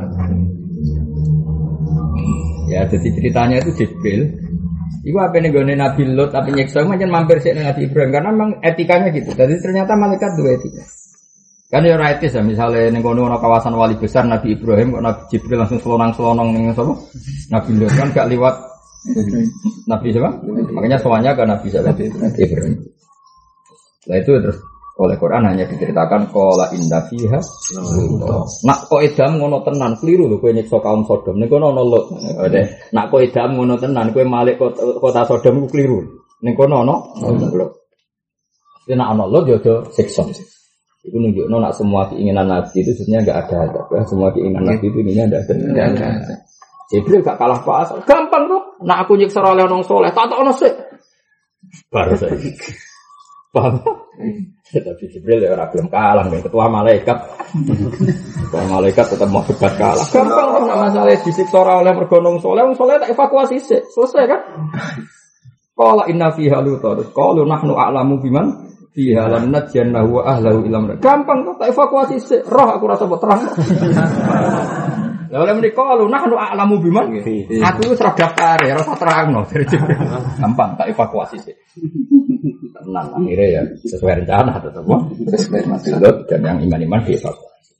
Ya, jadi ceritanya itu Jibril. Iku apa nih gone Nabi Lut tapi nyeksa macam mampir sih Nabi Ibrahim karena memang etikanya gitu. Jadi ternyata malaikat dua etika. Kan ya etis ya misalnya ning kono ana kawasan wali besar Nabi Ibrahim kok Nabi Jibril langsung selonang-selonong ning sapa? Nabi Lut kan gak liwat Nabi siapa? Makanya soalnya kan Nabi siapa? Ibrahim. Nah itu terus oleh Quran hanya diceritakan qala inda fiha nak kok edam ngono tenan keliru lho kowe nyiksa kaum Sodom ning kono ana Lut. Nak kok edam ngono tenan kowe malik kota Sodom ku keliru. Ning kono ana Lut. Nek ana Lut yo aja siksa. Itu nunjukno nak semua keinginan Nabi itu sebenarnya enggak ada adab ya. Semua keinginan Nabi itu ini ada ada. Jibril gak kalah pas. Gampang tuh. Nak aku nyiksa oleh orang soleh tak tak ono sik. Baru saiki. Paham? Tapi Jibril ya orang belum kalah dengan ketua malaikat. Ketua malaikat tetap mau debat kalah. Gampang kan masalah disiksa oleh mergonong soleh, wong soleh tak evakuasi sih, selesai kan? Qala inna fiha lutar. Qalu nahnu a'lamu biman fiha lan najjannahu wa ahlahu ilam. Gampang kok tak evakuasi sih. Roh aku rasa buat terang. Lah oleh mriko qalu nahnu a'lamu biman. Aku wis ra daftar ya rasa terangno dari Jibril. Gampang tak evakuasi sih. Tenang akhirnya ya sesuai rencana tetap sesuai maksud dan yang iman-iman dievakuasi.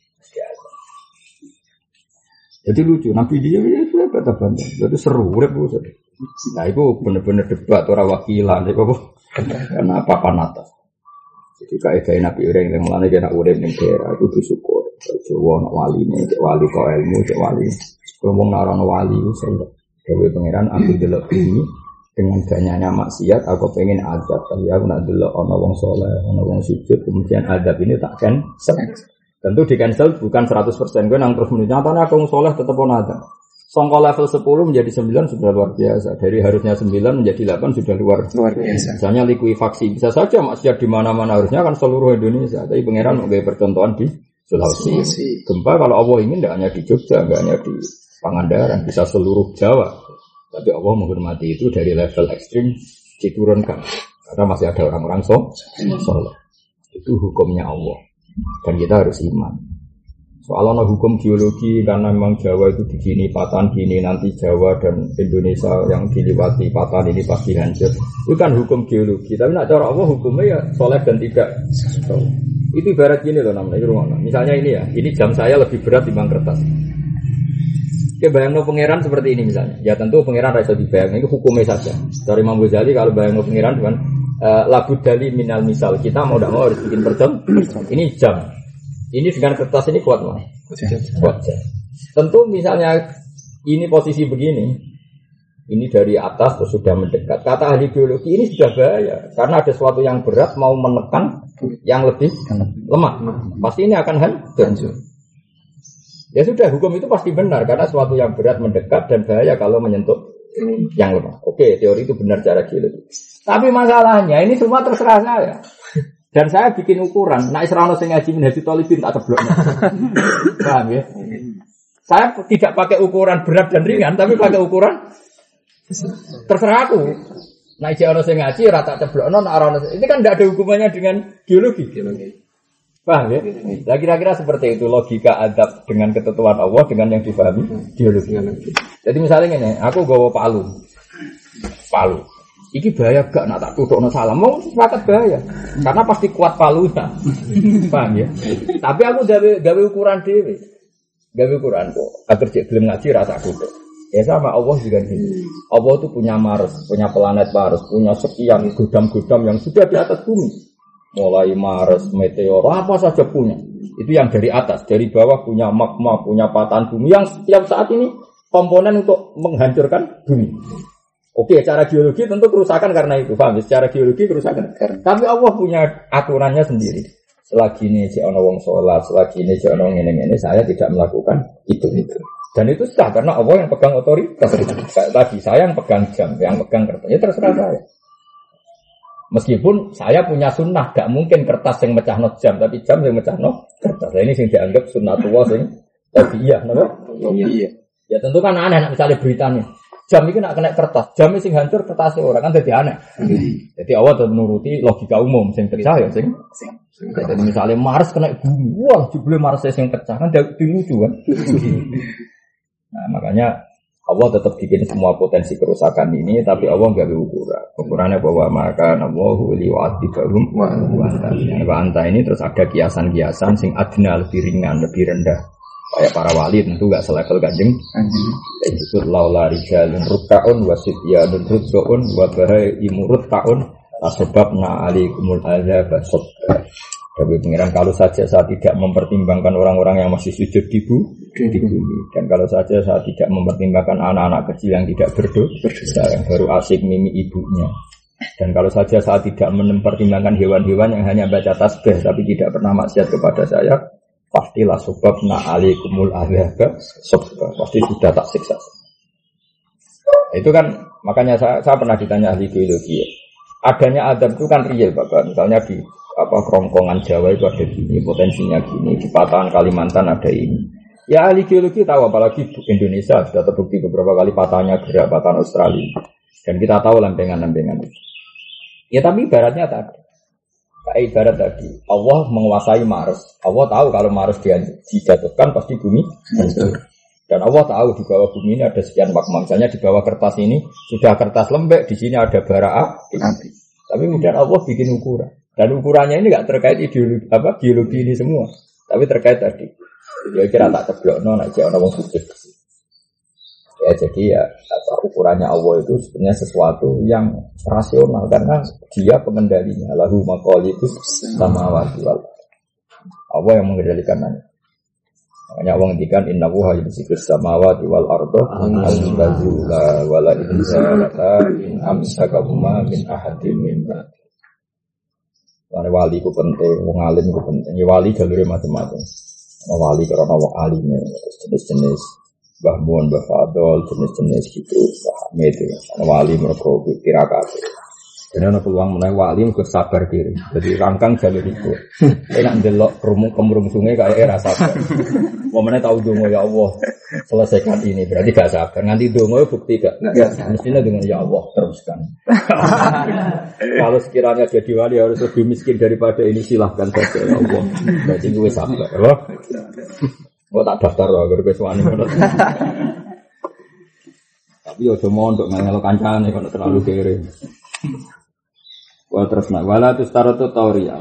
Jadi lucu Nabi dia ya sudah kata banda. Jadi seru urip itu. Nah itu benar-benar debat orang wakilan itu apa? Karena papan atas. Jadi kaidah Nabi orang yang mulane kena urip ning daerah itu disyukur. Jawa nak wali nih, cek wali kau ilmu, cek wali. Ngomong narono wali itu saya. Dewi pangeran aku delok ini. Dengan banyaknya maksiat, aku pengen adab. Tapi aku nak dulu ono wong soleh, ono wong sujud, kemudian adab ini tak cancel. Tentu di cancel bukan seratus persen. Gue nang terus menunjukkan, nyatanya aku wong soleh tetap ono adab. Songko level sepuluh menjadi sembilan sudah luar biasa. Dari harusnya sembilan menjadi delapan sudah luar, luar biasa. Misalnya likuifaksi bisa saja maksiat di mana-mana harusnya kan seluruh Indonesia. Tapi pangeran mau percontohan di Sulawesi. Gempa kalau Allah ingin tidak hanya di Jogja, tidak hanya di Pangandaran, bisa seluruh Jawa. Tapi Allah menghormati itu dari level ekstrim diturunkan karena masih ada orang-orang so, soleh. Itu hukumnya Allah dan kita harus iman. Soalnya hukum geologi karena memang Jawa itu di sini patahan gini nanti Jawa dan Indonesia yang diliwati patahan ini pasti hancur. Itu kan hukum geologi. Tapi nak cara Allah hukumnya ya soleh dan tidak. Itu ibarat gini loh namanya rumah. Misalnya ini ya, ini jam saya lebih berat dibanding kertas. Oke, bayangno pangeran seperti ini misalnya. Ya tentu pangeran rasa dibayang, itu hukumnya saja. Dari Imam Ghazali kalau bayangno pangeran dengan uh, labud dali minal misal, kita mau tidak mau harus bikin perjam. Ini jam. Ini dengan kertas ini kuat mah. Kuat jam. Tentu misalnya ini posisi begini, ini dari atas terus sudah mendekat. Kata ahli biologi ini sudah bahaya karena ada sesuatu yang berat mau menekan yang lebih lemah. Pasti ini akan hancur. Ya sudah, hukum itu pasti benar karena sesuatu yang berat mendekat dan bahaya kalau menyentuh yang lemah. Oke, teori itu benar secara geologi. Tapi masalahnya ini semua terserah saya. Dan saya bikin ukuran. Nah, Israel sing ngaji Minhajul Thalibin tak ceblokno. Paham ya? Saya tidak pakai ukuran berat dan ringan, tapi pakai ukuran terserah aku. Nah, jek ono sing ngaji ora tak ceblokno nek ora ono. Ini kan tidak ada hubungannya dengan geologi. Paham ya? Nah, kira-kira seperti itu logika adab dengan ketentuan Allah dengan yang difahami geologi. Jadi misalnya ini, aku gawa palu. Palu. Iki bahaya gak nak tak tutukno salah. Mau sepakat bahaya. Karena pasti kuat palunya. Paham ya? Tapi aku gawe gawe ukuran dhewe. Gawe ukuran kok. Agar cek gelem ngaji rasa tutuk. Ya sama Allah juga gini. Allah itu punya Mars, punya planet Mars, punya sekian gudam-gudam yang sudah di atas bumi. Mulai Mars, meteor, apa saja punya. Itu yang dari atas, dari bawah punya magma, punya patahan bumi yang setiap saat ini komponen untuk menghancurkan bumi. Oke, secara geologi tentu kerusakan karena itu, paham? Secara geologi kerusakan. Tapi Allah punya aturannya sendiri. Selagi ini si ono wong sholat, selagi ini si ono ngene-ngene, saya tidak melakukan itu itu. Dan itu sah karena Allah yang pegang otoritas. Kayak tadi saya yang pegang jam, yang pegang kertas. Ya terserah saya. Meskipun saya punya sunnah, gak mungkin kertas yang mecah no jam, tapi jam yang mecah no kertas. Nah, ini yang dianggap sunnatullah sing tabiiyah, napa? Iya. Ya tentu kan aneh misalnya beritanya. Jam itu nak kena kertas, jam itu sing hancur kertasnya orang kan jadi aneh. Jadi Allah tetap menuruti logika umum, sing pecah ya sing. Jadi misalnya Mars kena bumi, wah jebule Mars sing pecah kan dia lucu kan. Nah makanya Allah tetap bikin semua potensi kerusakan ini, tapi Allah enggak ukuran. Ukurannya bahwa maka Allahu liwa'atibahum wa anta ini terus ada kiasan-kiasan sing adna lebih ringan, lebih rendah. Kayak para wali tentu enggak selevel Kanjeng. Dan disebut laula rijalun ruk'aun wa sityanun ruk'aun wa bahaimu ruk'aun asbabna alaikumul azab sabba. Tapi pengiran kalau saja saya tidak mempertimbangkan orang-orang yang masih sujud di bumi, dan kalau saja saya tidak mempertimbangkan anak-anak kecil yang tidak berdosa, yang baru asik mimi ibunya, dan kalau saja saya tidak mempertimbangkan hewan-hewan yang hanya baca tasbih tapi tidak pernah maksiat kepada saya, pastilah sebabna alaikumul azab sabba, pasti sudah tak siksa. Itu kan makanya saya, saya pernah ditanya ahli geologi ya. Adanya adab itu kan real Bapak, misalnya di apa kerongkongan Jawa itu ada gini, potensinya gini, di patahan Kalimantan ada ini. Ya ahli geologi tahu, apalagi Indonesia sudah terbukti beberapa kali patahnya gerak patahan Australia, dan kita tahu lempengan-lempengan itu. Ya tapi ibaratnya tadi, kayak ibarat tadi, Allah menguasai Mars. Allah tahu kalau Mars dia dijatuhkan pasti bumi hancur. Dan Allah tahu di bawah bumi ini ada sekian magma. Misalnya di bawah kertas ini sudah kertas lembek, di sini ada bara api. Tapi kemudian Allah bikin ukuran. Dan ukurannya ini nggak terkait ideologi apa geologi ini semua, tapi terkait tadi. Dia kira tak ceblokno nek jek ana wong sujud. Ya jadi ya apa ukurannya Allah itu sebenarnya sesuatu yang rasional karena dia pengendalinya. Lahu maqalidus samawati wal ardh. Allah yang mengendalikannya. Makanya Allah ngendikan innahu yumsikus samawati wal ardh an tazula wala inzalata in amsakahuma min ahadin min ba'd. Karena wali itu penting, wong alim itu penting. Ya wali jalurnya macam-macam. Wali karena wong alimnya, jenis-jenis Mbah Mun, Mbah Fadol, jenis-jenis gitu. Hamid itu. Karena wali mereka tirakat. Jadi ada peluang menaik wali mereka sabar diri. Jadi rangkang jalur itu. Enak ndelok kemurung sungai kayak era sabar. Momennya tahu dongo ya Allah selesaikan ini berarti gak sabar. Nanti dongo bukti gak? Mestinya dengan ya Allah teruskan. Kalau sekiranya jadi wali harus lebih miskin daripada ini silahkan saja ya Allah. Berarti gue sabar. Loh? Gue tak daftar loh agar gue suami. Tapi ya cuma untuk ngelok kancane kalau terlalu kere. Wal terus nak wala tu staratu tauria.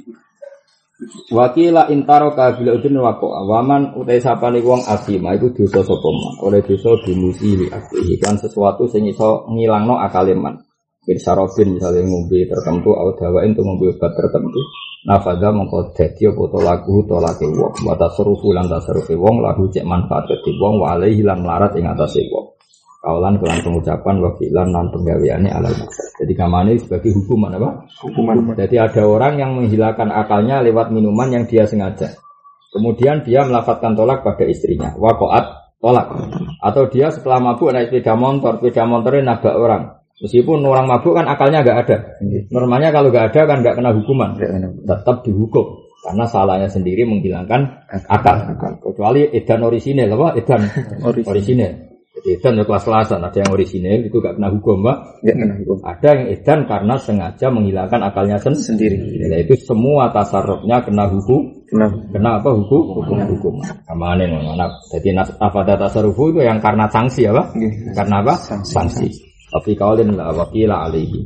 Wakila intaro kabila udin wako awaman utai sapane wong asima itu dosa sapa man oleh dosa dimusi akeh kan sesuatu sing iso ngilangno akale man bin sarofin misalnya ngombe tertentu atau dawain untuk ngombe obat tertentu nafada mongko dadi apa to lagu to lake wong wa tasrufu lan tasrufi wong lahu cek manfaat dadi wong wa alaihi lan melarat ing atase wong kaulan kelan pengucapan wa fi'lan lan penggaweane alal maksud. Jadi kamane sebagai hukuman apa? Hukuman. Jadi ada orang yang menghilangkan akalnya lewat minuman yang dia sengaja. Kemudian dia melafadzkan tolak pada istrinya. Waqa'at tolak. Atau dia setelah mabuk naik sepeda motor, sepeda motornya nabrak orang. Meskipun orang mabuk kan akalnya enggak ada. Normalnya kalau enggak ada kan enggak kena hukuman. Tetap dihukum. Karena salahnya sendiri menghilangkan akal. Kecuali edan orisinil apa? Edan orisinil. Jadi edan ya kelas-kelasan. Ada yang orisinil itu gak kena hukum, Pak. Gak kena hukum. Ada yang edan karena sengaja menghilangkan akalnya sen- sendiri. Jadi itu semua tasarrufnya kena hukum. Kena, kena apa hukum? Hukum-hukum. Kamane ngono. Jadi nafada tasarrufu itu yang karena sanksi apa? Karena apa? Sanksi. Tapi kaulin la waqila alaihi.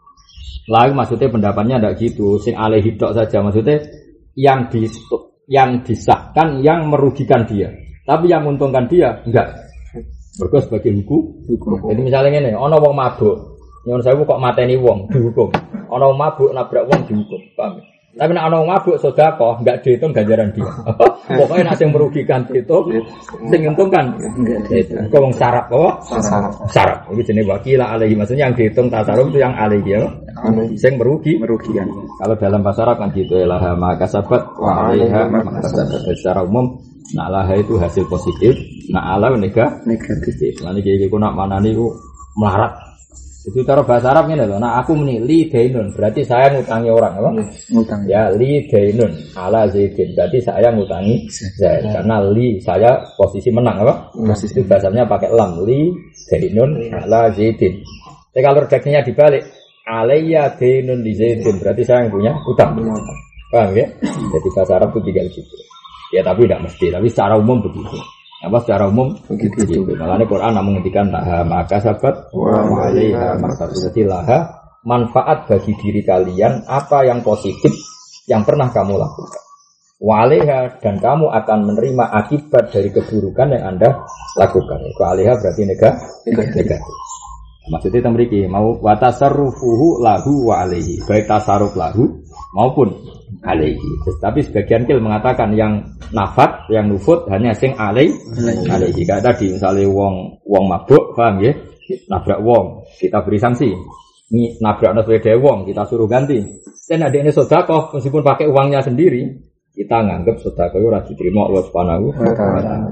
Lalu maksudnya pendapatnya tidak gitu. Sing alaihi tok saja maksudnya yang di yang disahkan yang merugikan dia, tapi yang menguntungkan dia enggak. Mergo sebagai hukum. Hukum. Jadi misalnya ngene, ana wong mabuk, nyuwun sewu kok mateni wong dihukum. Ana wong mabuk nabrak wong dihukum. Paham? Tapi nek ana wong mabuk sedekah enggak dihitung ganjaran dia. Pokoknya nek sing merugikan dihitung, sing menguntungkan enggak. Kok wong sarap apa? Sarap. Sarap. Iki jenenge wakila alaihi, maksudnya yang dihitung tasarruf itu yang alaihi ya. Sing merugi, merugikan. Kalau dalam bahasa Arab kan gitu ya, laha maka sabat wa alaiha maka sabat. Secara umum nak laha itu hasil positif, nak ala negatif. Lan iki iki nak manani ku melarat. Itu cara bahasa Arab ngene lho, nak aku muni li dainun, berarti saya ngutangi orang apa? Ngutang. Ya li dainun ala zaidin, berarti saya ngutangi Zaid. Karena li saya posisi menang apa? Posisi bahasanya pakai lam, li dainun ala zaidin. Tapi kalau redaksinya dibalik, alayya dainun li zaidin, berarti saya yang punya utang. Paham ya? Jadi bahasa Arab itu tinggal gitu. Ya tapi tidak mesti, tapi secara umum begitu. Apa secara umum begitu. Gitu. Makanya Quran menghentikan laha maka sabat wa alaiha maka laha manfaat bagi diri kalian apa yang positif yang pernah kamu lakukan. Wa alaiha dan kamu akan menerima akibat dari keburukan yang Anda lakukan. Wa alaiha berarti negatif. Maksudnya temriki mau wa tasarrufuhu lahu wa alaihi. Baik tasarruf lahu maupun alaihi. Tapi sebagian kil mengatakan yang nafat, yang nufut hanya sing alaihi. Alaihi. Kayak tadi misalnya wong wong mabuk, paham ya? Nabrak wong, kita beri sanksi. Ini nabrak sepeda wong, kita suruh ganti. Dan ada ini sedekah meskipun pakai uangnya sendiri, kita nganggap sedekah ora diterima Allah Subhanahu wa taala.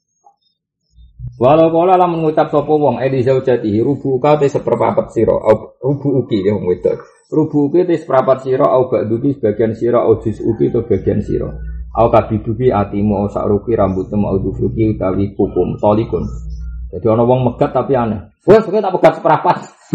Walau kala lah mengucap sapa wong edi zaujatihi rubuka te seperempat sira au rubuki ya wong wedok. Rubuki te seperempat sira au ba'duki sebagian sira au juz'uki to bagian sira. Au kabiduki atimu au sakruki rambutmu au dufruki utawi kukum tolikun. Jadi ana wong megat tapi aneh. Wes kowe tak pegat seperempat.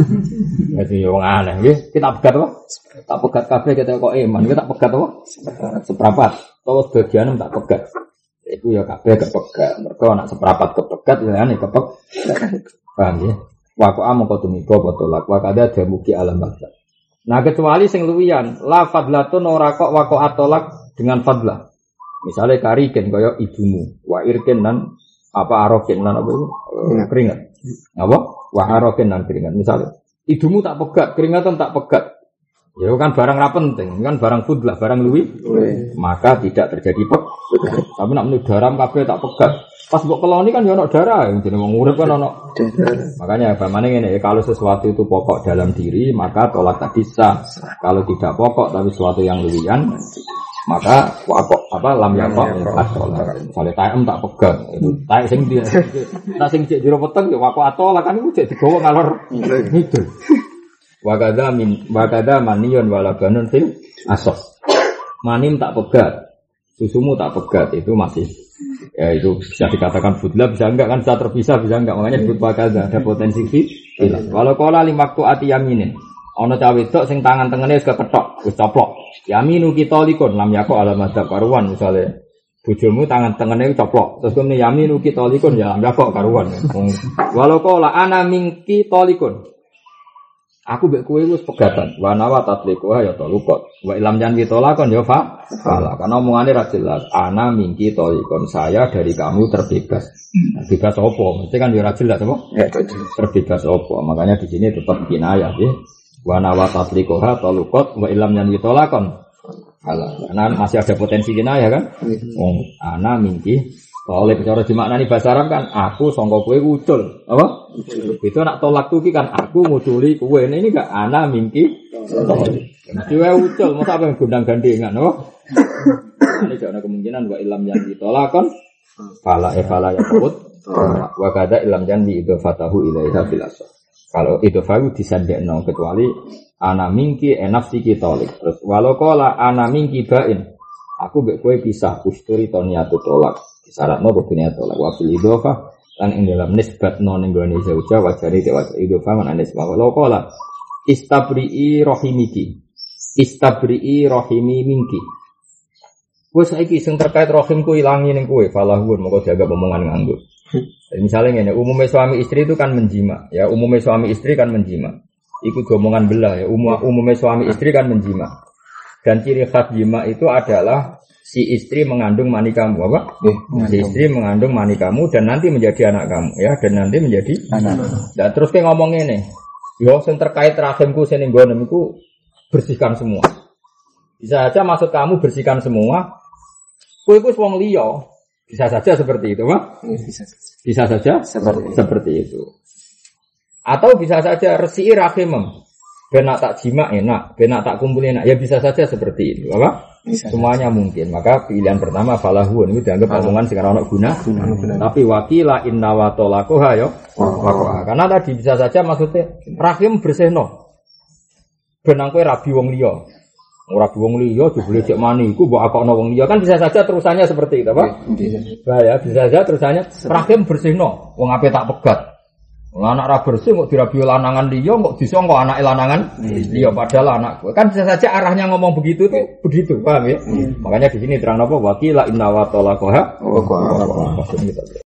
Jadi wong aneh nggih, kita pegat apa? Tak pegat kabeh kita kok iman, kita tak pegat apa? Seperempat. Terus bagian tak pegat. Itu ya kabeh kepegat. Mergo anak seprapat kepegat ya ane kepek. Paham ya? Waqa amko tumiko botolak wa kada damuki alam baksa. Nah kecuali sing luwian, la fadlatun ora kok wa qa atolak dengan fadlah. Misale kariken kaya ibumu, wa irken nan apa aroken nan apa itu? Keringat. Apa? Wa aroken nan keringat. Misale ibumu tak pegat, keringatan tak pegat. Ya kan barang ra penting, kan barang fudlah, barang luwi, maka tidak terjadi pek. Tapi nak menurut daram kabeh tak pegat. Pas mbok keloni kan ya ono darah, jenenge wong urip kan ono. Makanya bagaimana ngene, kalau sesuatu itu pokok dalam diri, maka tolak tadi sah. Kalau tidak pokok tapi sesuatu yang luwian, maka wakok apa lam yakok atolak. Misalnya taem tak pegat, itu taek sing dia, tak sing cek jero peteng ya wakok atolak kan iku cek digowo ngalor ngidul. Wakada min wakada manion walabanun fil asos. Manim tak pegat, susumu tak pegat itu masih ya itu bisa dikatakan fudla bisa enggak kan bisa terpisah bisa enggak makanya disebut wakada ada potensi fil. Walau kola limaktu ati yaminin. Ana cawe wedok sing tangan tengene wis kepethok, wis coplok. Yaminu kita likun lam yako alamadab karuan misale bojomu tangan tengene coplok. Terus kene yaminu kita likun ya lam yako karuan. Walau kola ana mingki tolikun. Aku mbek kowe wis pegatan. Wa nawa tatliqu ya talukot. Wa ilam jan ditolakon ya fa. Salah. Karena omongane ra jelas. Ana mingki tolikon saya dari kamu terbebas. Bebas apa? Mesti kan ya ra jelas apa? Ya terbebas apa? Makanya di sini tetap kinayah ya. Wa nawa tatliqu ha talukot wa ilam jan ditolakon. Salah. Karena masih ada potensi kinayah kan? Wong ana mingki oleh cara dimaknani bahasa Arab kan aku sangka kowe ucul apa itu nak tolak tuh kan aku nguduli kowe ini enggak ana mingki mesti wae ucul masa apa gondang gandengan apa ini gak ada kemungkinan wa ilam yang ditolakon fala e fala ya sebut wa kada ilam yang diidofatahu ilaiha fil asal kalau idofahu disandekno kecuali ana mingki enafsi ki tolik terus walau qala ana mingki bain Aku mbek kowe pisah usturi to niatu tolak. Syaratno kudu niat tolak. Wa fil idhofah lan ing dalam nisbatno ning gone zauja wajari te wajari idhofah man anis wa qala istabri'i rahimiki. Istabri'i rahimi minki. Wes saiki sing terkait rahimku ilangi ning kowe falahun moko jaga omongan nganggo. Misalnya ngene, umumnya suami istri itu kan menjima, ya umumnya suami istri kan menjima. Iku omongan belah ya, umum umumnya suami istri kan menjima. Dan ciri khas jima itu adalah si istri mengandung mani kamu, apa? Eh, si istri mengandung mani kamu dan nanti menjadi anak kamu, ya dan nanti menjadi anak. Dan terus kayak ngomong ini, yo sing terkait rahimku sing nggonem iku bersihkan semua. Bisa aja maksud kamu bersihkan semua. Kowe iku wong liya, bisa saja seperti itu, Pak. Bisa, bisa saja seperti, seperti itu. Atau bisa saja resiki rahimem. Ben nak tak jima enak, ben nak tak kumpulin enak. Ya bisa saja seperti itu, apa? Bisa, semuanya bisa. Mungkin. Maka pilihan pertama falahun itu dianggap omongan sing ora ono guna. Tapi wakila inna wa talaqaha ya. Oh. Karena tadi bisa saja maksudnya rahim bersihno. Ben nang kowe rabi wong liya. Ora wong liya jebule cek mani iku mbok akokno wong liya kan bisa saja terusannya seperti itu, Pak. Bisa. Nah, ya, bisa saja terusannya rahim bersihno. Wong ape tak pegat. Wong anak ra bersih kok dirabi lanangan liya kok disangka anake lanangan liya padahal anak kan bisa saja arahnya ngomong begitu tuh begitu, paham ya? Makanya di sini terang apa wakila inna wa talaqaha. Oh, maksudnya gitu.